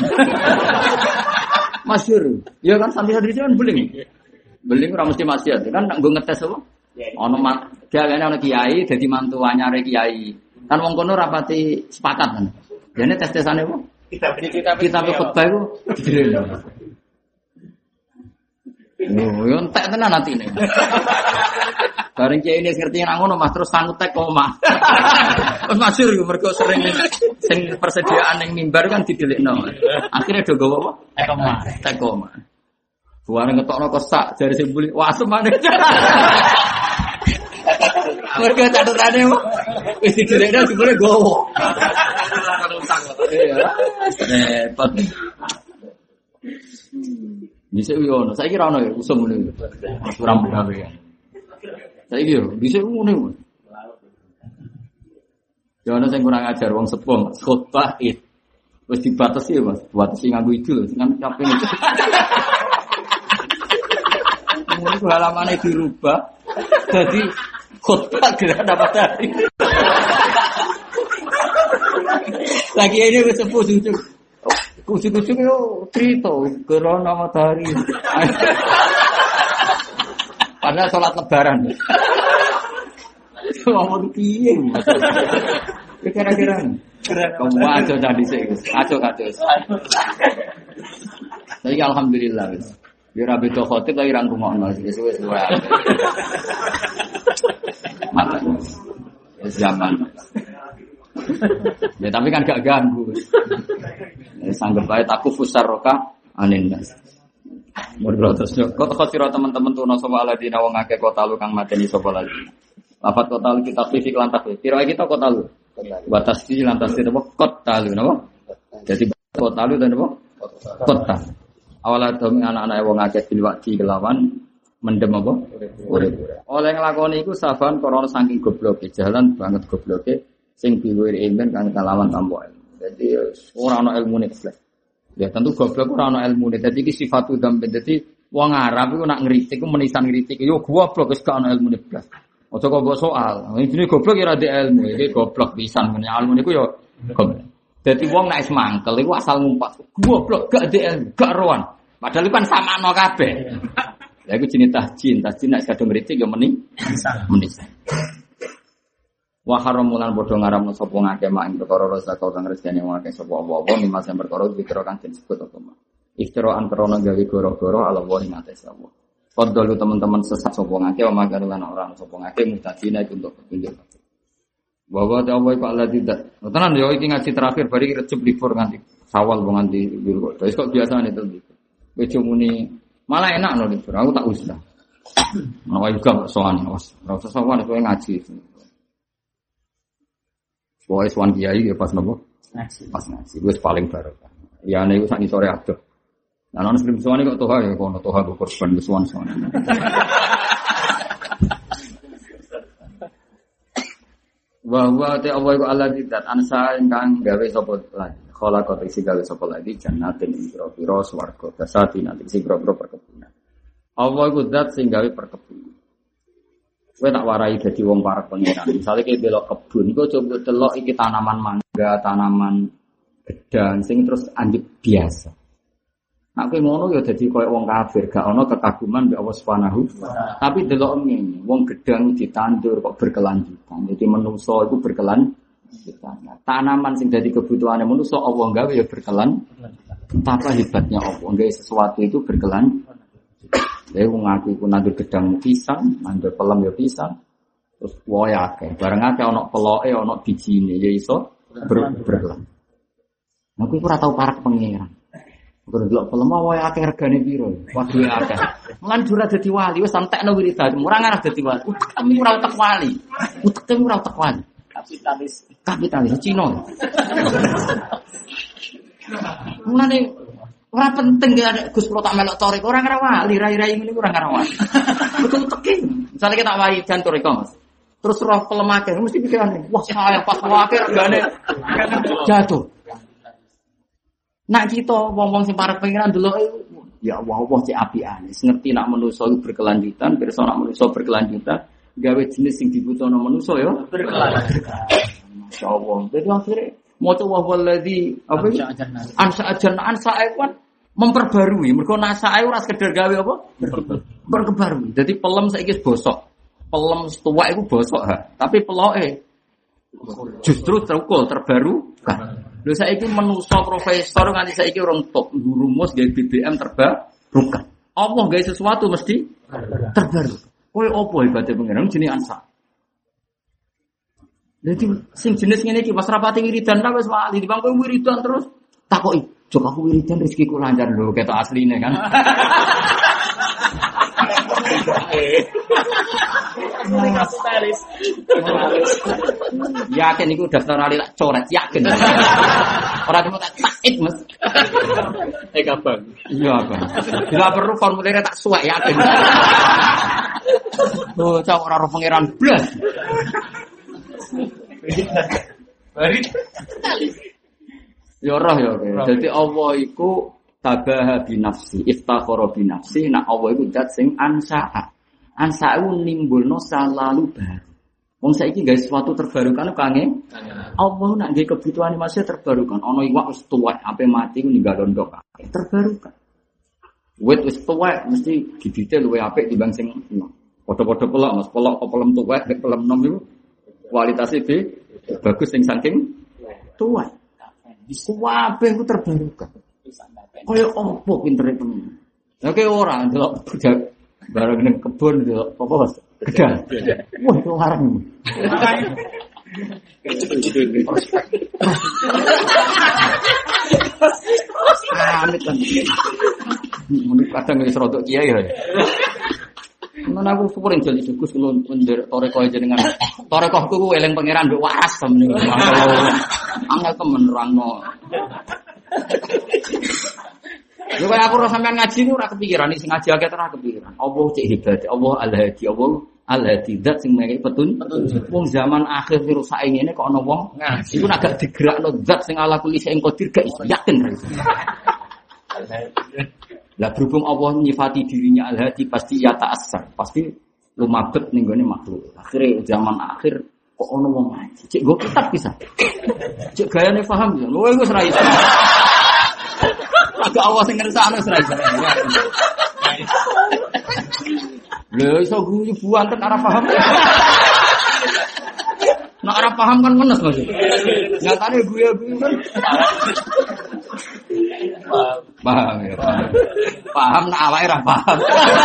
S2: Masyhur. Ya kan santri-santri kan beling. Beling ora mesti maksiat. Kan nak nggo ngetes apa? Ono gaweane ana kiai dadi mantu anyare kiai. Kan wong kono rapati sepakat kan. Dene tes-tesane apa? Kitab khotbah iku didelikno. Oh, yo entek tenan atine. Bareng kiai ini ngerti nang ngono Mas terus sangut tek omah. Wis masyhur iku mergo sering sing persediaan ning mimbar kan didelikno. Akhire do gowo apa? Tek omah. Buare ngetokno kesak jare sing buli wasem maneh. Mergo catetane wis didelikno jebule gowo. Iya. Repot. Bisa yo ono, saiki ra ono ya usum ngene. Ora gawe ya. Saiki yo bisa ngene. Ya ono sing kurang ajar wong sepuh, khotbah id. Wis dibatasi ya, Mas. Batasi nganggo idul kan capek. Mulai halamannya dirubah. Jadi khotbah gerhana matahari. Lagi ini wis sepuh sujud. Kucing-kucing itu cerita gerhana matahari. Padahal sholat lebaran. Ngomong piye? Kira-kira. Kamu aja tadi sih. Aja. Tapi alhamdulillah wis. Ya ora beda khotib tapi ra rungokno wis wae. Mata. Zaman. Ya tapi kan gak ganggu. Ya sanggep bae takufus sarroka anin nas. Murdo terus kok khotira teman-teman tuh sapa aladina wong akeh kota lu kang mateni sapa lagi. Lafat kota lu kita fisik lan takfir. Kira kita kota lu. Batas di lantas itu apa? Kota lu napa? Jadi kota lu dan apa? Kota. Awal demi anak-anak wong akeh dilwati kelawan mendem apa? Urip. Oleh nglakoni iku saban korona saking gobloke, jalan banget gobloke sing diwir ilmu kang kelawan tanpa ilmu. Jadi ora ana ilmune blas. Ya tentu goblok ora ana ilmune. Dadi iki sifatu dzambe. Dadi wong Arab iku nak ngritik iku menisan ngritik yo goblok wis gak ana ilmune blas. Aja kok mbok soal. Ini goblok ya ora ada ilmu. Iki goblok pisan men ilmu niku yo goblok. Dadi wong nek wis mangkel iku asal ngumpat. Goblok gak ada ilmu, gak roan. Padahal kan samakno kabeh. Ya iku jenenge tahjin. Tahjin nek kadung ngritik yo menisan. Wa haramulan padha ngaramno sapa ngake mak ing perkara rezeki kang rezekine wong akeh sapa apa-apa mimas yang perkara dikira kang disebut apa mak. Iftiraan krana gawe goro-goro ala wa ing ates Allah. Padahal teman-teman sesat sapa ngake wa magar lan ora sapa ngake mutadina iku untuk petunjuk. Bahwa ta Allah iku Allah tidak. Tenan yo iki ngaji terakhir bari recep libur nganti Sawal wong nganti libur. Wis kok biasane itu. Wis muni malah enak lho libur. Aku tak usah. Nawa juga sowan awas. Ora usah sowan kowe ngaji. Pokoke sowan kiai ya pas nopo? Ngaji. Pas ngaji. Wis paling barokah. Ya nek sak sore adoh. Lah ana sing sowan kok toha ya kono toha go korban sowan-sowan. Wa ta Allah iku Allah tidak ansa ingkang gawe sapa lagi. Khalaqat isi gawe sapa lagi jannatin ing pira-pira swarga dasati nanti sing pira-pira perkebunan. Allah iku zat sing gawe perkebunan. Kowe tak warai dadi wong parek pengiran. Misale kowe belok kebun, iku coba delok iki tanaman mangga, tanaman gedang sing terus anjep biasa. Nek kowe ngono ya dadi koyo wong kafir, gak ana kekaguman mbek Allah Subhanahu. Tapi delok ngene, wong gedang ditandur kok berkelanjutan. Jadi menungso iku berkelanjutan. Tanaman sing dadi kebutuhane menungso Allah gawe ya berkelanjutan. Betapa hebatnya Allah, gawe sesuatu itu berkelanjutan. Lha wong aku iku nandur gedang pisang, nandur pelem ya pisang. Terus wae akeh. Bareng akeh ana peloke, ana bijine ya iso berkelanjutan. Aku iku ora tau parek pengiran. Kalau delok pelem wae akeh regane piro? Waduh akeh. Mulan jura dadi wali wis entekno wiridan, ora ngarep dadi wali. Kami ora utek wali. Utek ora utek wali. Kapitalis Cina. Mulane ora penting ya Gus kula tak melok torek, ora ngarep wali, rai-rai ngene ora ngarep wali. Betul teki. Misale kita wali jan torek Mas. Terus roh pelem akeh mesti pikirane, wah saya pas akeh regane jatuh. Nak kita wong-wong sing parek pengiran delok ya Allah cek apiane. Ngerti nak manusa iku berkelanjutan, pirsa nak manusa berkelanjutan, gawe jenis sing dibutuhno manusa ya berkelanjutan. Masyaallah. Dadi akhire maca wa wallazi apa ansa kan memperbarui. Mergo nasae ora sekedar gawe apa? Berkebarui. Dadi pelem saiki bosok. Pelem tuwak iku bosok ha, tapi peloke justru terbarukan. Lho saiki manusa profesor nganti saiki urung top rumus gawe BBM terbarukan. Allah gawe sesuatu mesti terbaru. Kowe opo hebate pengen jenenge ansa. Dadi sing jenis ngene iki pas rapati wiridan ta wis wali, dibang kowe wiridan terus takoki, "Jok aku wiridan rezekiku lancar lho, ketok asline kan."
S3: Kapitalis.
S2: Yakin iku daftar ali tak coret, yakin. Ora temu tak takit, Mas.
S3: Abang.
S2: Iya, Abang. Enggak perlu formulirnya tak suwek, yakin. Oh, cak ora ro pangeran blas.
S3: Bari.
S2: Ya roh ya. Dadi Allah iku tabaha bi nafsi, iftakhara bi nafsi, nak Allah iku zat sing ansa'a. Ansa'u nimbulno salalu baru. Wong saiki gawe sesuatu terbarukan kange. Allah nak gawe kebutuhane masih terbarukan. Ana iwak wis tuwek, ape mati ku ninggal ndok. Terbarukan. Wit wis tuwek mesti gidite luwih apik timbang sing padha-padha pelok, Mas. Pelok apa pelem tuwek, nek pelem nom iku kualitasé bagus sing saking tuwek. Kabeh ku terbarukan. Kaya opo pintere temen. Lah kaya ora ndelok budak bareng ning kebon ndelok apa Mas? Gedang. Wah, itu larang. Amit kan. Mun kadang wis rodok kiai ya. Mun aku syukur enjel dicukus kulo ndur toreko jenengan. Torekohku ku eling pangeran mbek waras temen. Angel temen nerangno. Lha kaya aku ora sampean ngaji ku ora kepikiran sing ngaji akeh ora kepikiran. Allah cek hebat, Allah Al-Hadi, Allah Al-Hadi zat sing mengke petunjuk. Wong zaman akhir virus saiki ngene kok ana wong ngaji ku agak digerakno zat sing ala kulli sing qadir gak iso yakin ra iso. Lah berhubung Allah nyifati dirinya Al-Hadi pasti ya ta'assar, pasti lumabet ning gone makhluk. Akhire zaman akhir kok ana wong ngaji. Cek go kitab bisa. Cek gayane paham ya. Lho iku ora iso. Agak Allah sing ngersakno ora iso. Lho iso guyu buanten ora paham. Nek ora paham kan menes Mas. Nyatane guyu-guyu kan. Paham ya. Paham nek awake ora paham.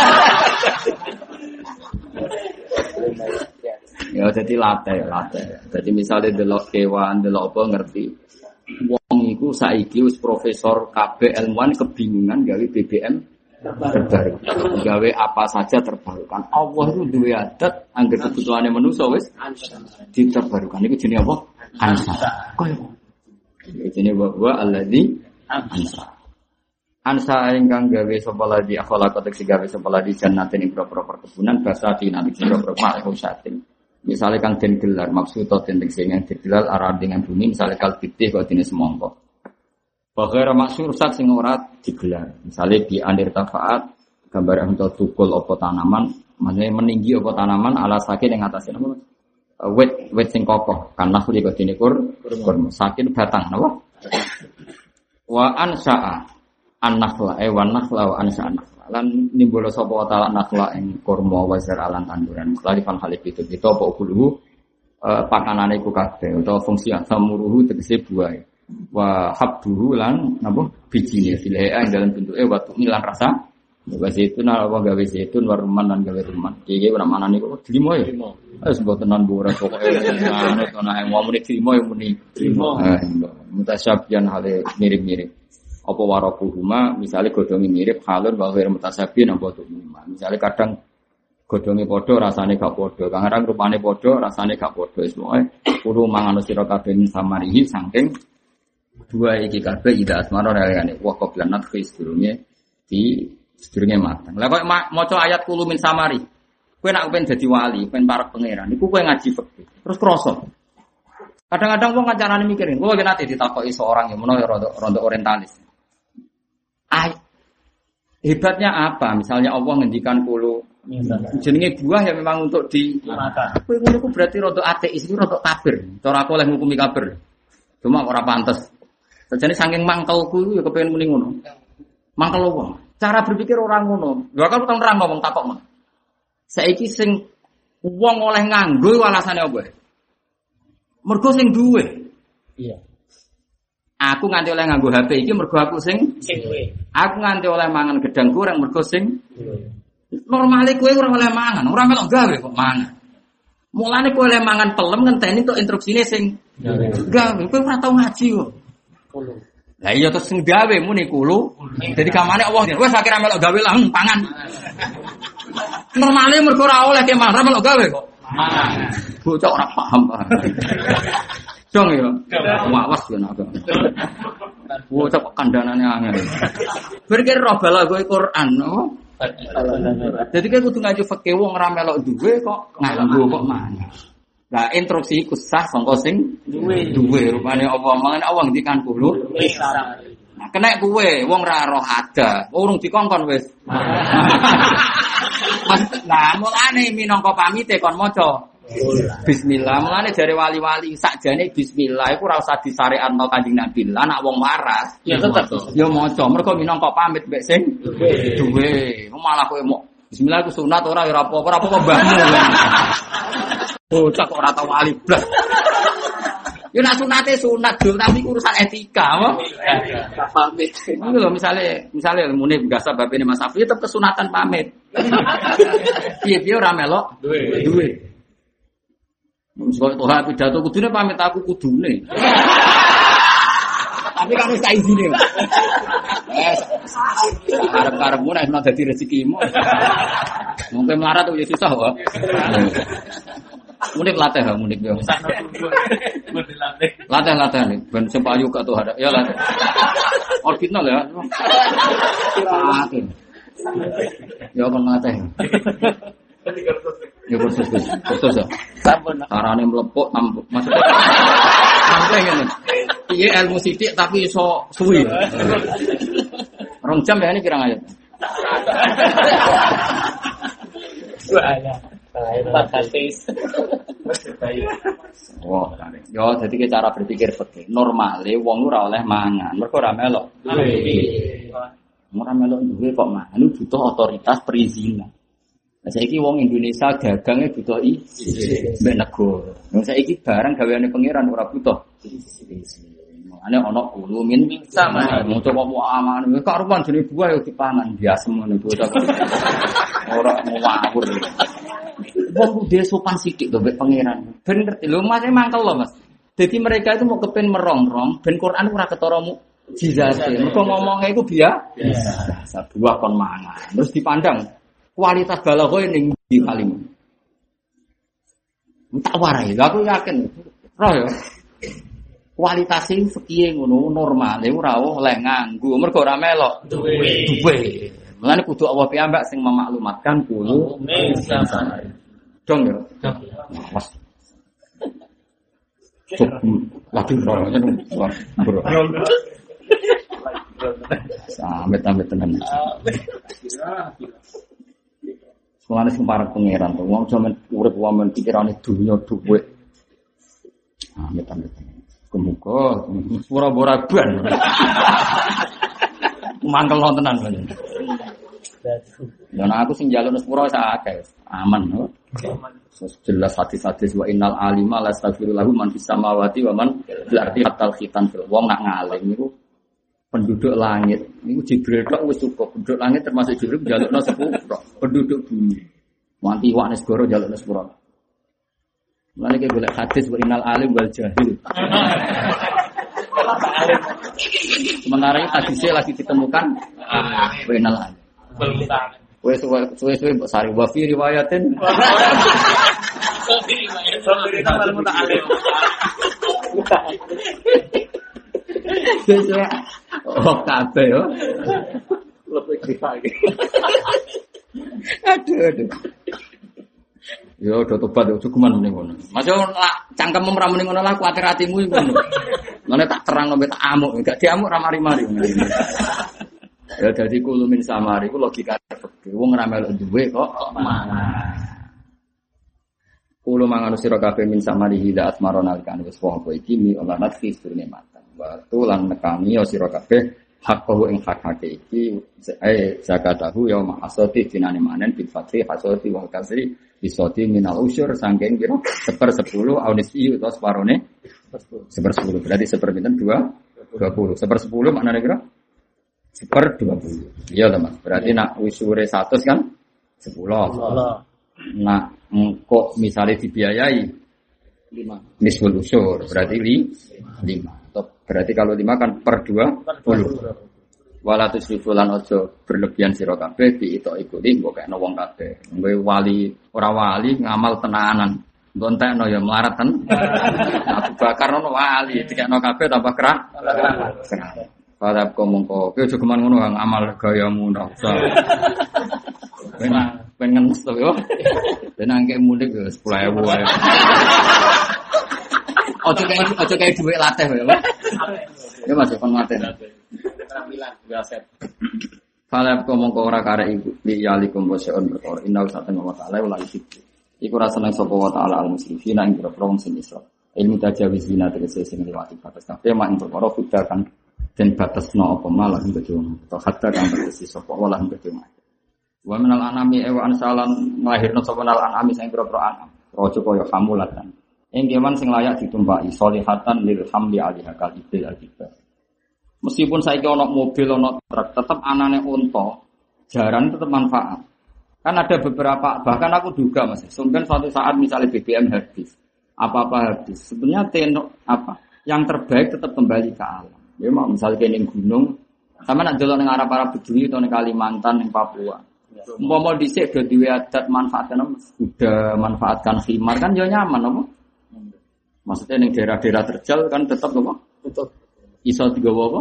S2: Ya jadi latih. Jadi misalnya delok kewan, delok apa ngerti. Wong iku saiki wis profesor kabeh ilmuwan kebingungan gawe BBM terbarukan. Gawe apa saja terbarukan. Allah itu duwe adat angger kebutuhane manusa wis diterbarukan. Iku jenenge apa? Ansa. Koyo. Jenenge wa alladzi ansa. Ansa ingkang gawe sapa ladi akhala kotek gawe sapa ladi jannatin ing propro perkebunan basati nabi propro ma'ruf satin. Misalnya kang den gelar maksud atau den sing yang digelar arah dengan bumi misalnya kalbitih kok dene semongko. Bakhara maksud sak sing ora digelar. Misalnya di anir tafaat gambar untuk tukul apa tanaman, maksudnya meninggi apa tanaman ala sakin ing atase napa? Wit sing kokoh kan nakhli kok dene kurma sakin batang napa? Wa ansa'a an-nakhla wa nakhla wa ansa'a lan nimbolo sapa taala nakhla ing kurma wa zaralan tanduran khalifan khalif itu apa ukuluhu pakanane iku kabeh utawa fungsi asamuruhu tegese buah wa habduhu lan napa bijine filae ing dalam bentuke watu milan rasa wa zaitun apa gawe zaitun warman lan gawe ruman iki ora manane kok trimo ya wis mbotenan ora pokoke ana ana wong muni trimo ya muni trimo mutasyabihan hale mirip-mirip apa warakuhuma misalnya godhonge mirip halun wa ghair mutasabihin apa tuhuma misalnya kadang godhonge padha rasane gak padha kadang rupane padha rasane gak padha wis pokoke kudu mangan sira kabeh samarihi saking dua iki kabeh ida asmara realane wa qablan nadhi sedurunge mateng lha kok maca ayat kulu min samari kowe nek pengen dadi wali pengen parek pangeran iku kowe ngaji fikih terus krasa kadang-kadang wong kancarane mikirin kula nate ditakoki seorang yang menawa rada orientalis. Hebatnya apa? Misalnya Allah ngendikan kulo jenenge buah yang memang untuk dimakan. Kowe ngono ku berarti rada ateis iki rada kafir. Cara aku oleh ngukumi kafir. Cuma ora pantes. Sajane saking mangkelku ya kepengin muni ngono. Mangkel wong. Cara berpikir orang ngono. Lha aku tau nerang ngomong takok. Saiki sing wong oleh nganggo alasane apa? Mergo sing duwe. Iya. Aku nganti oleh nganggo HP iki mergo aku sing duwe. Aku nganti oleh mangan gedang goreng mergo sing duwe. Normale kowe ora oleh mangan, ora melok gawe kok mangan. Mulane kowe oleh mangan pelem ngenteni tok instruksine sing gawe. Kowe ora tau ngaji kok. Kulo. Lah iya terus sing gawe muni kulo. Dadi kamane Allah wis akhire melok gawe lah pangan. Normale mergo ora oleh ke mangan melok gawe kok. Mangan. Bocah ora paham. Dong ya. Wawas ben aku. Bocah kok kandhanane angel. Berkir roh bala kowe Quran, no. Jadi kan kudu ngaji fikih wong ora melok duwe kok nganggo kok mangan. Lah instruksi iku sah sangka sing duwe rupane apa mangan Allah ngendikan kulo. Nah kena kowe wong ora roh ada, urung dikongkon wis. Lah mulane minangka pamite kon maca bismillah. Mulane jare wali-wali sakjane bismillah iku ora usah disyariatno Kanjeng Nabi. Lah anak wong waras ya tetep ya maca mergo minangka pamit mbek sing duwe. Malah kowe mok bismillah iku sunat ora ya apa-apa mbahmu. Bocah kok ora tau wali blas. Yo nak sunate sunat dul tapi urusan etika, apa? Pamit. Iku lho misale mune biasa babene Mas Afi tetep kesunatan pamit. Piye-piye ora melok duwe. Mesti kok pidato kudune pamit aku kudune. Tapi kamu tak izine. Karep-karepmu nek ana dadi rezekimu. Mungkin melarat tuh ya susah kok. Munik latih ha, munik yo. Latih nih, ben sempayu gak tuh ada. Ya latih. Original ya. Latih. Ya kon latih. Ya kursus ya. Sampun. Carane mlepuk maksudnya. Sampai ngene. Piye ilmu sithik tapi iso suwi. 2 jam ya ini kirang ayat. Wah, yo dadi cara berpikir fikih. Normale wong ora oleh mangan, mergo ora melok. Ora melok duwe kok mangan butuh otoritas perizinan. Lah saiki wong Indonesia dagange butuh izin mbek negara. Wong saiki barang gaweane pangeran ora butuh izin. Ane ana kulumin sama mau coba mau aman karuan jenenge buah yo dipangan biasa ngono iku ora mau ngawur wong kudu sopan sithik to mbek pangeran ben ngerti lho Mas mangkel lho Mas dadi mereka itu mau kepen merongrong ben Quran ora ketara mukjizate mergo ngomongnya iku biasa buah kon mangan terus dipandang kualitas balaghah ning ndi kalimat tak warai aku yakin roh ya kualitasnya fikih ngono normal, ora oleh nganggo mergo ora melok duwe. Mulane kudu Allah piyambak sing memaklumatkan kulo dong ya. Mas. Lagi rono bro. Amit-amit tenan. Mulane sing parek pangeran to wong jaman urip wamen pikirane dunya duwe. Amit-amit. Kemuka, pura-pura ban. Mangkel tenan kan. Dan aku sing njaluk sepuro sak akeh, aman no. Jelas hadis-hadis wa innal alima la astaghfiru lahu man fis samawati wa man fil ardi hatta khitan fil wong nak ngalim niku penduduk langit niku Jibril tok wis cukup. Penduduk langit termasuk Jibril njalukno sepuro. Penduduk bumi. Wanti wak negara njalukno sepuro. Mulane ki golek hadis wa innal alim wal jahil. Sementara ini hadisnya lagi ditemukan wa innal alim. Suwe-suwe mbok sari wa fi riwayatin. Suwe-suwe kabeh yo. Lebih dipake. Aduh. Yo do tobat yo cukuman muni ngono. Masih cangkem ora muni ngono lah kuwatir atimu iku ngono. Mane tak terang sampe tak amuk, enggak diamuk ra mari-mari. Ya dadi kulumin samari ku logika fikih. Wong ora melok duwe kok mangan. Kulo mangan sira kabeh min samari hila asmarona kan wis apa iki mi olanat fi surne matan. Wa lan nekani sira kabeh hakku ing hak-hake iki zakatahu ya mahasati dinane manen bil fatri hasati wa kasri bisoti minal usyur sangking kira 1/10 aunisi utawa separone 1/10 berarti seperpinten 20 1/10 maknane kira 1/20 iya to Mas berarti nak usure 100 kan 10 nak engko misale dibiayai 5 nisful usyur berarti 5 berarti kalau 5 kan per 20 wala tusrifu lan aja berlebihan sira kabeh diito ikuti mbok kena wong kabeh. Kowe wali ora wali ngamal tenanan. Mbok entekno ya melarat ten. Abu Bakar ono wali dikekno kabeh tambah kerah. Padahal kok mongko kowe aja geman ngono ngamal gayamu ndak usah. Pengen mesti yo. Ben angke mudik 10.000 wae. Ojo kayak duit latih ya, Pak. Ya Mas, kon ngaten. Tampilan biasa. Fala mongko ora karek iku liyalikum wasyun perkara inna satana wa ta'ala wala isik. Iku ra seneng sapa wa ta'ala al muslimin ing grong sing isra. Ilmu tajawizina tegese sing liwati batas kabeh mak ing perkara kuda kan den batasno apa malah ing bejo. To hatta kang batasi sapa wala ing bejo. Wa minal anami wa ansalan lahirna sapa nal anami sing grong anam. Raja kaya hamulatan. Ing kewan sing layak ditumpaki solihatan lil hamli alaiha kal ibil al-kibar. Meskipun saiki ana mobil ana truk, tetep anane unta, jaran tetep manfaat. Kan ada beberapa, bahkan aku duga Mas, sampeyan suatu saat misalnya BBM habis, apa-apa habis. Sebenarnya yang terbaik tetap kembali ke alam. Ya mau misalnya ning gunung, sama nak delok ning arah-arah Bedui atau ning Kalimantan, ning Papua. Umpama dhisik do duwe adat manfaatkan udah manfaatkan khimar kan ya nyaman apa? Maksudnya ning daerah-daerah terjal kan tetap apa? Tetap iso digawa apa?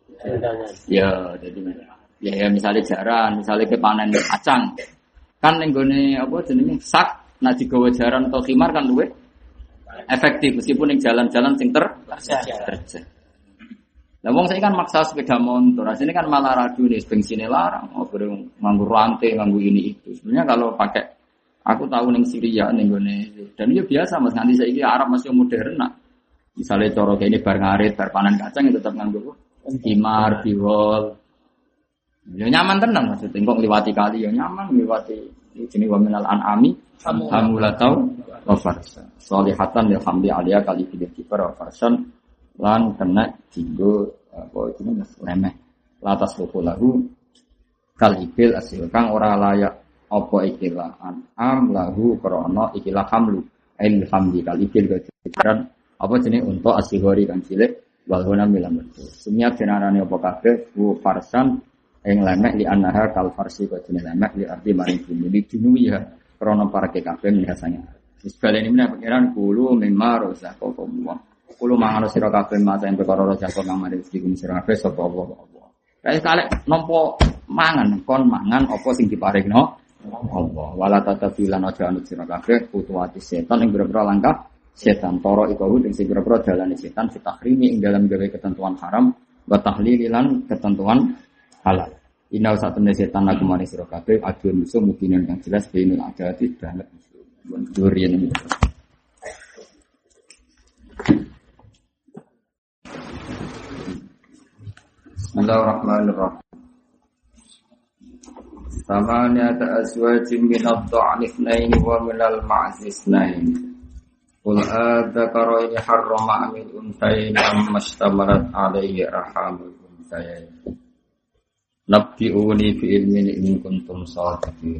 S2: Ya, jadi ya misalnya jaran, misalnya kepanen kacang. Kan ning gone apa jenenge sak nek digawa jaran atau khimar kan luwih efektif meskipun ning jalan-jalan sing terjal. Lah wong saiki kan maksa sepeda motor, asline kan malah radio nih bensine larang, nganggo rantai, nganggo ini itu. Sebenarnya kalau pakai aku tahu ning Syria ning gone dan itu biasa Mas nganti saiki Arab masih modern nak. Misalnya cara kene bar ngarit, bar panen kacang itu tetap nganggo khimar, biwol. Ya nyaman tenan maksudnya kok ngliwati kali ya nyaman ngliwati jenenge wa minal an'ami hamulatau wa farsan. Solihatan ya hamdi aliyah kali pilih kiper wa farsan lan kena dienggo apa jenenge lemeh. Latas lahu kal ibil asil kang ora layak apa ikilah an'am lahu krana ikilah hamlu ail hamdi kal ibil kejaran apa jenenge untuk asihori kang cilik wal huna milam. Sumya denarane apa kabeh wa farsan ing lemek li annaha kal farsi wa jenenge lemek li arti maring bumi di dunia ya krana parake kabeh biasanya. Wis baleni meneh pengiran kulo mimma rozaqakum wa kulo mangan sira kabeh mata ing perkara rozaqakum kang mari rezeki sira kabeh sapa apa. Kae kalek nampa mangan kon mangan apa sing diparingno Allah. Wala tatabilan aja anut sira kabeh kutuwati setan ing boro-boro langkah setan toro iku ing sing boro-boro dalane setan fitahrimi ing dalam gawe ketentuan haram wa tahlililan ketentuan halal. Inau satune setan lagu maring sira kabeh adu musuh mungkin yang jelas bainul adati banget musuh. Durian ini. Bismillahirrahmanirrahim. Samaniyata azwajin min ad-da'ni ithnain wa min al-ma'zi ithnain. Qul adzakaraini harrama amil unthayaini amma ishtamalat alayhi arhamul unthayaini. Nabbi'uni fi ilmin in kuntum shadiqin.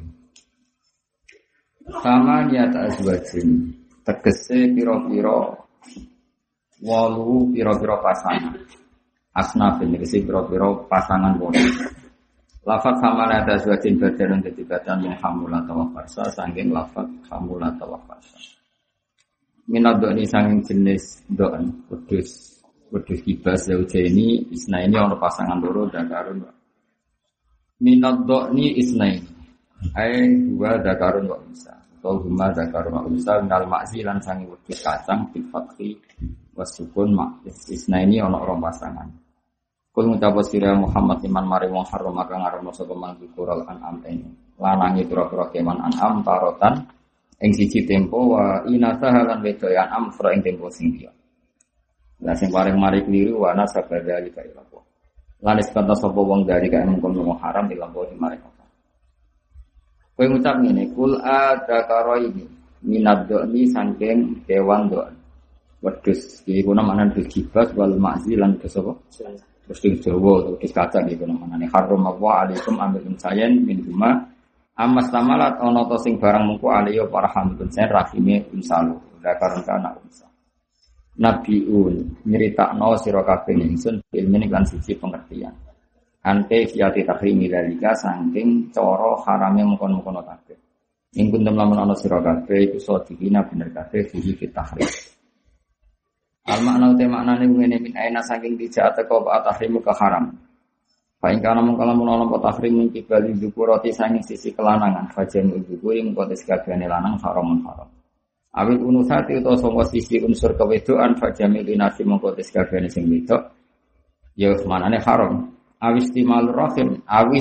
S2: Samaniyata azwajin tegese pira-pira walu pira-pira pasangan. Asnafin tegese pira-pira pasangan wolu. Lafaz hamalata azwajin badan dadi badan min hamulata wa farsa saking lafaz hamulata wa farsa. Minadoni saking jenis doan wedhus kibas zaujeni isna ini ana pasangan loro dakarun. Minadoni isna ini ai dua dakarun wa unsa. Atau huma dakarun wa unsa minal ma'zi lan saking wedhus kacang bil fathi wasukun ma'is isna ini ana rong pasangan. Kul ngucap sira Muhammad iman mari wong haram kang ngarono sapa man dzikral an'am ini. Lanangi pira-pira kewan an'am tarotan ing siji tempo wa inasa lan wedoyan amfra ing tempo sing liya. Lah sing paling mari kliru wa nasabada iki kaya apa. Lan isbata sapa wong dari kaya mung wong haram dilampahi mari apa. Kowe ngucap ngene, kul adakara ini minadoni saking kewan doan. Wedhus iki kuna manan dikibas wal ma'zi lan sapa? Terus di Jawa atau di kacang gitu namanya harum apa alaikum amilun sayen min huma amas tamalat ono to sing barang mungku aliyo para hamilun sayen rahime unsalu dakaran kana unsa nabiun nyeritakno sira kabeh ingsun ilmu lan siji pengertian ante kiati tahrimi dalika saking cara harame mungkon-mungkon kabeh ing kuntum lamun ana sira kabeh iku sadikina bener kabeh fihi tahrim. Al-makna uta maknane ngene min aina saking dijak teko tahrimu ke haram. Fa ing kana mung kalamun ana apa tahrim iki bali dzukurati saking sisi kelanangan fajen dzukuri mung kotes kabehane lanang haramun haram. Awil unusati utawa sanga sisi unsur kewedoan fajamil inasi mung kotes kabehane sing wedok ya maknane haram. Awistimal rahim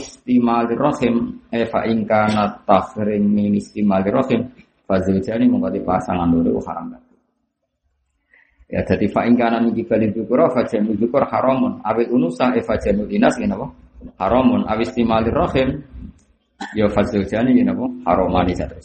S2: fa ing kana tahrim min istimal rahim fazujani mung kotes pasangan loro haram. Ya dadi fa ing kana niki bali dzukura fa jamu dzukur haramun awil unusa fa jamu dinas ngene apa haramun awistimalir rahim ya fazujani ngene apa haramani terus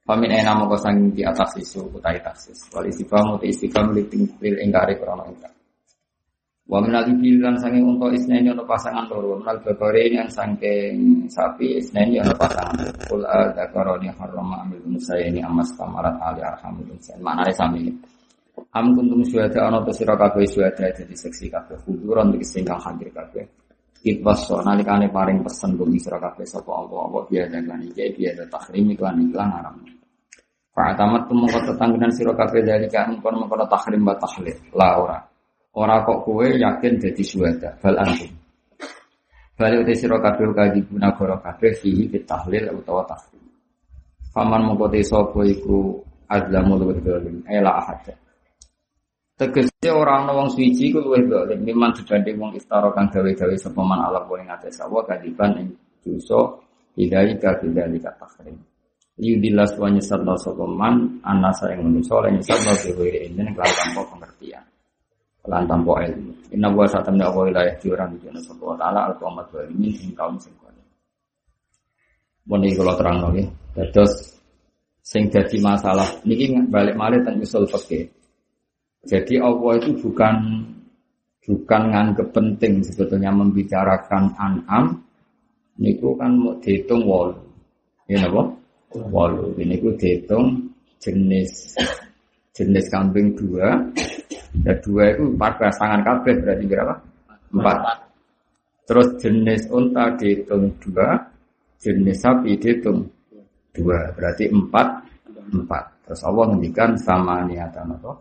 S2: Pamin ena moko sanging di atas isu utai taksis. Wal istifham uti istifham lil ingkari krana ingkar. Wa minal ibil lan sanging unta isneni ana pasangan loro. Minal bakare yang sangking sapi isneni ana pasangan. Qul adzakarani harrama amil unsayni amas tamarat ali arhamul insan. Maknane sami. Am kuntum syuhada ana ta sira kabeh syuhada dadi seksi kabeh kuduran iki sing kang hadir kabeh. Itwaso nalikane paring pesen bumi sira kabeh sapa Allah biasa kan iki biasa tahrim iklan haram. Fa atamat mongko tetanggenan sira kabeh dalika mongko tahrim wa tahlil. La ora kok kowe yakin dadi syuhada bal antum. Bali uti sira kabeh kaji guna goro kabeh fihi tahlil utawa tahrim. Faman mongko te sapa iku azlamul wadzalim ela ahad. Tegese ora ana wong suci ku luwih zalim miman dibanding wong istara kang gawe-gawe sapa man ala kuwi ngates sawa kadiban ing dosa hidayah kadzalika takhrim. Yudilas wa nyesatna sapa man anasa ing manusa lan nyesatna dhewe ing lan tanpa pengertian. Lan tanpa ilmu. Inna wa satamna wa wilayah diuran dene sapa taala al-qawmat zalimin ing kaum sing kuwi. Moni kula terangno nggih. Dados sing dadi masalah niki balik malih teng usul fikih. Jadi Allah itu bukan nganggep penting sebetulnya membicarakan an'am niku kan mau dihitung 8. Ya napa? 8. Ini ku dihitung jenis kambing 2. Ya 2 itu 14 tangan kabeh berarti berapa? 4. Terus jenis unta dihitung 2, jenis sapi dihitung 2, berarti 4. Terus Allah ngendikan sama niatan apa?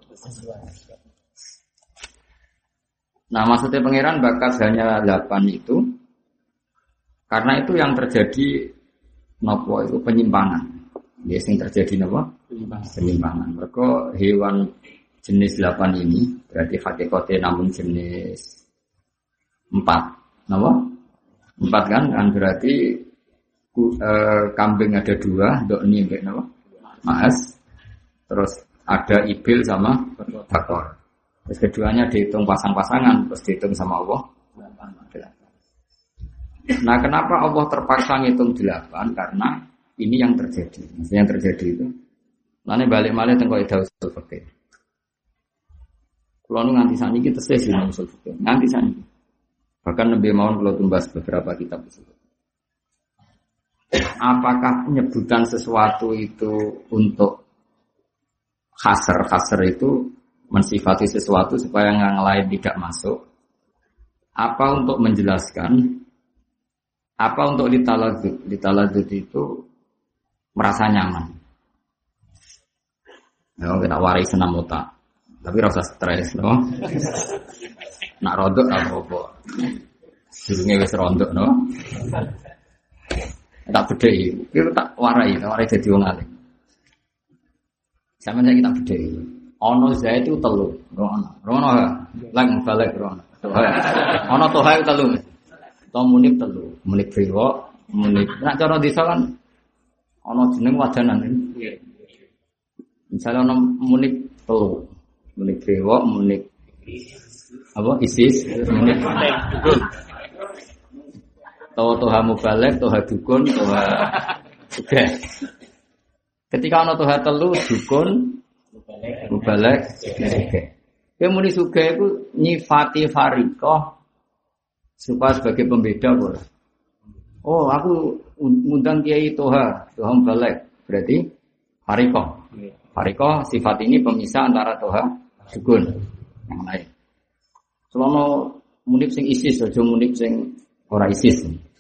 S2: Nah, maksudnya pangeran bakat hanya 8 itu karena itu yang terjadi nopo itu penyimpangan. Ya, yang terjadi nopo? Penyimpangan. Mereka hewan jenis 8 ini berarti hakikatnya namun jenis 4. Nopo? 4 kan berarti kambing ada 2, dokni mbek nopo? Maas. Terus ada ibil sama bakor. Terus keduanya dihitung pasang-pasangan, terus dihitung sama Allah. Nah, kenapa Allah terpaksa ngitung 8? Karena ini yang terjadi. Maksudnya yang terjadi itu. Lalu balik-balik tengok ida usul fikih. Kalau nganti saat ini kita sih usul fikih. Nganti saat ini. Bahkan lebih mau kalau tumbas beberapa kitab usul fikih. Apakah penyebutan sesuatu itu untuk khasar itu mensifati sesuatu supaya yang lain tidak masuk? Apa untuk menjelaskan? Apa untuk ditaladzud? Ditaladzud itu merasa nyaman. Ya, kita warai senam otak. Tapi rasa stres, no? Nak rodok apa-apa. Durunge wis rondok, no? Tak bedhei. Itu tak warai dadi wong alim. Sampeyan saiki tak bedhei. Ana zaid itu 3. Rono lang balik rono. Ana toha itu 3. To munib 3. Munib brewo, munib. Nek cara desa kan ana jeneng wadanan. Misalnya ana munib 3. Munib brewo, munib apa isis, munib dukun. Toha mubalek, toha dukun, toha sugih. Ketika ana toha 3 dukun mubalek sugih. Ya muni sugih iku nyifati fariqah supaya sebagai pembeda ora. Oh, aku ngundang kiai toha mubalek. Berarti fariqah. Fariqah sifat ini pemisah antara toha dukun yang lain. Selama munib sing isis aja munib sing ora isis.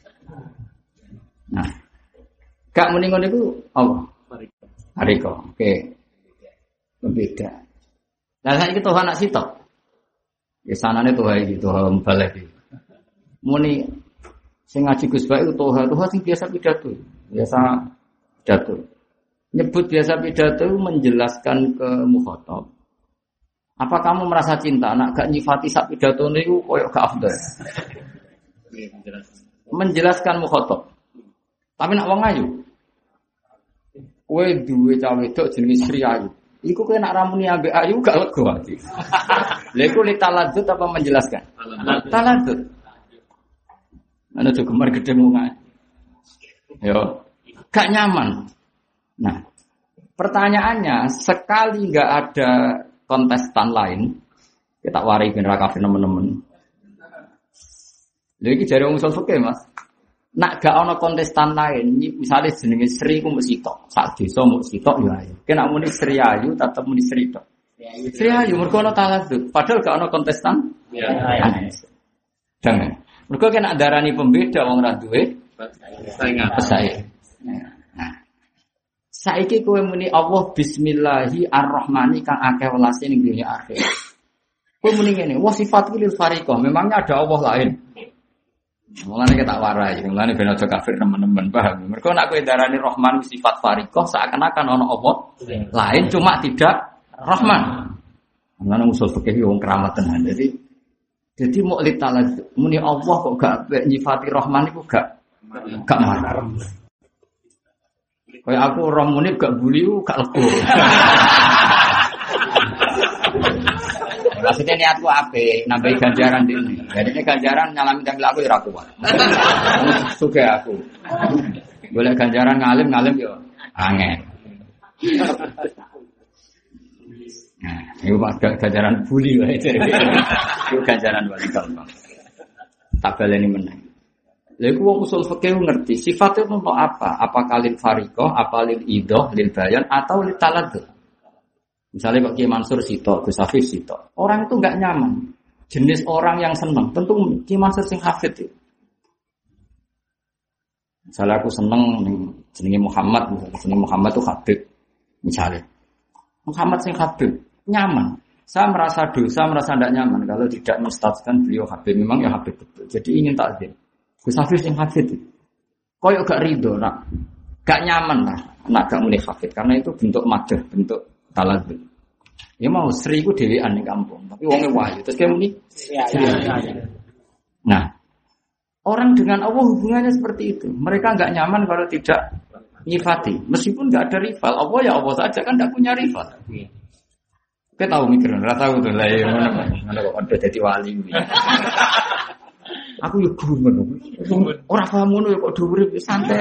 S2: Nah, gak muni ngono iku apa? Fariqah. Oke. Berbeda. Lah saiki toha anak sitok. Ya sanane toha iki, toha mubalek iki. Muni sing ngaji Gus Baik toha sing biasa pidato. Biasa pidato. Nyebut biasa pidato menjelaskan ke mukhatab. Apa kamu merasa cinta? Nak gak nyifati sak pidato niku koyo gak afdal. Menjelaskan mukhatab. Tapi nak wong ayu. Kowe duwe cah wedok jenenge Sri Ayu. Iku kowe nak ramuni ambek ayu gak lego ati. Lha iku taladzut apa menjelaskan? Taladzut. Ana tuh gemar gedhe wong ayu. Yo, gak nyaman. Nah, Pertanyaannya, sekali nggak ada kontestan lain, kita warai bener kafir teman-teman. Lha iki jare wong usul fikih, Mas. Nak gak ana kontestan lain, misalnya jenenge Sri ku mesti tok, sak desa mung sitok ya ayo. Kena muni Sri Ayu tetep muni Sri tok. Sri Ayu mergo ana talazzuz, padahal gak ana kontestan. Ya. Jangan. Mergo kena darani pembeda wong ra duwe pesaing. Nah. Saiki kowe muni Allah bismillahi arrahmani kang akeh welase ning dunya akhir. Kowe muni ngene, wa sifatul lil fariqah, memangnya ada Allah lain. Mulane kita warai, mulane ben aja kafir teman-teman, paham. Mergo nek kowe darani Rahman sifat fariqah seakan-akan ana Allah lain cuma tidak Rahman. Mulane usul fikih wong keramat tenan. Jadi mu'lid talaz muni Allah kok gak nyifati Rahman iku gak marah. Kayak aku orang munib gak buli gak lego. Maksudnya niatku apik, nambahi ganjaran dene. Jadi ganjaran nyalami tampil aku ya ora kuat. Suka aku. Boleh ganjaran ngalim yo angel. Nah, itu ganjaran buli wae. Itu ganjaran paling gampang. Tak baleni meneh. Lha iku wong usul fikih ngerti sifatnya untuk apa? Apa kalil fariqah, apa lil idah, lil bayan atau lil taladud. Misalnya Pak Kiai Mansur Sito, Gus Hafiz Sito. Orang itu enggak nyaman. Jenis orang yang senang, tentu Kiai Mansur sing hafid itu. Misalnya aku seneng jenenge Muhammad, jenenge Muhammad itu Habib. Misalnya Muhammad sing Habib, nyaman. Saya merasa dosa, merasa tidak nyaman kalau tidak menstatuskan beliau Habib. Memang ya Habib betul. Jadi ingin takzim. Gus Hafiz sing Habib itu. Koyok gak ridho, nak gak nyaman lah, nak gak mulai Habib karena itu bentuk madah, bentuk taladud. Ya mau Sri ku dhewean ning kampung, tapi wonge wahyu. Terus kayak muni Sri. Nah, orang dengan Allah hubungannya seperti itu. Mereka enggak nyaman kalau tidak nyifati. Meskipun enggak ada rival. Allah ya Allah saja kan enggak punya rival. Kita tahu mikir, ora tahu tuh lah ya mana kok ada jadi wali. Aku yo gumun. Ora paham ngono kok dhuwur santai.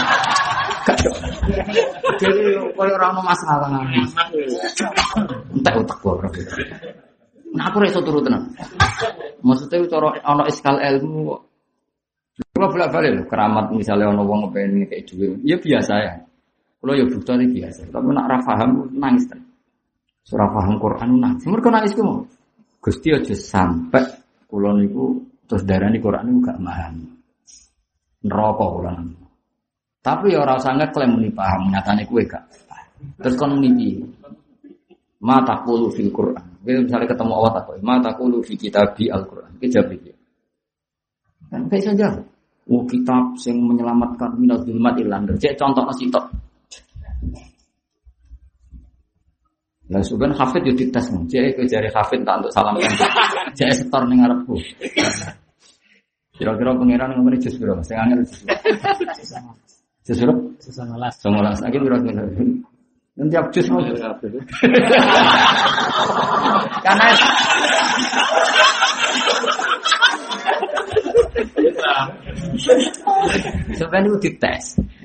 S2: Jadi kalau orang masalah, entah otak gua berarti. Nah aku reso turut tenang. Maksudnya cara ono iskal ilmu. Kalau bolak-balik loh keramat misalnya ono wong ngepengen kayak duit, ya biasa ya. Kalau ya bukti biasa. Tapi nak rafaham nangis kan. Surah paham Quran nangis. Mereka nangis ku mau. Gusti aja sampai kulo niku terus darani Quran niku gak paham. Neraka kulo. Tapi ya ora usah ngeklaim muni paham, nyatane kowe gak. Terus kon muni ma taqulu fil Qur'an. Misalnya ketemu Allah takoi, ma taqulu fi kitabi Al-Qur'an. Iki jawab iki. Kan kayak saja. Kitab sing menyelamatkan minaz zulmat ilan. Cek contohna sitok. Lah suben hafid yo dites mung. Cek jare hafid tak untuk salam kan. Cek setor ning ngarepku. Kira-kira pangeran ngomongin jus piro? Sing angel jus. Sesuruh? 19. Lagi berapa? Nanti aku jus mau. Karena sebenarnya itu dites.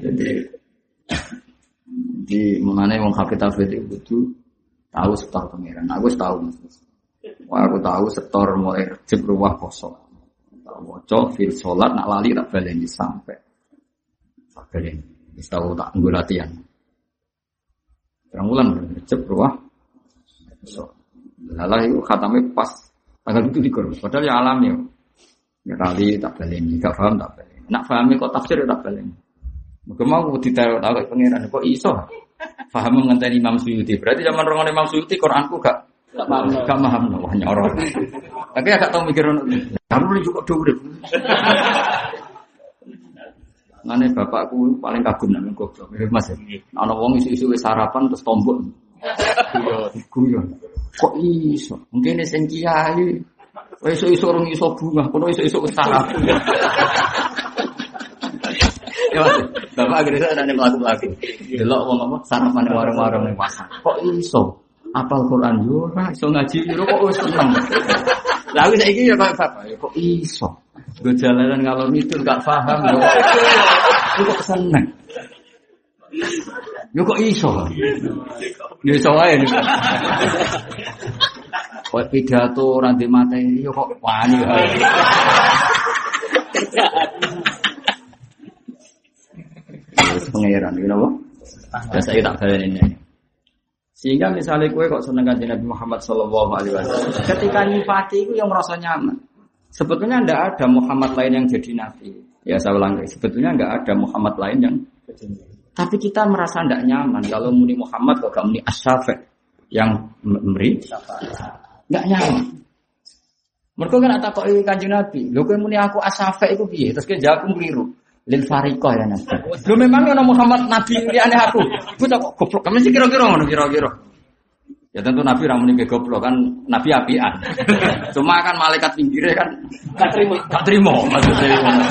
S2: Jadi mengenai wong hafid itu tahu setor pangeran. Aku tahu. Wah aku tahu setor mulai Rejab ruwah kosong. Tak waca fil salat nak lali tak baleni sampai. Kalian tahu tak tunggu latihan. Terang bulan Rejab ruwah. So, lalah itu khatamnya pas tanggal itu dikur. Padahal ya alam ya. Ya kali tak baleni, gak paham tak baleni. Nak pahami kok tafsir tak baleni. Mungkin mau ditaruh tahu pengiran kok iso. Paham ngenteni Imam Suyuti. Berarti zaman rongon Imam Suyuti Quranku gak paham. Gak paham wah nyoror. Tapi agak tahu mikir kamu juga dhuwur. Ngene bapakku paling kagum nang goblok. Mas. Ana wong isu-isu wis sarapan terus tombok. Guyon. Kok iso? Mungkin sing kiai. Isu-isu urung iso bunga, kono isu-isu wis sarapan. Ya Mas. Bapak akhirnya ada mlaku-mlaku. Delok wong apa sarapan warung-warung ning pasar. Kok iso? Apal Quran yo ora iso ngaji yo kok wis seneng. Lah aku saiki ya kok kok iso. Gue jalanan ngalor ngidul gak paham lho. Kok seneng. Yo kok iso? Yo iso wae niku. Kok pidato ora ndek materi yo kok wani wae. Wis pangeran iki napa? Saya tak baleni. Sehingga misalnya kowe kok seneng kanjeng Nabi Muhammad sallallahu alaihi wasallam, ketika nyifati iku yang merasa nyaman. Sebetulnya tidak ada Muhammad lain yang jadi nabi. Ya saya ulang lagi, sebetulnya tidak ada Muhammad lain yang tapi kita merasa tidak nyaman kalau muni Muhammad kok gak muni As-Syafi' yang memberi tidak nyaman. Mereka kan tak kok kanjeng Nabi, lho kowe muni aku As-Syafi' iku piye? Terus kowe jawab keliru. Lil fariqah ya Nabi. Lho memang ana Muhammad nabi liyane aku. Bocah kok goblok. Kamu sih kira-kira ngono kira-kira. Ya tentu Nabi ra muni goblok kan Nabi apian. Cuma kan malaikat pinggire kan gak trimo maksudnya ngono.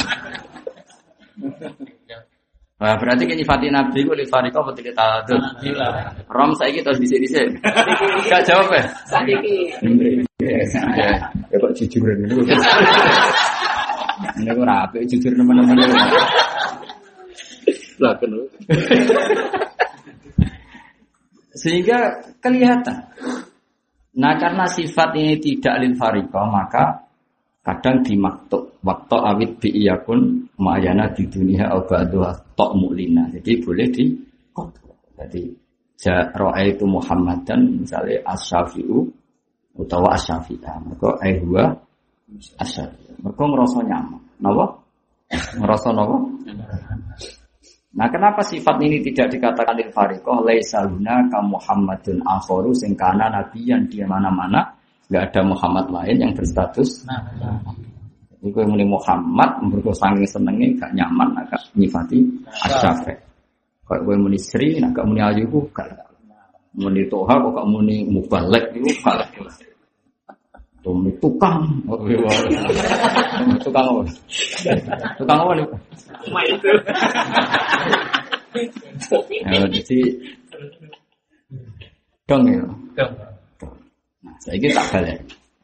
S2: Wah, berarti kene nyifati Nabi ku li fariqah apa tidak tahu. Rom saiki terus dhisik-dhisik. Gak jawab ya? Saiki. Ya kok jujur niku. Ini kok rapi jujur teman-teman.
S3: Lah kena.
S2: Sehingga kelihatan. Nah, karena sifat ini tidak lil fariqah, maka kadang dimaktub waktu awit bi'iyakun ma'ayana di dunia al-ba'duha tok mu'lina. Jadi boleh di jadi jaro'a itu Muhammadan misalnya as-syafi'u utawa as-syafi'ah maka aihwa as-syafi'ah mereka ngerasa nyaman kenapa? Ngerasa kenapa? Nah kenapa sifat ini tidak dikatakan lil fariqah laisa hunaka Muhammadun akharu sing kana nabiyan di mana-mana. Enggak ada Muhammad lain yang berstatus jadi kowe muni Muhammad mergo saking senenge gak nyaman agak nyifati Asy-Syafi'. Kok kowe muni Sri nek gak muni ayu ku gak muni Toha kok gak muni Mubalek iku gak. Tumi tukang. Tukang apa? Tukang apa nih?
S3: Itu.
S2: Jadi dong ya. Nah, saya tak balik.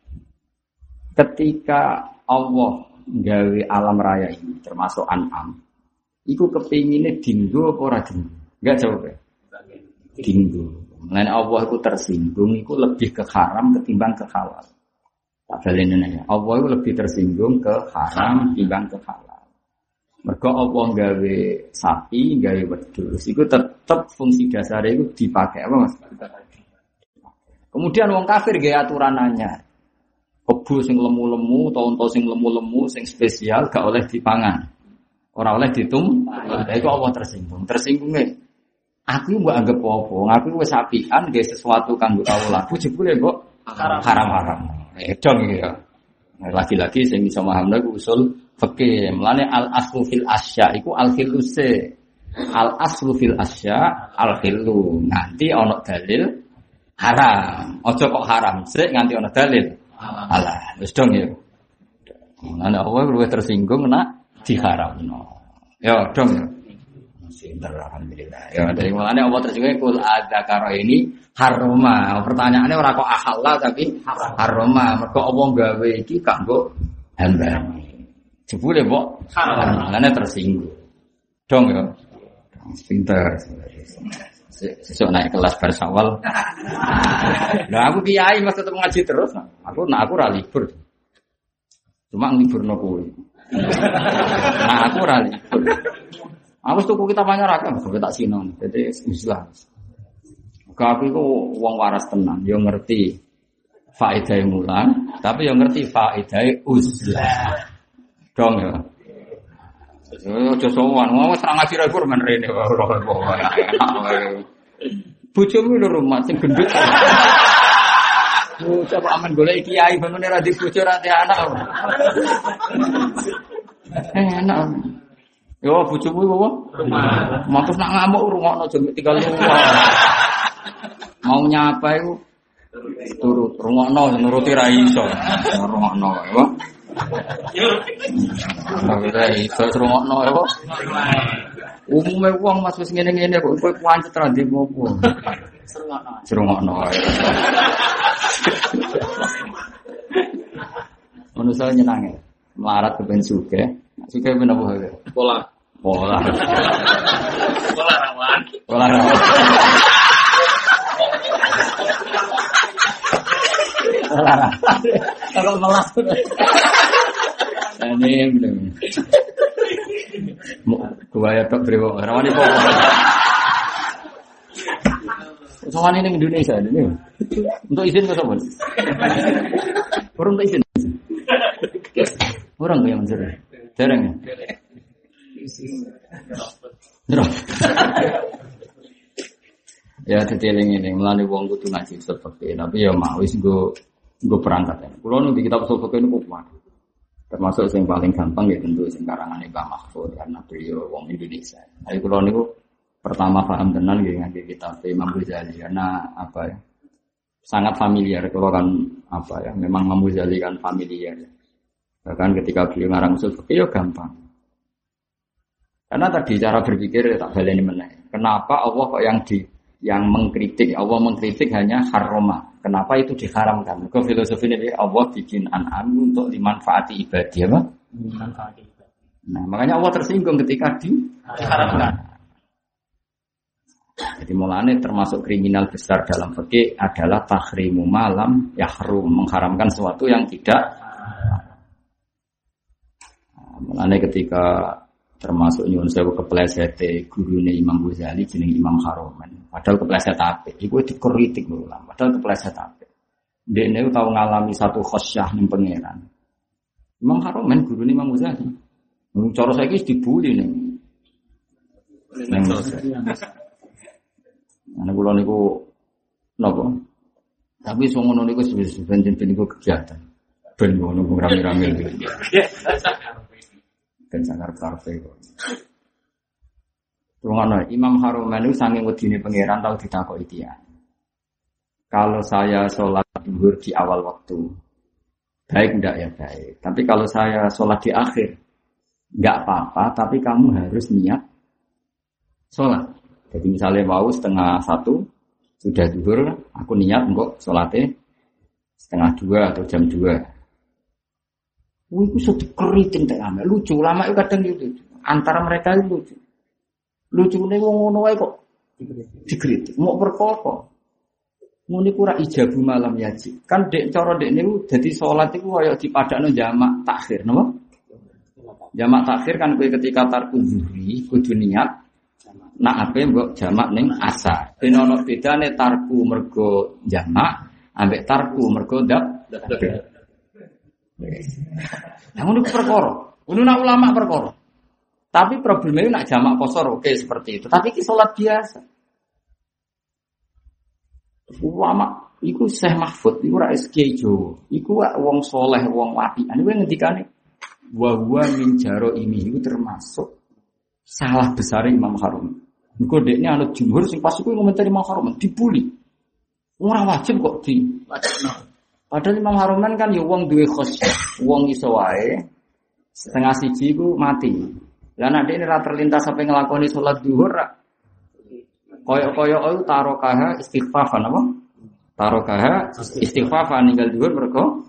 S2: Ketika Allah gawe alam raya ini, termasuk An'am, iku kepinginnya dinggo apa ora dinggo? Enggak jawab ya? Dinggo. Mulane Allah iku tersinggung, iku lebih ke haram ketimbang ke halal. Tak balik ini. Allah iku lebih tersinggung ke haram ketimbang ke halal. Mergo Allah gawe sapi, gawe wedhus, iku tetep fungsi dasarnya iku dipakai apa Mas? Kemudian wong kafir gaya aturanannya. Kebu sing lemu-lemu, tonto sing lemu-lemu, sing spesial gak oleh dipangan. Ora oleh ditum. Lha iku Allah tersinggung. Tersinggungnya aku mbok anggap apa? Aku wis apian gawe sesuatu kanggo kawula. Aku jebule kok haram-haram. Dong iki ya. Lagi-lagi sing iso mahamna ku usul fikih. Mulane al aslu fil asya iku al khiluse. Al aslu fil asya al khilu. Nanti ana dalil haram. Ojo kok haram sik nganti ana dalil. Alah, wis dong ya. Ana Allah luwih tersinggung nek diharamno. Ya dong ya. Sinten alhamdulillah. Ya dari mulane Allah tersinggung kul adzakara ini haroma. Pertanyaannya ora kok ahalla tapi haroma. Mergo Allah gawe iki kanggo hamba. Jebule kok haram. Mulane tersinggung. Dong ya. Pinter. Sesuk naik kelas bar Syawal. Lah aku kiai Mas tetep ngaji terus. Aku ora libur. Cuma ngliburno kowe. Nah aku ora libur. Aku tuku kitab anyar akeh kok tak sinon. Dadi Islam. Aku iku wong waras tenan, yo ngerti faedahe mulang, tapi yo ngerti faedahe uzlah. Dong ya. Ojo sowan, wong wis ra ngaji ra kur men rene wae. Bojomu lho rumah sing gendut. Bocah kok aman golek kiai bangun ra di bojo ra di anak. Enak. Yo bojomu apa? Rumah. Matus nak ngamuk rungokno aja tinggal rumah. Mau nyapa iku turut rungokno nuruti ra iso. Rungokno ya. Ora iso rungokno ya kok. Umume wong Mas wis ngene-ngene kok kowe pancet ra ndek opo. Rungokno. Manusa nyenange. Melarat kepen sugih. Sugih ben apa? Pola. Pola rawan. Olahraga.
S3: Kalau melas.
S2: Ini bener. Gua ya tok brewo. Rawani kok. Soalnya ini Indonesia ini. Untuk izin ke sobat. Orang tak izin. Orang yang menjadi. Jarang ya. Drop. Ya detailnya ini melani wong kudu ngaji seperti ini. Tapi ya mau wis gue perangkat ya. Kulo nu di kitab usul fikih niku kuat. Termasuk yang paling gampang ya tentu sing karangane Mbah Mahfud karena beliau wong Indonesia. Jadi kulo niku pertama paham tenan nggih ngangge kitab Imam Ghazali karena apa ya? Sangat familiar kalau kan apa ya? Memang Imam Ghazali kan familiar. Bahkan ketika beliau ngarang usul fikih ya gampang. Karena tadi cara berpikir tak baleni meneh. Kenapa Allah kok yang mengkritik, Allah mengkritik hanya haroma. Kenapa itu diharamkan? Ke filosofi ini Allah bikin an'am untuk dimanfaati ibadah, apa?
S3: Dimanfaati ibadah.
S2: Nah, makanya Allah tersinggung ketika diharamkan. Jadi mulanya termasuk kriminal besar dalam fikih adalah tahrimu malam yahrum, mengharamkan sesuatu yang tidak. Nah, mulanya ketika termasuk nyuwun sewu keplesete gurune Imam Ghazali jeneng Imam Haromen. Padahal kepleset apik. Iku dikritik ulama. Padahal kepleset apik. Dekne tau ngalami satu khosyah ning pangeran. Imam Haromen gurune Imam Ghazali. Cara saiki wis dibuli ning. Ana kula niku napa? Tapi sing ngono niku sebenarnya niku kegiatan. Ben ngono rame-rame. Dan sangat karpe kok. Rungono Imam Haromen itu saking wedine pangeran tau ditakoki dia. Kalau saya sholat zuhur di awal waktu, baik enggak ya baik. Tapi kalau saya sholat di akhir, enggak apa-apa. Tapi kamu harus niat sholat. Jadi misalnya mau 1:30 sudah zuhur, aku niat kok sholatnya 1:30 atau jam 2. Itu sudah keriting tak lama, lucu lama itu kadang gitu. Antara mereka itu lucu. Lucu nih ngono wae kok dikritik. Mau perkara. Muni kura ijabu malam yaji. Kan dek cara dek niku dadi salat iku kaya dipadakno jamak takhir, napa? Jamak takhir kan kowe ketika tarku zuhri kudu niat. Nak ape mbok jamak ning asar. Ben ono bedane tarku mergo jamak ambek tarku mergo dap. Namun itu perkara. Ini nak ulama perkara. Tapi problemnya nak jamak kosor oke seperti itu. Tapi ki salat biasa. Ulama iku Syekh Mahfud iku ra SK Jawa. Iku wong soleh, wong wapian. Iku ngendikane wa huwa min jaro ini iku termasuk salah besar Imam Haromen. Iku dekne anut jumhur sing pas iku ngomentari Imam Haromen dibuli. Ora wajib kok di wajibno. Padahal Imam Haromen kan ya wong duwe khosyah, wong iso wae 1:30 iku mati. Lah nek dekne ra terlintas sampai nglakoni salat zuhur ra koyo-koyo tarokaha istighfafan apa? Tarokaha istighfafan ninggal zuhur mergo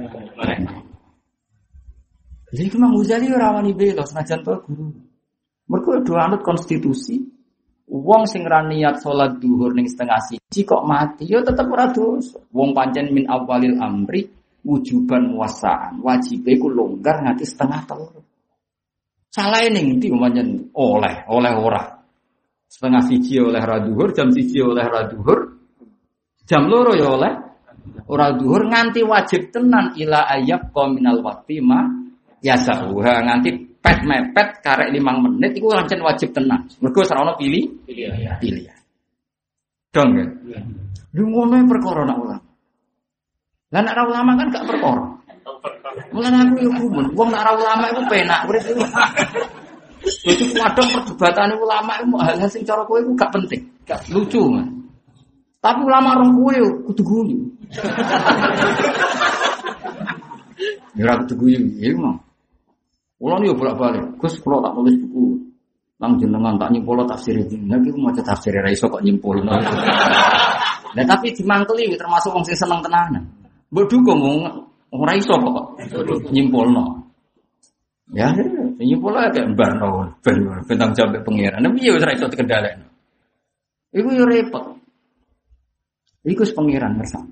S2: Jadi Imam Ghazali ora wani bela senajan to guru. Mergo do anut konstitusi. Wong sing ra niat salat zuhur ning 1:30 kok mati ya tetep ora dosa. Wong pancen min awalil amri wujuban muwassaan. Wajibe ku longgar nganti 1:30. Salahe ning ndi pancen oleh ora. 1:30 oleh ra zuhur, jam 1 oleh ra zuhur. Jam 2 ya oleh ora zuhur nganti wajib tenan ila ayyab qaminal waqti ma yasahuha nganti pet mepet karek 5 menit iku lancen wajib tenan. Mergo ora ono pilihan. Dong ya. Lu ngono perkara nak ulama. Lah nak ulama kan gak perkara. Mulane aku yo kumun, wong nak ulama iku penak urip iku. Jadi kadang perdebatan ulama iku hal-hal sing cara kowe iku gak penting, gak lucu man. Tapi ulama rong kowe kudu guyu. Ya ora kudu guyu, ya mah. Kulo niku bolak-balik, Gus kulo tak nulis buku. Nang jenengan tak nyimpul tafsir iki. Nek iku maca tafsir ra iso kok nyimpulno. Lah tapi dimangkeli termasuk wong sing seneng tenanan. Mbok dukung ora iso kok nyimpulno. Ya, nyimpul ae gak mbarno ben tanggung jawab pengiran. Tapi ya wis ra iso dikendhalekno. Iku yo repot. Iku pengiran bersama.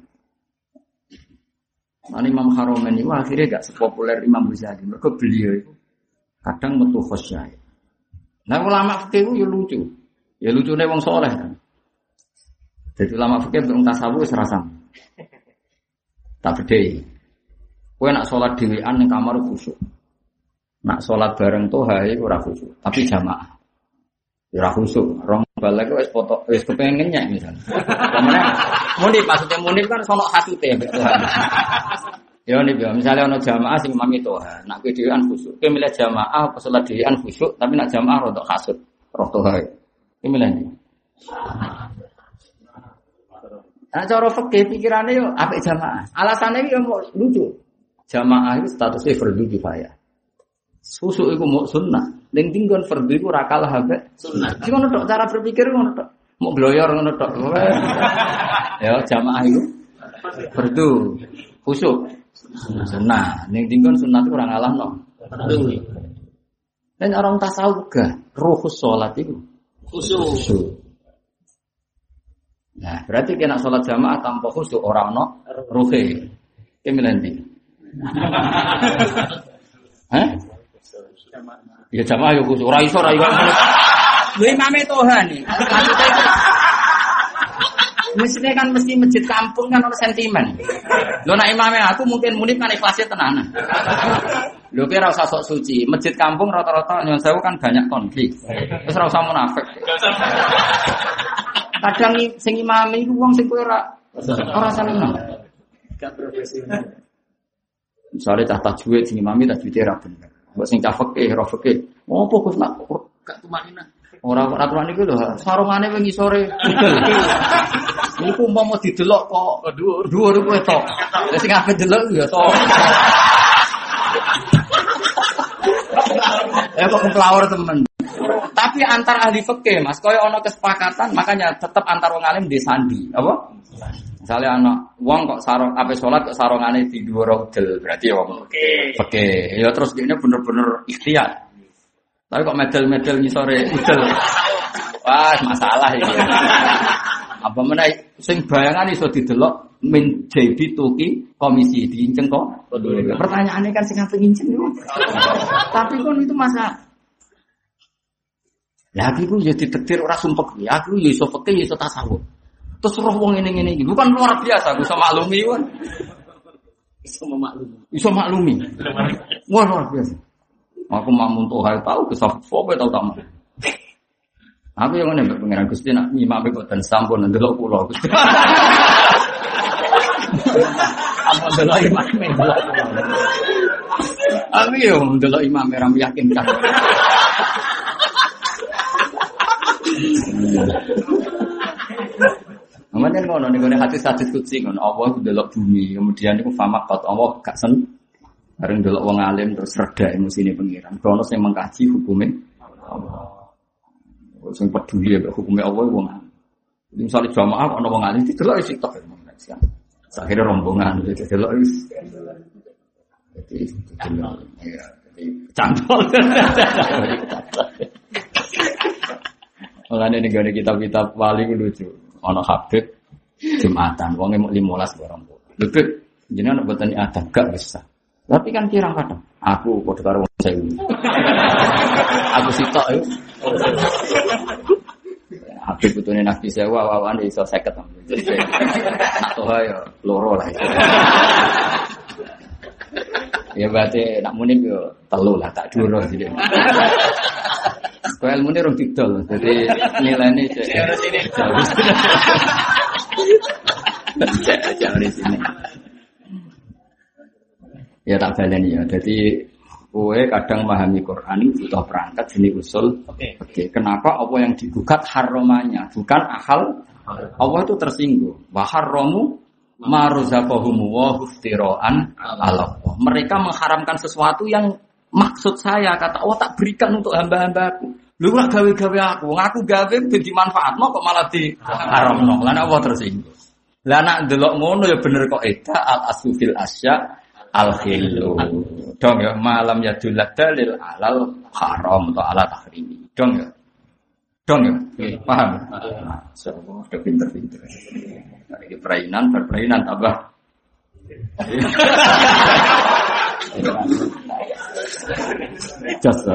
S2: Imam Haromen itu akhirnya gak sepopuler Imam Ghazali. Mereka beliau itu kadang metu khosyah. Nah ulama fikih itu ya lucu. Ya lucunya wong soleh kan. Jadi ulama fikih untuk tasawuf serasa. Tak beda. Kowe nak sholat dhewean ning kamar khusyuk. Nak sholat bareng toha iku ora khusyuk, tapi jamaah. Ya ora khusyuk. Rong balik wis foto wis kepengin nyek misalnya. Pemene munib maksudnya munib kan sono hasute mbek Tuhan. Ya nih, misalnya ono jamaah sing imami toha, nak kowe dhewean khusyuk. Kowe milih jamaah apa sholat dhewean khusyuk, tapi nak jamaah rodok hasud, roh toha. Kowe milih ndi? Nah, cara fikih pikirane yo apik jamaah. Alasane yo lucu. Jamaah itu statusnya fardu kifayah. Susuk iku mau sunnah. Ning tinggon fardu iku ora kalah ambek sunnah. Iki ngono tok cara berpikir ngono tok. Mau gloyor ngono tok. Ya jamaah iku fardu. Khusuk sunnah. Ning tinggon sunnah iku ora ngalahno. Fardu. Dan orang tasawuf gak ruhus salat iku khusuk. Nah, berarti kena salat jamaah tanpa khusuk ora ono ruhe. Ki milih ndi? Hah? Ya jamaah yo khusuk. Ora iso. Lho imame Tuhan iki. Maksudnya itu mestinya kan mesti masjid kampung kan ono sentimen. Lho nek imame aku mungkin munib kan ikhlasnya tenanan. Lho kira usah sok suci. Masjid kampung rata-rata nyon sewu kan banyak konflik. Wis ora usah munafik. Kadang sing imame iku wong sing kowe ora seneng. Gak profesional. Misalnya cah tajwid sing imami tajwid ra bener. Mbok sing cah fikih, ora fikih. Opo Gus nak gak tumanina. Ora aturan iku lho, sarungane wingi sore. Iku umpama didelok kok dhuwur kowe tok. Lah sing ape delok ya to. Ya kok kemplawur temen. Tapi antar ahli fikih Mas, koyo ana kesepakatan, makanya tetap antar wong alim disandi, apa? Misalnya anak wong kok sarung ape salat kok sarungane di dhuwur udel, berarti wong fikih. Ya terus dene bener-bener ikhtiar. Tapi kok medal-medal ngisore udel. Wah, masalah iki. Apa meneh sing bayangan iso didelok min jadi tuki komisi diinceng kok. Pertanyaannya kan sing ape nginceng yo. Tapi kon itu masalah. Lah aku ya ditektir ora sumpek. Aku ya iso fikih ya iso tasawuf. Terus roh wong ngene-ngene iki. Bukan luar biasa aku iso maklumi kan. Iso maklumi. Wah luar biasa. Aku mamun toha tahu kesaf fope tahu tamu. Aku yang ngene mbek pangeran Gusti nak imame kok den sampun ndelok kula Gusti. Apa ndelok imame ndelok. Aku yo ndelok imame ra meyakinkan. Namanya ngono nih hati kutsi ngono. Allah delok bumi, kemudian itu famakot Allah gak sen. Bareng delok wong alim terus reda emosine pengiran. Kronos yang mengkaji hukumnya Allah. Sing peduli ya hukumnya Allah wong alim. Misalnya jamaah ana wong alim didelok isi tok. Akhirnya rombongan gitu delok wis. Jadi cantol. Makanya nih kitab-kitab wali lucu. Ono Habib Jumatan, wonge mung 15 barang. Lebih jenengan mboten adab gak bisa. Tapi kan kirang kadang aku padha karo wong 1000. Aku sitok yo. Habib putune Nabi sewa wawane iso 50. Atau yo loro lah. Ya berarti nak munib yo telu lah tak duro jadi. Kau ilmu ni orang didol, jadi nilai ni jangan di sini. Jangan di sini. Ya tak baleni ya. Jadi kowe kadang memahami Quran itu butuh perangkat jenis usul. Oke. Kenapa apa yang digugat haramanya, bukan akal? Allah itu tersinggung. Wa haramu ma razaqahum wa iftiraan ala Allah. Mereka mengharamkan sesuatu yang maksud saya kata Allah tak berikan untuk hamba-hambaku. Lu ora gawe-gawe aku gawe dadi manfaatno kok malah di haramno. Lah apa tersinggung. Lah nek ndelok ngono ya bener kok al asufil asya al khilu. Dong ya malam ya dalil alal haram atau ala tahrimi. Dong ya. Dong ya? Paham? Nah, semua udah pinter-pinter. Ini perainan tambah. Just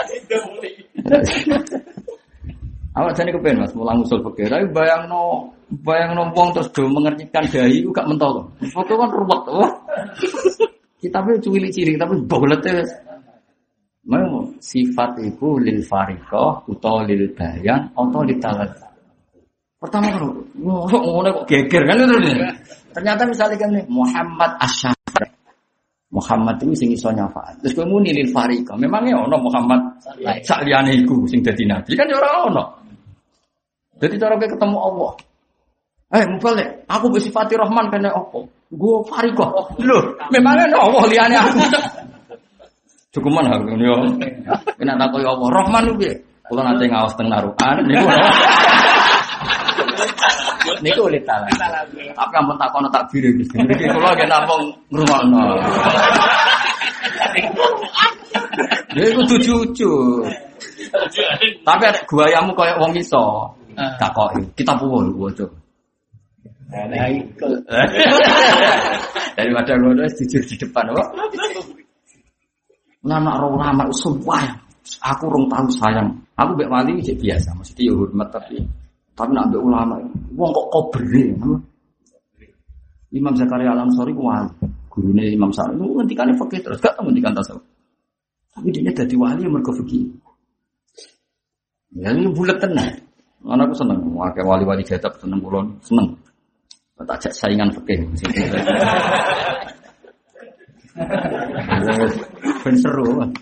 S2: awak jane kepen Mas mulang usul fikih. Tapi bayangno wong terus do mengertikan dai ku gak mentol. Foto kan ruwet. Wah. Kitabe cilik-cilik tapi bolete wis. Mau sifat iku lil fariqah utawa lil bayan atau lil talaz. Pertama kan ngono kok geger kan terus. Ternyata misalnya kan Muhammad Asy-Syafi'i. Muhammad itu sing iso nyafaat. Terus kowe muni lil fariqah. Memangnya ono Muhammad sak liyane iku sing dadi nabi kan ya ora ono. Jadi cara kowe ketemu Allah. Mubalik, aku bersifati Rahman kena apa? Gue fariqah. Loh, memangnya ada Allah liane aku. Cukuman aku yo. Kena takoi Allah Rahman ku piye? Kula nate ngaos teng narukan niku oleh taala. Tapi ampun takono takbir iki. Iki kula nggih namung ngrungokno. Iku jujur. Tapi ada guayamu koyo wong iso. Takoki. Kita puwon waca. Nah, iku. Daripada ngono jujur di depan kok. Nama ulama sumpah. Aku rong tahu sayang. Aku mbek wali iki biasa, mesti ya hormat tapi nak mbek ulama wong kok kobre. Imam Zakaria Al-Ansari ku wali. Gurune Imam Sa'id ngendikane fikih terus gak ngendikan tasawuf. Tapi dia dadi wali mergo fikih. Ya ini bulet tenan. Anakku seneng, akeh wali-wali jatah seneng kula, seneng. Tak ajak saingan fikih. Ben seru.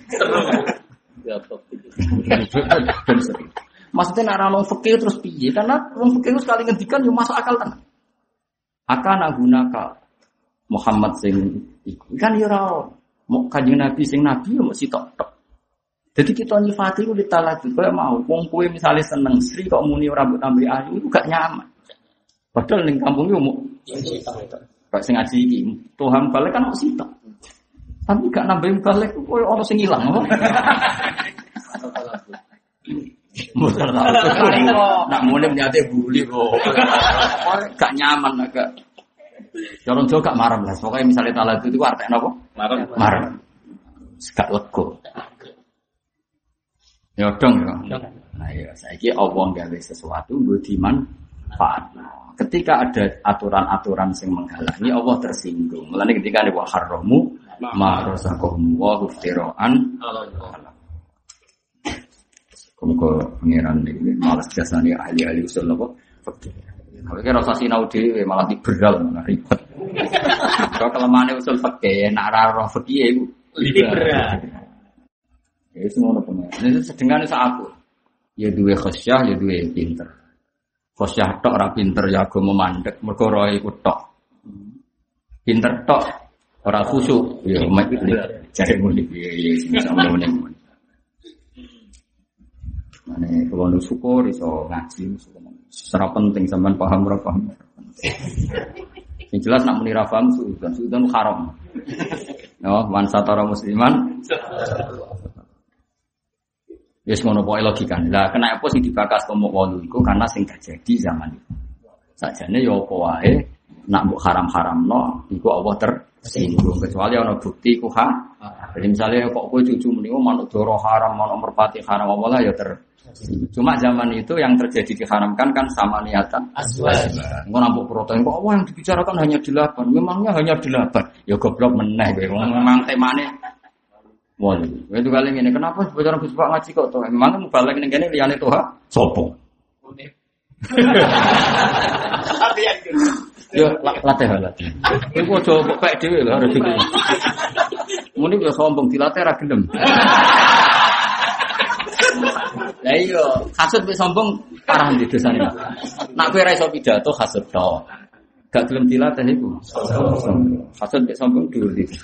S2: Ben seru. Maksudnya nek ora wong fikih terus piye? Karena wong fikih sekali ngendikan yo masuk akal tenan. Akan gunaka Muhammad sing iku. Kan yo ora mau kanjeng Nabi sing nabi yo mesti tok. Jadi kita nyifati itu ditalaki, kalau mau, wong kue misalnya seneng Sri kok muni rambut ambil ayu itu gak nyaman. Padahal ning kampung itu mau, gak sing ngaji ini, Tuhan balik kan mau sitok. Tapi gak nambahin balik, kue orang sing hilang. Nak muni menyate buli kok, gak nyaman agak. Orang Jawa gak marah lah, pokoknya misalnya talaki itu artinya apa? Marah. Gak lego. Ya dong ya. Nah ya saiki Allah gawe sesuatu nggo dimanfaatno. Ketika ada aturan-aturan sing menghalangi Allah tersinggung. Mulane ketika ada wa haramu ma razaqahum wa huftiraan. Kok pengiran iki malas jasane ahli-ahli usul apa? Fikih. Kalau kira rasa sinau dhewe malah diberal ribet. Kalau kelemahane usul fikih nek ora roh fikih iku liberal. Ya semua pengen. Ini sedengane sak aku. Ya duwe khosyah, ya duwe pinter. Khosyah tok ora pinter ya agama mandek, mergo roe iku tok. Pinter tok ora khusyuk, ya mek jare muni piye sing sampeyan muni. Mane kulo syukur iso ngaji, secara penting sampean paham ora paham. Yang jelas nak muni ra paham suudan haram. No, man satara musliman. Wis ngono pokoke logika. Lah kena apa sing dibakas komuk wolu iku karena sing terjadi zaman itu. Sajane ya apa wae nak mbok haram-haramno iku Allah tersinggung kecuali ana bukti ku ha. Jadi misalnya kok kowe cucu muni manuk doro haram, manuk merpati haram apa lah ya Cuma zaman itu yang terjadi diharamkan kan sama niatan aswaj. Engko nampuk protein kok yang dibicarakan hanya 8. Memangnya hanya 8. Ya goblok meneh kowe. Memang temane wah, itu kali ini kenapa sebenarnya Gus Pak ngaji kok tuh? Memang mau balik ning kene liyane tuh ha? Sopo? Yo latih. Iku aja kok pek dhewe lho harus iki. Muni yo sombong dilatih ra gelem. Lah iya, hasud mek sombong parah ndi dosane. Nak kowe ra iso pidato hasud tok. Gak gelem dilatih iku. Hasud mek sombong dhuwur iki.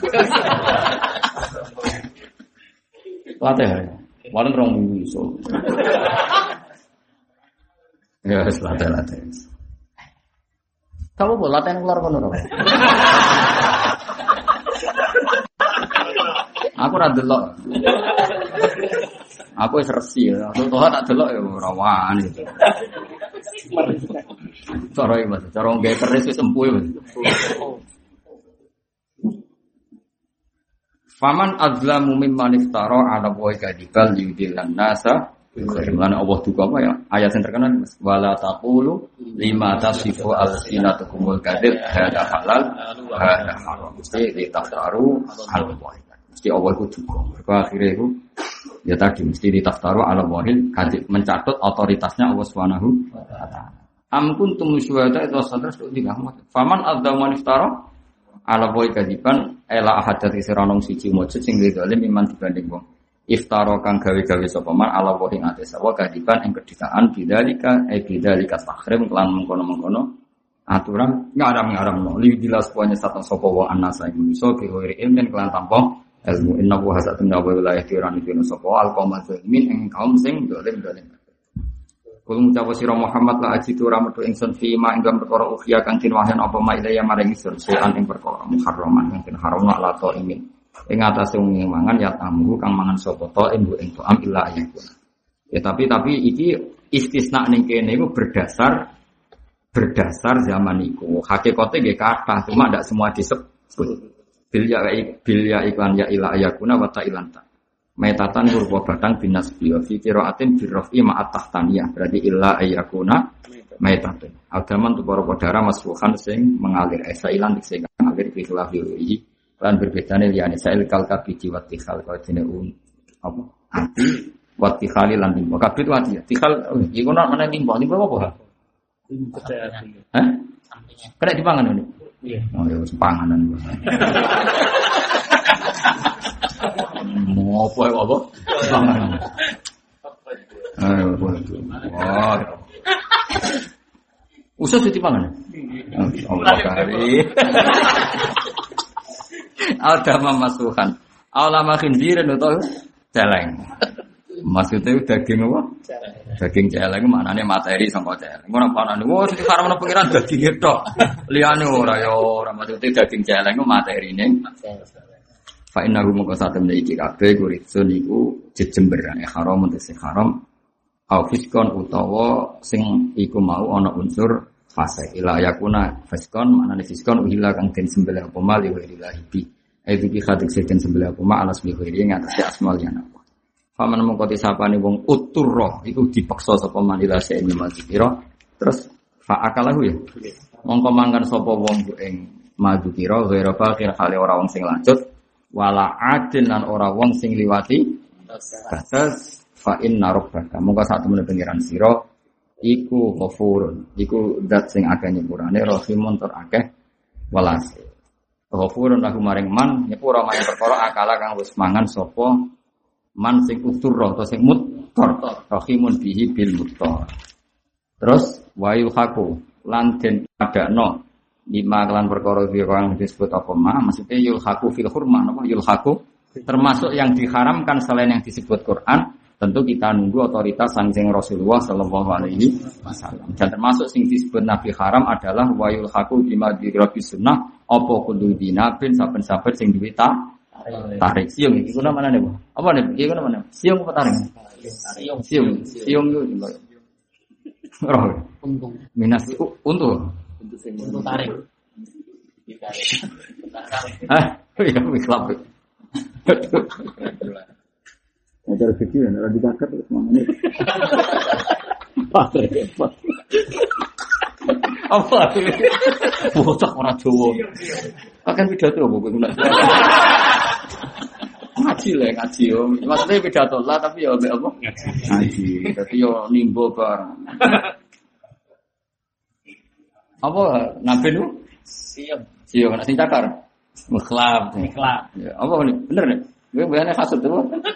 S2: Latih ya, walau orang minggu iso. Ya, latih. Kamu boleh latih keluar kono. Aku Aku wis resi. Aku toh tak delok ya ora wani. Cara iki Mas, cara nggae keris wis empuh Mas. Faman azlamu mimman iftara ala wa kadibal yudillan nasa Bagaimana Allah juga apa ya? Ayat yang terkenal wala taqulu lima tasifu al-sinatukumul kadib hada halal hada haram. Mesti ditaftaru al-wahid. Mesti Allah itu juga. Akhirnya itu ya tadi mesti ditaftaru al-wahid kadib mencatat otoritasnya Allah Subhanahu wa taala. Am kuntum syuhada itu sadar itu digahmat. Faman adzama iftara ala wahid kadiban ela ahadati siranong siji mujud sing zalim iman dibanding wong. Iftara kang gawe-gawe sapa man ala wa ing ate sawa kadiban ing kedhitaan bidzalika tahrim lan mengkono-mengkono aturan ngaram-ngaram no li dilas pokoke satu sapa wa anasa ing iso kehore ilmen kelan tanpa ilmu inna wa hasatun wa wilayah tiran iki sapa alqaum zalimin ing kaum sing dolim-dolim. Kulo ngucap sira Muhammad la ajitu ramatu ingsun fi ma ing perkara ukhya kang tin wahyan apa ma ilaya maring ingsun sean ing perkara muharraman kang haram la to imin. Ing atase wong mangan ya tamu kang mangan sapa to ing to'am illa ayakun. Ya tapi iki istisna ning kene iku berdasar zaman iku. Hakikate nggih kathah cuma ndak semua disebut. Bil ya iklan ya illa ayakuna wa ta'ilanta. Metatan rupa batang binas biya fi qiraatin birrafi ma'at tahtaniyah berarti illa ayakuna metatan. Agaman tu para padara masfuhan sing mengalir esailan sing mengalir fi khilafi lan berbedane liyane sa'il kalka biji wa tikhal kau dene apa ati wa tikhali lan timbo kabeh tu ati tikhal iku nek mana timbo apa hah kena dipangan ini iya oh ya wis panganan mau apa panganan wah usus dipangan Allah kari Al-dama masuhan Al-lama khinzirin atau celeng maksudnya daging apa? Daging celeng maknanya materi sama celeng orang panah wah sini karena pengiran daging itu liane orang maksudnya daging celeng itu materi ini fa'innahu muka satu menjadi kabeh kuritsun iku jejemberan haram untuk si haram au fiskon utawa sing iku mau ana unsur fase ila yakuna fiskon maknane fiskon uhila kang den sembelih apa mal ya ilahi itu ki khadik den sembelih apa mal alas bi khiri ngatas asmal ya apa faman mengkoti sapane wong uturro iku dipaksa sapa manila sene mazikira terus fa akalahu ya mongko mangkan sapa wong ing mazikira ghairu fakir hale ora wong sing lanjut wala adin lan ora wong sing liwati batas fa inna rabbaka mongko sak temene pengiran sira iku ghafurun iku zat sing akeh nyepurane rahimun tur akeh welas ghafurun lahu maring man nyepura maring perkara akala kang wis mangan sapa man sing utur utawa sing muttor rahimun bihi bil muttor terus wayu haku lan den padakno lima kelan perkara kang disebut apa ma maksudnya yul haku fil hurma napa yul haku termasuk yang diharamkan selain yang disebut Quran. Tentu kita nunggu otoritas saking Rasulullah sallallahu alaihi wasallam. Dan termasuk sing disebut Nabi haram adalah wayul haku bima dirabi sunnah apa kudu dinabin saben-saben sing duwe tarik. Siung iki kuna manane, Bu? Apa nek iki kuna manane? Siung apa tarik? Siung yo. Roh. Untung. Minas untung. Untung tarik. Hah? Ya wis klap. Acara kecil ya, orang dibakar terus mana nih? Apa? Bocah orang Jawa. Akan pidato apa gue ngaji lah ngaji yo. Maksudnya pidato lah tapi ya apa? Ngaji. Tapi yo nimbo bareng. Apa nabi lu? Siap nak sing cakar. Mukhlab. Ya, apa nih? Bener nih? Gue bayarnya kasut tuh.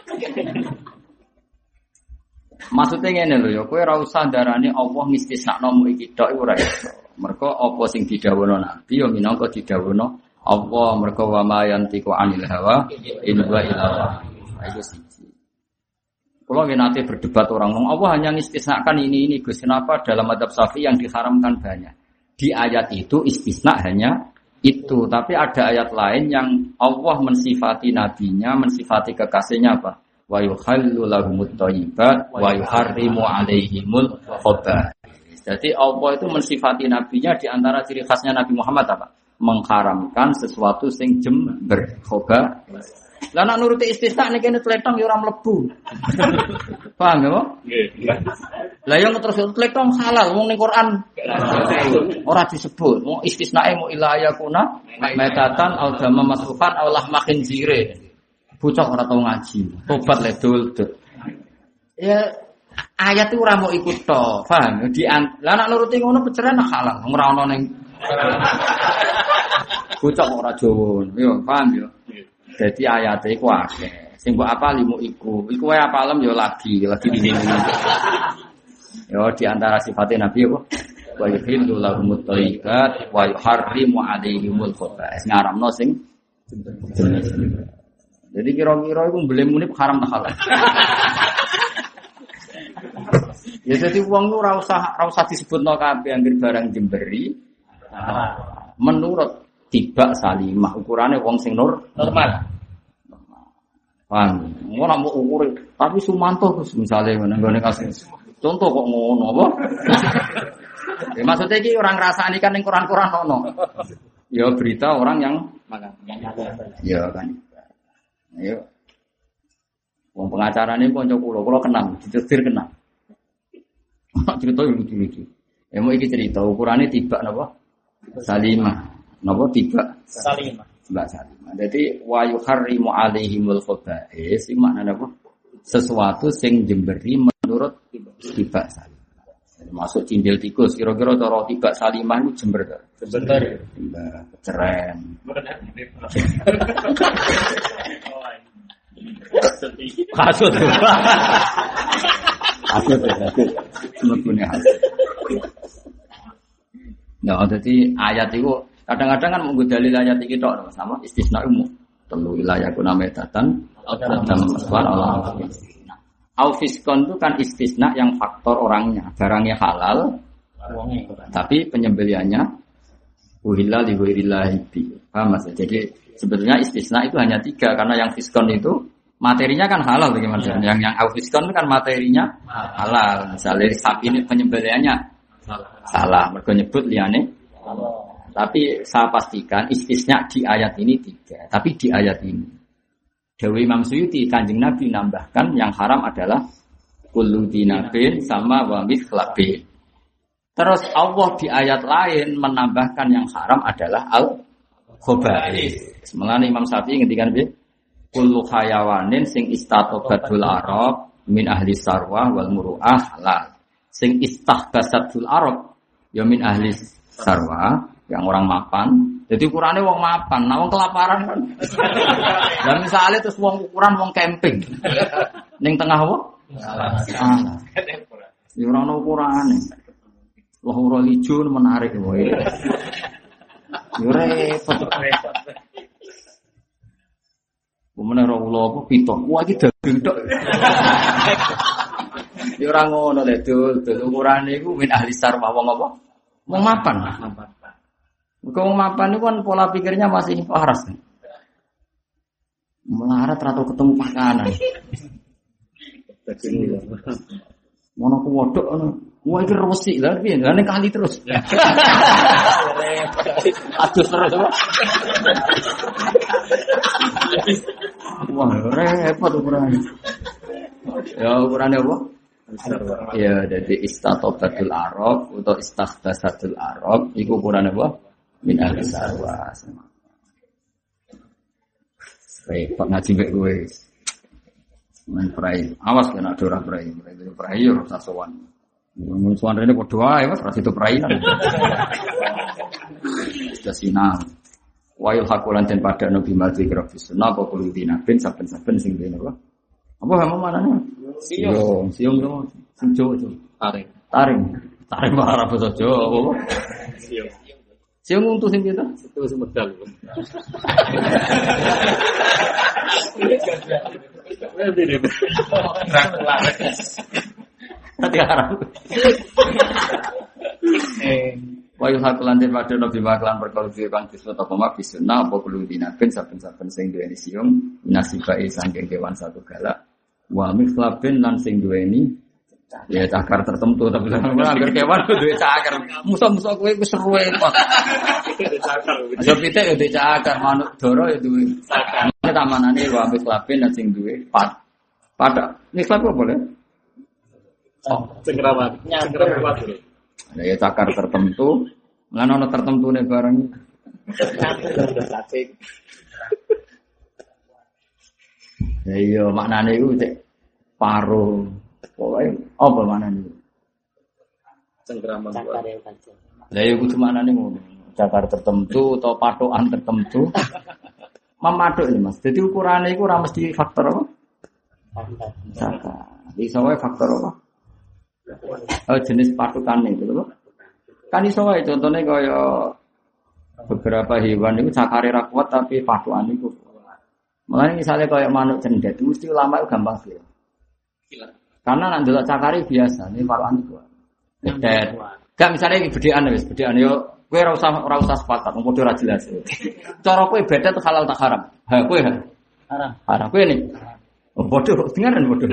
S2: Maksudnya ngene lho ya, kowe ora usah darani Allah ngistisnakno mu iki tok ora iso. Mergo apa sing didhawuhna Nabi ya minangka didhawuhna Allah mergo wa ma yantiqu anil hawa in huwa illa wahyun. Itu siji. Kalau nate berdebat orang ngomong Allah hanya ngistisnakan ini Gus, kenapa dalam madzhab Syafi'i yang diharamkan banyak. Di ayat itu istisna hanya itu, tapi ada ayat lain yang Allah mensifati nabinya, mensifati kekasihnya apa? wa yuhallu lahumut thayyibat wa yuharrimu 'alaihimul khaba'ith. Jadi Allah itu mensifati nabinya di antara ciri khasnya Nabi Muhammad apa? Mengharamkan sesuatu sing jember khaba'ith. Lah nek nuruti istisna nek kene tletong ya ora mlebu. Paham ya, Pak? Nggih. Lah yang terus tletong halal wong ning Quran ora disebut. Wong istisnae mu ila yakuna metatan au dama masrukan au lahma khinzire. Bocah ora tau ngaji. Tobat le dul. Ya ayat itu ora mau ikut to, paham? Lah nek nuruti ngono peceran halal, ora ono ning bocah ora Jawa. Yo, paham yo. Jadi ayate iku akeh. Sing mbok apal limu iku. Iku wae apalem yo lagi di sini. Yo di antara sifatnya Nabi yo wa yuhillu lahumut thayyibat wa yuharrimu 'alaihimul khaba'ith. Ngaramno sing jadi kira-kira iku mblemune haram ta halal. Ya jadi wong ku ora usah disebutno kabeh anggere barang jemberi. Menurut tiba salimah ukurane wong sing normal. Paham. Ora mau ukur tapi Sumanto misale nggone kasus. Contoh kok ngono apa? Ya maksudnya iki orang ngrasani kan ning Quran-Quran ono. Ya berita orang yang ya kan. Ayo. Wong pengacarane kanca kula kenal, ditetir kenal. Cerita lucu-lucu. Ya mau iki cerita ukurane tiba napa? Salimah. Napa tiba?
S3: Salimah.
S2: Mbak Salimah. Jadi wa yuharrimu 'alaihimul khaba'ith iki maknane apa? Sesuatu sing jemberi menurut tiba Salimah. Masuk cindil tikus kira-kira cara tiba Salimah itu jember ta?
S3: Jember.
S2: Keren. Kasut. Kasut. Semepune kasut. Nah, jadi ayat itu kadang-kadang kan menggo dalil ayat iki tok sama istisna umum. Telu wilayah kuna metatan adam maswar Allah. Au fiskon itu kan istisna yang faktor orangnya, barangnya halal. Tapi penyembeliannya uhilla li ghairillahi bi. Paham Mas? Jadi sebetulnya istisna itu hanya 3 karena yang fiskon itu materinya kan halal bagaimana? Yang au fiskon itu kan materinya halal. Misalnya sapi ini penyembeliannya salah, mergo nyebut liyane. Tapi saya pastikan istisna di ayat ini 3. Tapi di ayat ini Dewi Imam Suyuti Kanjeng Nabi nambahkan yang haram adalah kullu dinabin sama wa mithlabin. Terus Allah di ayat lain menambahkan yang haram adalah al-khaba'ith. Semulane Imam Syafi'i ngendikan piye? Kullu hayawanin sing istatobatul arab min ahli sarwah wal muru'ah halal. Sing istahbasatul arab ya min ahli sarwah yang orang mapan. Jadi ukurannya wong mapan, nah wong kelaparan kan. Dan misalnya terus wong ukuran wong camping. Ning tengah apa? Salah. Ya ora ono ukurane. Wah ora ijo menarik wae. Yo repot. Umane ora kula apa pitok. Wah iki daging tok. Ya ora ngono lek dul ukurane iku min ahli sarwah wong apa? Wong mapan. Wong mapan itu kan pola pikirnya masih waras. Melarat atau ketemu pakanan. Mono ku wodok ngono. Wah iki resik lha piye? Lah ning kali terus. Aduh terus apa? Wah, repot ukuran. Ya ukurannya apa? Ya, jadi istatobatul arab atau istakhbasatul arab iku ukurannya apa? Min ahli sarwa. Repot ngaji mbek kowe. Men prai. Awas kena ora prai. Prai yo rasa sowan. Mun sowan rene padha wae Mas, rasa itu prai kan. Sudah sinau. Wa yulhaqulan ten pada nabi madzi grafis sunah apa kulo dinabin saben-saben sing dene apa? Apa kamu manane? Siung yo. Sing Jawa. Taring marah basa Jawa apa? Siung. Siung untuk sing kita? Itu sing medal. Nanti harap. Wa yuhaqulan ten pada nabi maklan perkara kang disebut apa mak bisunah apa kulo dinabin saben-saben sing duweni siung nasibai saking kewan satu galak Wa mikhlabin lan sing duweni ya cakar tertentu tapi anggar kewan duwe cakar. Musa-musa kowe wis seru kok. Aja pitik ya duwe cakar, manuk doro ya duwe cakar. Tamanane wa mikhlabin lan sing duwe pada mikhlab apa boleh?
S3: Oh, cengkerawan. Cengkerawan.
S2: Nah, ya cakar tertentu, lan ana tertentune barang. Ya iya maknane iku cek paro. Pokoke apa maknane?
S3: Cengkerawan.
S2: Lah ya kudu maknane ngono. Cakar tertentu atau patokan tertentu. Memaduk ya Mas. Jadi ukurane iku ora mesti faktor apa? Cakar. Iso wae faktor apa? Jenis patukan itu loh. Kan iso wae contone kaya beberapa hewan itu cakare ra kuat tapi patukan itu. Mulane misalnya kaya manuk cendet mesti ulama itu gampang sih. Karena nek ndelok cakare biasa, ini patukan itu. Cendet. Gak misalnya gedean wis, gedean yo kowe ora usah sepakat, wong padha ora jelas. Cara kowe bedet halal tak haram? Ha kowe haram. Haram kowe nih. Oh bodoh, dengaran bodoh.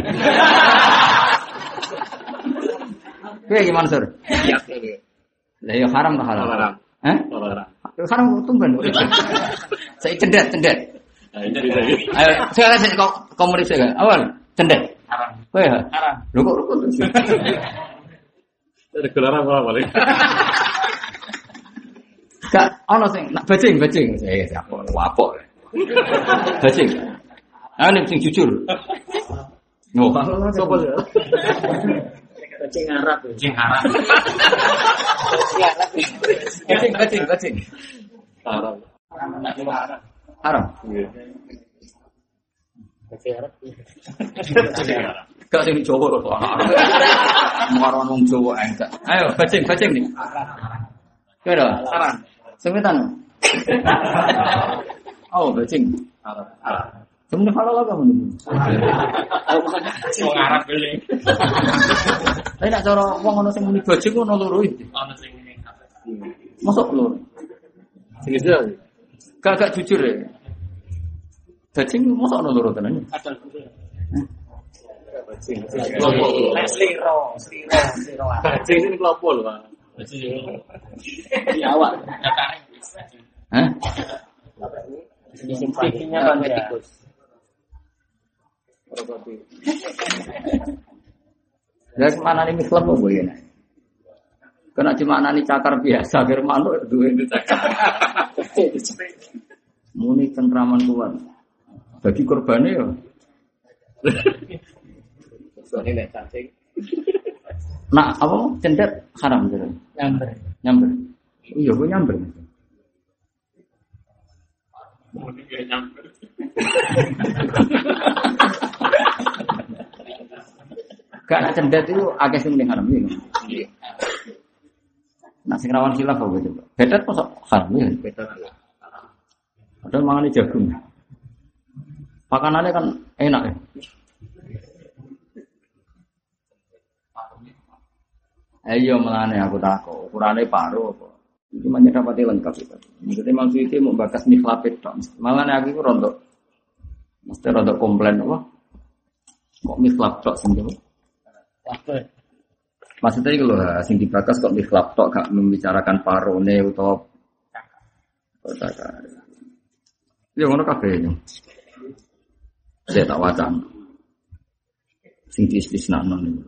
S2: Kowe gimana, Sur?
S3: Iya.
S2: Lah ya haram tak halal?
S3: Haram.
S2: Hah?
S3: Haram.
S2: Haram tumben. Saya cendet. Ayo, sekarang saya komunis saya. Awal cendet.
S3: Haram.
S2: Kowe
S3: Haram.
S2: Lho kok rukun?
S3: Ada gelaran apa paling?
S2: Gak ono sing nak bajing. Saya siapa? Wapok. Bajing. Ane sing jujur. No, sapa lho?
S3: Kucing Arab.
S2: Kucing.
S3: Arab.
S2: Haram.
S3: Iya. Kucing Arab.
S2: Gak sing Jawa kok ana. Muaran wong Jawa enggak. Ayo bajing nih. Kira
S3: Haram.
S2: semetan. Oh, bajing.
S3: Arab.
S2: Sebenarnya halal apa menurut?
S3: Wong Arab beli.
S2: Tapi nak cara wong ana sing muni bajing ono loro iki.
S3: Ana sing ngene.
S2: Masuk loro.
S3: Sing itu.
S2: Gak jujur ya. Bajing masuk ono loro tenan.
S3: Ada. Bajing.
S4: Sliro.
S3: Bajing ini kelopo lho, Pak. Bajing. Di awak.
S2: Hah?
S4: Pipinya kan tikus.
S2: Lah mana nih mikhlab apa ya? Kena cuma nani cakar biasa, biar manuk duwe cakar. Muni cengkraman kuat. Bagi korbane ya.
S3: Soalnya nek cacing.
S2: Nak apa cendet haram gitu. Nyamber. Iya, gue nyamber.
S3: Muni ge nyamber.
S2: Gak nak cendet itu agak sing ning haram iki.
S3: Iya.
S2: Nah sing rawan khilaf apa coba? Bedet kok haram ya?
S3: Betul.
S2: Padahal mangane jagung. Pakanannya kan enak ya. Ayo melane aku takut. Ukurane paro apa? Iki manya dapati lengkap itu. Maksudnya maksudnya mau bakas mikhlapit tok. Malane aku iku rontok. Mesti rontok komplain apa? Kok mikhlap tok sing ngono? Maksudnya itu loh, sing dibakas kok mikhlap tok gak membicarakan parone utawa cakar. Ya ngono kabeh. Saya tak wacan. Sing diistisnakno niku.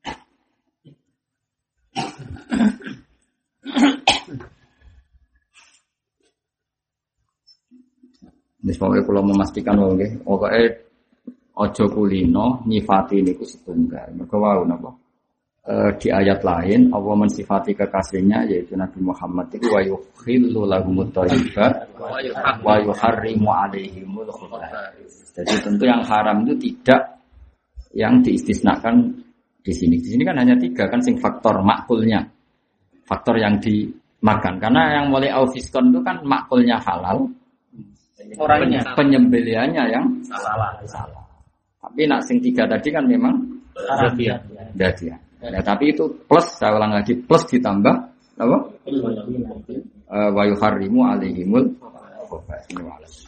S2: Wis pokoke kula memastikan wae nggih, pokoke aja kulino nyifati niku setunggal. Mergo wau napa? Di ayat lain Allah mensifati kekasihnya yaitu Nabi Muhammad itu wa yukhillu lahumut thayyibat wa yuharrimu 'alaihimul khaba'ith. Jadi tentu yang haram itu tidak yang diistisnakan di sini. Di sini kan hanya 3 kan sing faktor makulnya. Faktor yang dimakan. Karena yang mulai aufiskon itu kan makulnya halal.
S4: Orangnya
S2: Penyembelihannya yang
S3: Salah.
S2: tapi nak sing 3 tadi kan memang
S4: haram.
S2: dia. Ya, tapi itu plus, saya ulang lagi, plus ditambah apa? Wa yuharrimu 'alaihimul khaba'ith.